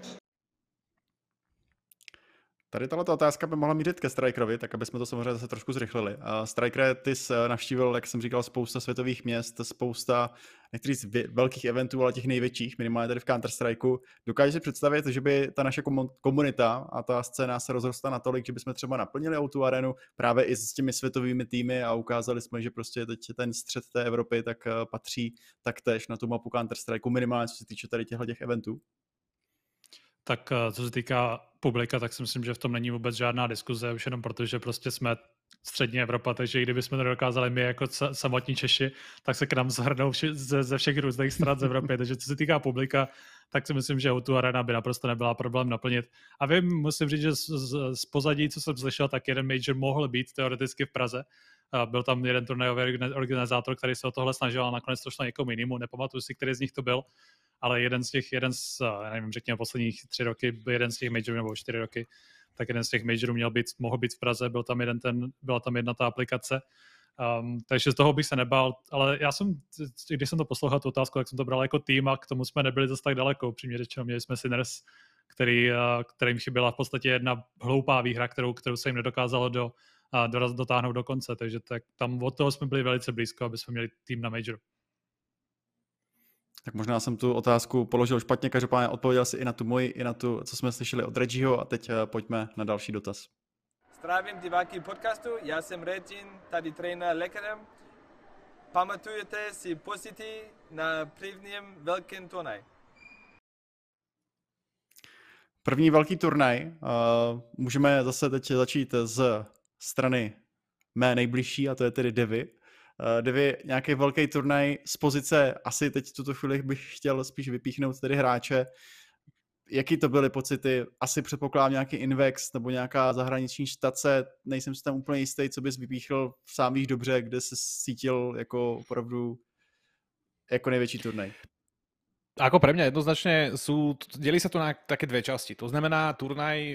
Tady tato otázka by mohla mířit ke Strikerovi, tak aby jsme to samozřejmě zase trošku zrychlili. Strikere, ty jsi navštívil, jak jsem říkal, spousta světových měst, spousta některých velkých eventů, ale těch největších, minimálně tady v Counter-Strikeu. Dokážeš si představit, že by ta naše komunita a ta scéna se rozrostla natolik, že bychom třeba naplnili O2 Arenu právě i s těmi světovými týmy a ukázali jsme, že prostě teď ten střed té Evropy tak patří taktéž na tu mapu Counter-Strikeu, minimálně co se týče tady těch eventů?
Tak co se týká publika, tak si myslím, že v tom není vůbec žádná diskuze, už jenom protože prostě jsme střední Evropa, takže i kdybychom to dokázali my jako samotní Češi, tak se k nám zhrnou ze všech různých stran z Evropy. Takže co se týká publika, tak si myslím, že O2 Arena by naprosto nebyla problém naplnit. A musím říct, že z pozadí, co jsem slyšel, tak jeden major mohl být teoreticky v Praze. Byl tam jeden turnajový organizátor, který se o tohle snažil a nakonec to šlo někomu jinému. Nepamatuju si, který z nich to byl, ale jeden z nevím, řekněme posledních 3 roky, jeden z těch majorů nebo 4 roky, tak jeden z těch majorů mohl být v Praze, byla tam jedna ta aplikace. Takže z toho bych se nebál, ale když jsem to poslouchal tu otázku, tak jsem to bral jako tým a k tomu jsme nebyli zase tak daleko, upřímně řečeno. Měli jsme Sinners, kterým chyběla v podstatě jedna hloupá výhra, kterou se jim nedokázalo dotáhnout do konce, takže tam od toho jsme byli velice blízko, aby jsme měli tým na major.
Tak možná jsem tu otázku položil špatně, každopádně odpověděl si i na tu moji, i na tu, co jsme slyšeli od Reggieho a teď pojďme na další dotaz.
Zdravím diváky podcastu, já jsem Regin, tady trenér Lekrem. Pamatujete si pocity na prvním velkém turnaji?
První velký turnaj, můžeme zase teď začít z strany mé nejbližší, a to je tedy Devy. Devy, nějaký velký turnaj z pozice, asi teď v tuto chvíli bych chtěl spíš vypíchnout tedy hráče. Jaký to byly pocity? Asi předpokládám nějaký Invex nebo nějaká zahraniční štace, nejsem si tam úplně jistý, co bys vypíchl, sám víš dobře, kde se cítil jako opravdu jako největší turnaj.
Ako pre mňa jednoznačne delí sa to na také dve časti. To znamená turnaj,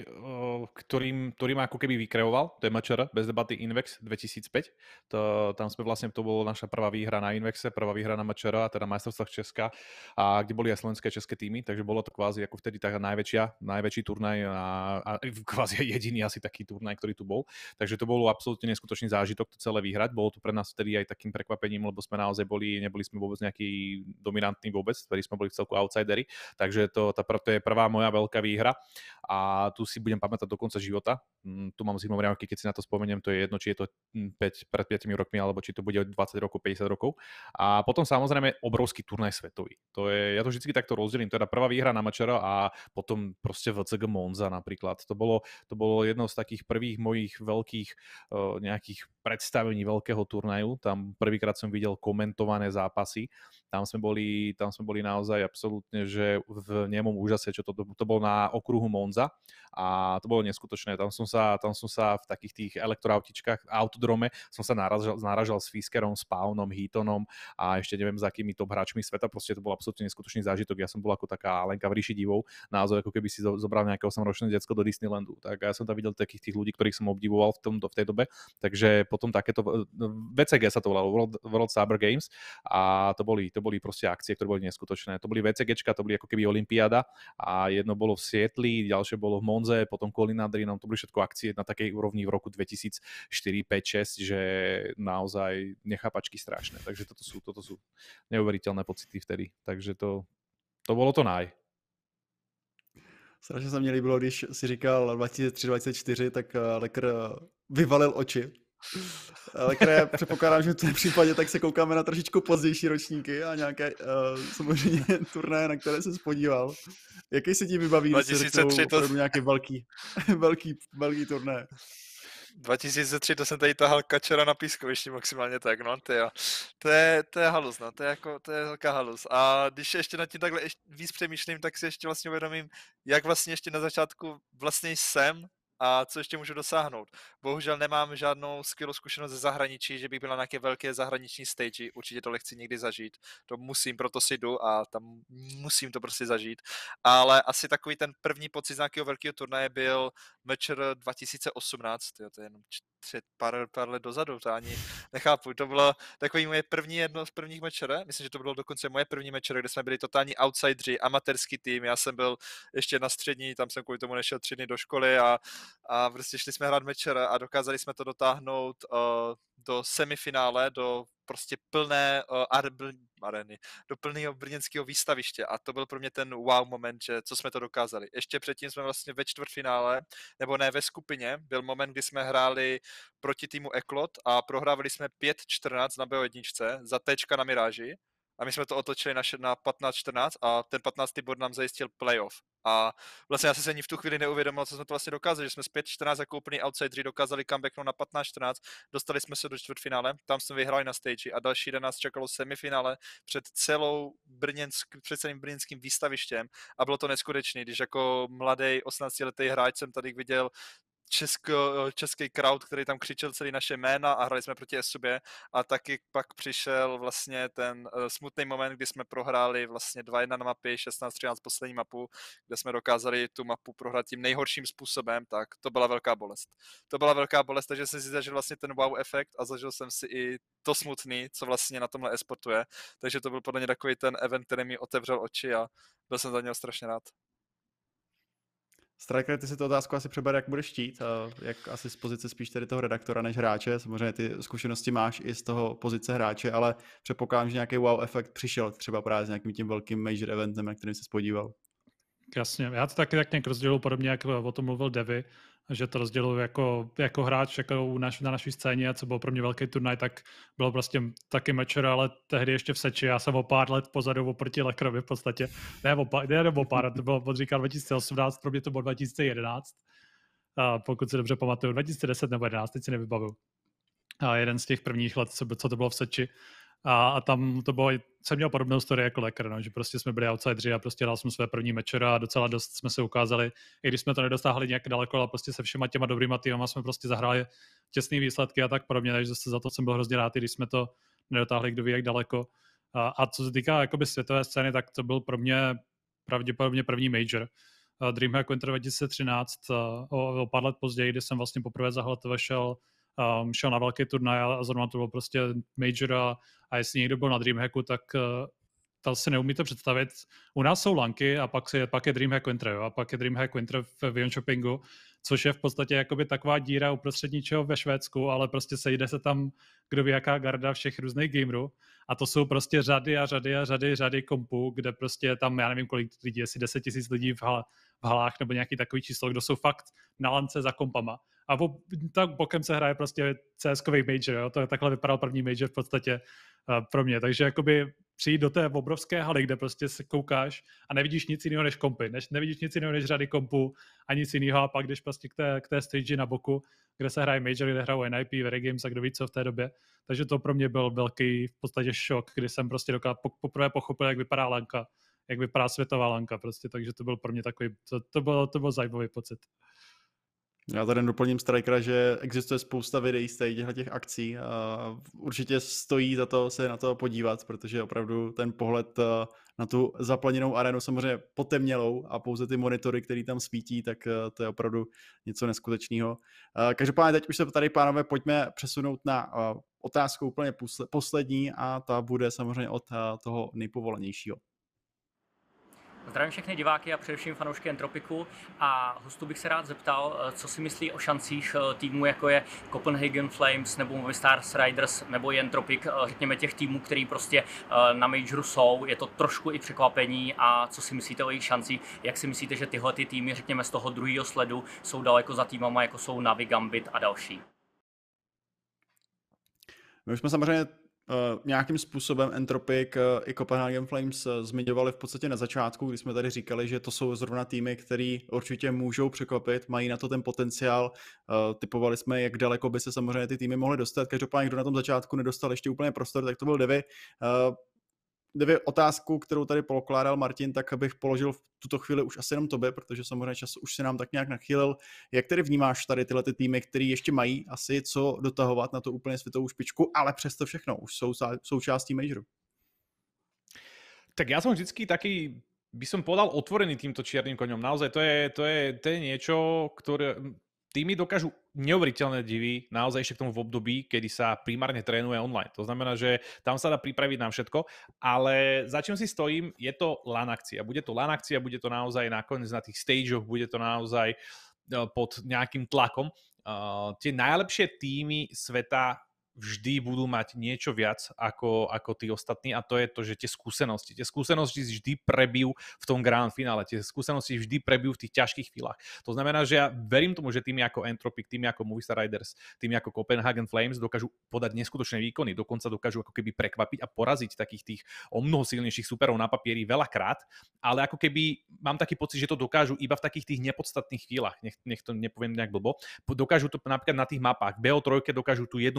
ktorý ma ako keby vykreoval, to je MČR, bez debaty Invex 2005. Tam sme vlastne, to bolo naša prvá výhra na Invexe, prvá výhra na MČR, a teda majstrovstvách Česka, a kde boli aj slovenské a české týmy, takže bolo to kvázi ako vtedy taká najväčší turnaj a kvázi jediný asi taký turnaj, ktorý tu bol. Takže to bolo absolútne neskutočný zážitok to celé vyhrať. Bolo to pre nás vtedy aj takým prekvapením, lebo sme naozaj neboli sme vôbec nejaký dominantný vôbec, ktorí sme boli v celku outsidery, takže to je prvá moja veľká výhra a tu si budem pamätať do konca života. Tu mám zimomriavky, keď si na to spomeniem, to je jedno, či je to pred 5 rokmi, alebo či to bude 20 rokov, 50 rokov. A potom samozrejme obrovský turnaj svetový. Ja to vždycky takto rozdelím, teda prvá výhra na MČR a potom proste VCG Monza napríklad. To bolo jedno z takých prvých mojich veľkých nejakých predstavení veľkého turnaju. Tam prvýkrát som videl komentované zápasy. Tam sme boli naozaj absolútne, že v nemom úžase, čo to bol na okruhu Monza a to bolo neskutočné. Tam som sa v takých tých elektroautičkách, autodrome som sa naražal s Fiskerom, s Paunom, Heatonom a ešte neviem za akými top hráčmi sveta. Proste to bol absolútne neskutočný zážitok. Ja som bol ako taká Alenka v ríši divov, naozaj ako keby si zobral nejaké 8-ročné decko do Disneylandu. Tak ja som tam videl takých tých ľudí, ktorých som obdivoval v tej dobe. Takže potom takéto VCG sa to volalo, World Cyber Games, a to boli proste akcie, ktoré boli neskutočné. To boli VCGčka, to boli ako keby olympiáda a jedno bolo v Sietli, ďalšie bolo v Monze, potom Colin Adrinom, to boli všetko akcie na takej úrovni v roku 2004, 5, 6, že naozaj nechápačky strašné. Takže toto sú neuveriteľné pocity vtedy. Takže to bolo to naj.
Strašně se mě líbilo, když si říkal 2003-2004, tak Lekr vyvalil oči. Ale předpokládám, že v tom případě tak se koukáme na trošičku pozdější ročníky a nějaké samozřejmě turnaje, na které se spodíval. Jaký se ti vybaví, když se řeknou nějaký velký turnaje?
2003 to jsem tady tahal Kačera na pískovišti maximálně tak, no, to je halus, no, to je velká halus. A když ještě nad tím takhle víc přemýšlím, tak si ještě vlastně uvědomím, jak vlastně ještě na začátku vlastně jsem a co ještě můžu dosáhnout. Bohužel nemám žádnou skvělou zkušenost ze zahraničí, že bych byl na nějaké velké zahraniční stage, určitě to chci někdy zažít, to musím, proto si jdu a tam musím to prostě zažít, ale asi takový ten první pocit z nějakého velkého turnaje byl MČR 2018, to je jenom pár let dozadu, to ani nechápu, to bylo takový jedno z prvních MČR, myslím, že to bylo dokonce moje první MČR, kde jsme byli totální outsideri, amatérský tým, já jsem byl ještě na střední, tam jsem kvůli tomu nešel 3 dny do školy a prostě šli jsme hrát MČR a dokázali jsme to dotáhnout do semifinále, do prostě plné areny, do plného brněnského výstaviště a to byl pro mě ten wow moment, že co jsme to dokázali. Ještě předtím jsme vlastně ve čtvrtfinále, nebo ne ve skupině, byl moment, kdy jsme hráli proti týmu Eklot a prohrávali jsme 5-14 na B1 za Tčka na Miráži a my jsme to otočili na 15-14 a ten 15. bod nám zajistil playoff. A vlastně já jsem se ani v tu chvíli neuvědomil, co jsme to vlastně dokázali, že jsme z 5-14 jako úplný outsideri dokázali comebacknout na 15-14, dostali jsme se do čtvrtfinále, tam jsme vyhráli na stage a další den nás čekalo semifinále před celým brněnským výstavištěm a bylo to neskutečné, když jako mladý 18letý hráč jsem tady viděl český crowd, který tam křičel celý naše jména a hráli jsme proti sobě a taky pak přišel vlastně ten smutný moment, kdy jsme prohráli vlastně 2-1 na mapě, 16-13 poslední mapu, kde jsme dokázali tu mapu prohrát tím nejhorším způsobem, tak to byla velká bolest. To byla velká bolest, takže jsem si zažil vlastně ten wow efekt a zažil jsem si i to smutný, co vlastně na tomhle e-sportu je, takže to byl podle mě takový ten event, který mi otevřel oči a byl jsem za něho strašně rád.
Striker, ty si tu otázku asi přebere, jak budeš chtít, jak asi z pozice spíš tedy toho redaktora než hráče, samozřejmě ty zkušenosti máš i z toho pozice hráče, ale předpokládám, že nějaký wow efekt přišel třeba právě s nějakým tím velkým major eventem, na kterým jsi podíval.
Jasně, já to taky tak nějak rozděluji podobně, jak o tom mluvil Devy, že to rozděluji jako hráč jako na naší scéně, co byl pro mě velký turnaj, tak bylo prostě taky Matcher, ale tehdy ještě v Seči, já jsem o pár let pozadu oproti Lekrovi v podstatě, ne o pár, to bylo říkal 2018, pro mě to bylo 2011, pokud si dobře pamatuju, 2010 nebo 2011, teď si nevybavuju. A jeden z těch prvních let, co to bylo v Seči. A tam to bylo, jsem měl podobnou story jako Lekr, no, že prostě jsme byli outsideri a prostě dal jsem své první matcher a docela dost jsme se ukázali, i když jsme to nedostáhli nějak daleko, ale prostě se všema těma dobrýma týmama jsme prostě zahráli těsný výsledky a tak podobně, takže za to jsem byl hrozně rád, i když jsme to nedotáhli kdo ví jak daleko. A co se týká jakoby světové scény, tak to byl pro mě pravděpodobně první major. DreamHack Winter 2013, o pár let později, kdy jsem vlastně poprvé za HLTV šel na velký turnaj a zrovna to byl prostě major a jestli někdo byl na DreamHacku, tak to si neumíte představit. U nás jsou lanky a pak je DreamHack Winter, jo? A pak je DreamHack Winter v Jönköpingu, což je v podstatě jakoby taková díra uprostřed ničeho ve Švédsku, ale prostě sejde se tam kdo ví jaká garda všech různých gamerů a to jsou prostě řady kompů, kde prostě tam, já nevím kolik lidí, jestli 10 000 lidí v halách nebo nějaký takový číslo, kdo jsou fakt na lance za kompama. A tak bokem se hraje prostě CS-kový major, jo? To takhle vypadal první major v podstatě pro mě. Takže jakoby přijít do té obrovské haly, kde prostě se koukáš a nevidíš nic jiného než kompy, nevidíš nic jiného než řady kompů a nic jiného a pak jdeš prostě k té stage na boku, kde se hraje major, kde hrajou NIP, Very Games a kdo ví co v té době. Takže to pro mě byl velký v podstatě šok, kdy jsem prostě poprvé pochopil, jak vypadá lanka, jak vypadá světová lanka prostě, takže to byl pro mě takový, to byl zajímavý pocit.
Já tady doplním Strikera, že existuje spousta videí z těch akcí a určitě stojí za to se na to podívat, protože opravdu ten pohled na tu zaplněnou arénu, samozřejmě potemnělou a pouze ty monitory, které tam svítí, tak to je opravdu něco neskutečného. Každopádně teď už se tady, pánové, pojďme přesunout na otázku úplně poslední a ta bude samozřejmě od toho nejpovolenějšího.
Zdravím všechny diváky a především fanoušky Entropiku a hostu bych se rád zeptal, co si myslí o šancích týmů, jako je Copenhagen Flames nebo Movistar Riders nebo Entropik, řekněme těch týmů, který prostě na majoru jsou. Je to trošku i překvapení a co si myslíte o jejich šancích? Jak si myslíte, že tyhle ty týmy, řekněme z toho druhého sledu, jsou daleko za týmama, jako jsou Navi, Gambit a další?
My už jsme samozřejmě nějakým způsobem Entropic i Copenhagen Flames zmiňovali v podstatě na začátku, kdy jsme tady říkali, že to jsou zrovna týmy, které určitě můžou překvapit, mají na to ten potenciál. Typovali jsme, jak daleko by se samozřejmě ty týmy mohly dostat. Každopádně, kdo na tom začátku nedostal ještě úplně prostor, tak to byl Devy. Devy, otázku, kterou tady pokládal Martin, tak bych položil v tuto chvíli už asi jenom tobě, protože samozřejmě čas už se nám tak nějak nachýlil. Jak tedy vnímáš tady tyhle ty týmy, které ještě mají asi co dotahovat na to úplně světovou špičku, ale přesto všechno už jsou součástí majoru?
Tak ja som vždycky taký, by som povedal, otvorený týmto čiernym koňom. Naozaj to je niečo, ktoré týmy dokážu neuveriteľné divy, naozaj ešte k tomu v období, kedy sa primárne trénuje online. To znamená, že tam sa dá pripraviť na všetko, ale za čím si stojím, je to LAN akcia. Bude to LAN akcia, bude to naozaj nakoniec na tých stageoch, bude to naozaj pod nejakým tlakom. Tie najlepšie týmy sveta vždy budú mať niečo viac ako tí ostatní a to je to, že tie skúsenosti vždy prebijú v tom grand finále, tie skúsenosti vždy prebijú v tých ťažkých chvíľach. To znamená, že ja verím tomu, že týmy ako Entropik, týmy ako Movistar Riders, týmy ako Copenhagen Flames dokážu podať neskutočné výkony, dokonca dokážu ako keby prekvapiť a poraziť takých tých o mnoho silnejších superov na papieri veľakrát, ale ako keby mám taký pocit, že to dokážu iba v takých tých nepodstatných chvíľach, nech to nepoviem nejak blbo, dokážu to napríklad na tých mapách, BO3 dokážu tú jednu mapu uhrať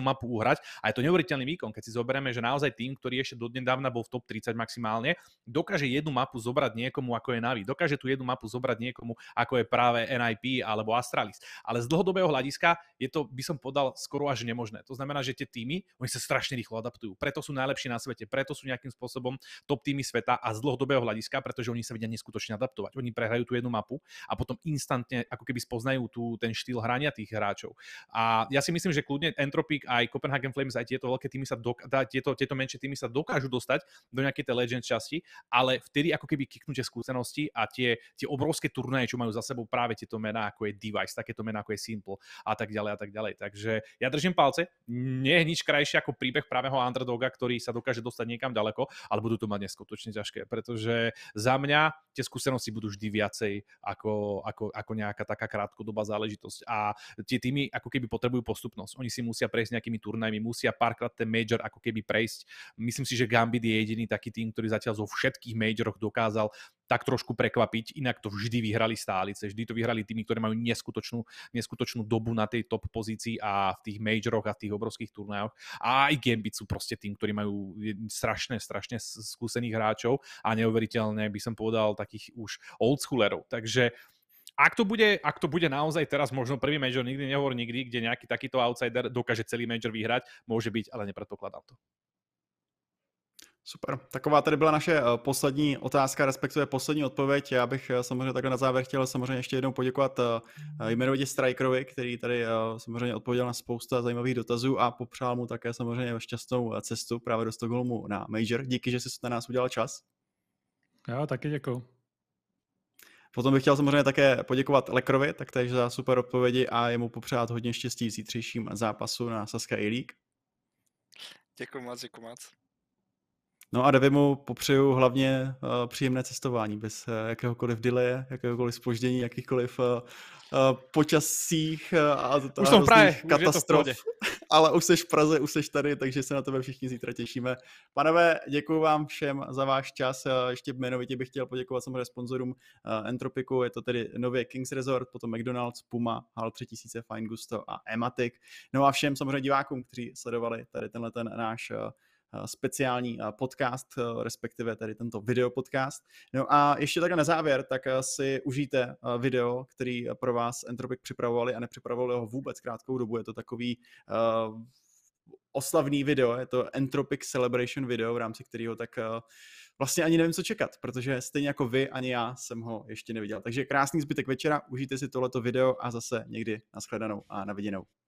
zabrať. A je to neuveriteľný výkon, keď si zoberieme, že naozaj tým, ktorý ešte dodnedávna bol v top 30 maximálne, dokáže jednu mapu zobrať niekomu, ako je Navi. Dokáže tú jednu mapu zobrať niekomu, ako je práve NIP alebo Astralis. Ale z dlhodobého hľadiska je to, by som podal, skoro až nemožné. To znamená, že tie týmy, oni sa strašne rýchlo adaptujú. Preto sú najlepší na svete, preto sú nejakým spôsobom top týmy sveta a z dlhodobého hľadiska, pretože oni sa vedia neskutočne adaptovať. Oni prehrajú tú jednu mapu a potom instantne ako keby spoznajú ten štýl hrania tých hráčov. A ja si myslím, že kľudne Entropic aj Copenhagen Flames aj tieto veľké týmy tieto menšie týmy sa dokážu dostať do nejakej tej Legends časti, ale vtedy ako keby kiknú tie skúsenosti a tie obrovské turnaje, čo majú za sebou práve tieto mená, ako je Device, takéto mená ako je Simple a tak ďalej a tak ďalej. Takže ja držím palce, nie je nič krajšie ako príbeh právého underdoga, ktorý sa dokáže dostať niekam ďaleko, ale budú to mať neskutočne ťažké, pretože za mňa tie skúsenosti budú vždy viacej ako nejaká taká krátkodobá záležitosť a tie týmy ako keby potrebujú postupnosť. Oni si musia prejsť nejakými turnajmi, musia párkrát ten major ako keby prejsť. Myslím si, že Gambit je jediný taký tým, ktorý zatiaľ zo všetkých majoroch dokázal tak trošku prekvapiť, inak to vždy vyhrali stálice, vždy to vyhrali týmy, ktoré majú neskutočnú dobu na tej top pozícii a v tých majoroch a v tých obrovských turnajoch. A aj Gambit sú proste tým, ktorí majú strašne skúsených hráčov a neuveriteľne by som povedal takých už oldschoolerov. Takže ak to bude naozaj teraz možno prvý major, nikdy nehovor nikdy, kde nejaký takýto outsider dokáže celý major vyhrať, môže byť, ale nepredpokladám to.
Super. Taková tady byla naše poslední otázka, respektive poslední odpověď. Já bych samozřejmě takhle na závěr chtěl samozřejmě ještě jednou poděkovat jmenovitě Strikerovi, který tady samozřejmě odpověděl na spousta zajímavých dotazů a popřál mu také samozřejmě šťastnou cestu právě do Stockholmu na Major. Díky, že jsi na nás udělal čas.
Já taky děkuju.
Potom bych chtěl samozřejmě také poděkovat Lekrovi taktéž za super odpovědi a jemu popřát hodně štěstí v zítřejším zápasu na Sazka A-League.
Děkuji moc.
No a Devimu popřeju hlavně příjemné cestování, bez jakéhokoliv delaye, jakéhokoliv zpoždění, jakýchkoliv počasích a různých katastrof. Ale už seš v Praze, už seš tady, takže se na tebe všichni zítra těšíme. Panové, děkuji vám všem za váš čas. Ještě jmenovitě bych chtěl poděkovat samozřejmě sponzorům Entropiku, je to tedy nově Kings Resort, potom McDonald's, Puma, HAL 3000, Fine Gusto a Ematic. No a všem samozřejmě divákům, kteří sledovali tady tenhle náš speciální podcast, respektive tady tento videopodcast. No a ještě takhle na závěr, tak si užijte video, který pro vás Entropic připravovali a nepřipravovali ho vůbec krátkou dobu. Je to takový oslavný video, je to Entropic Celebration video, v rámci kterého tak vlastně ani nevím, co čekat, protože stejně jako vy, ani já jsem ho ještě neviděl. Takže krásný zbytek večera, užijte si tohleto video a zase někdy nashledanou a na viděnou.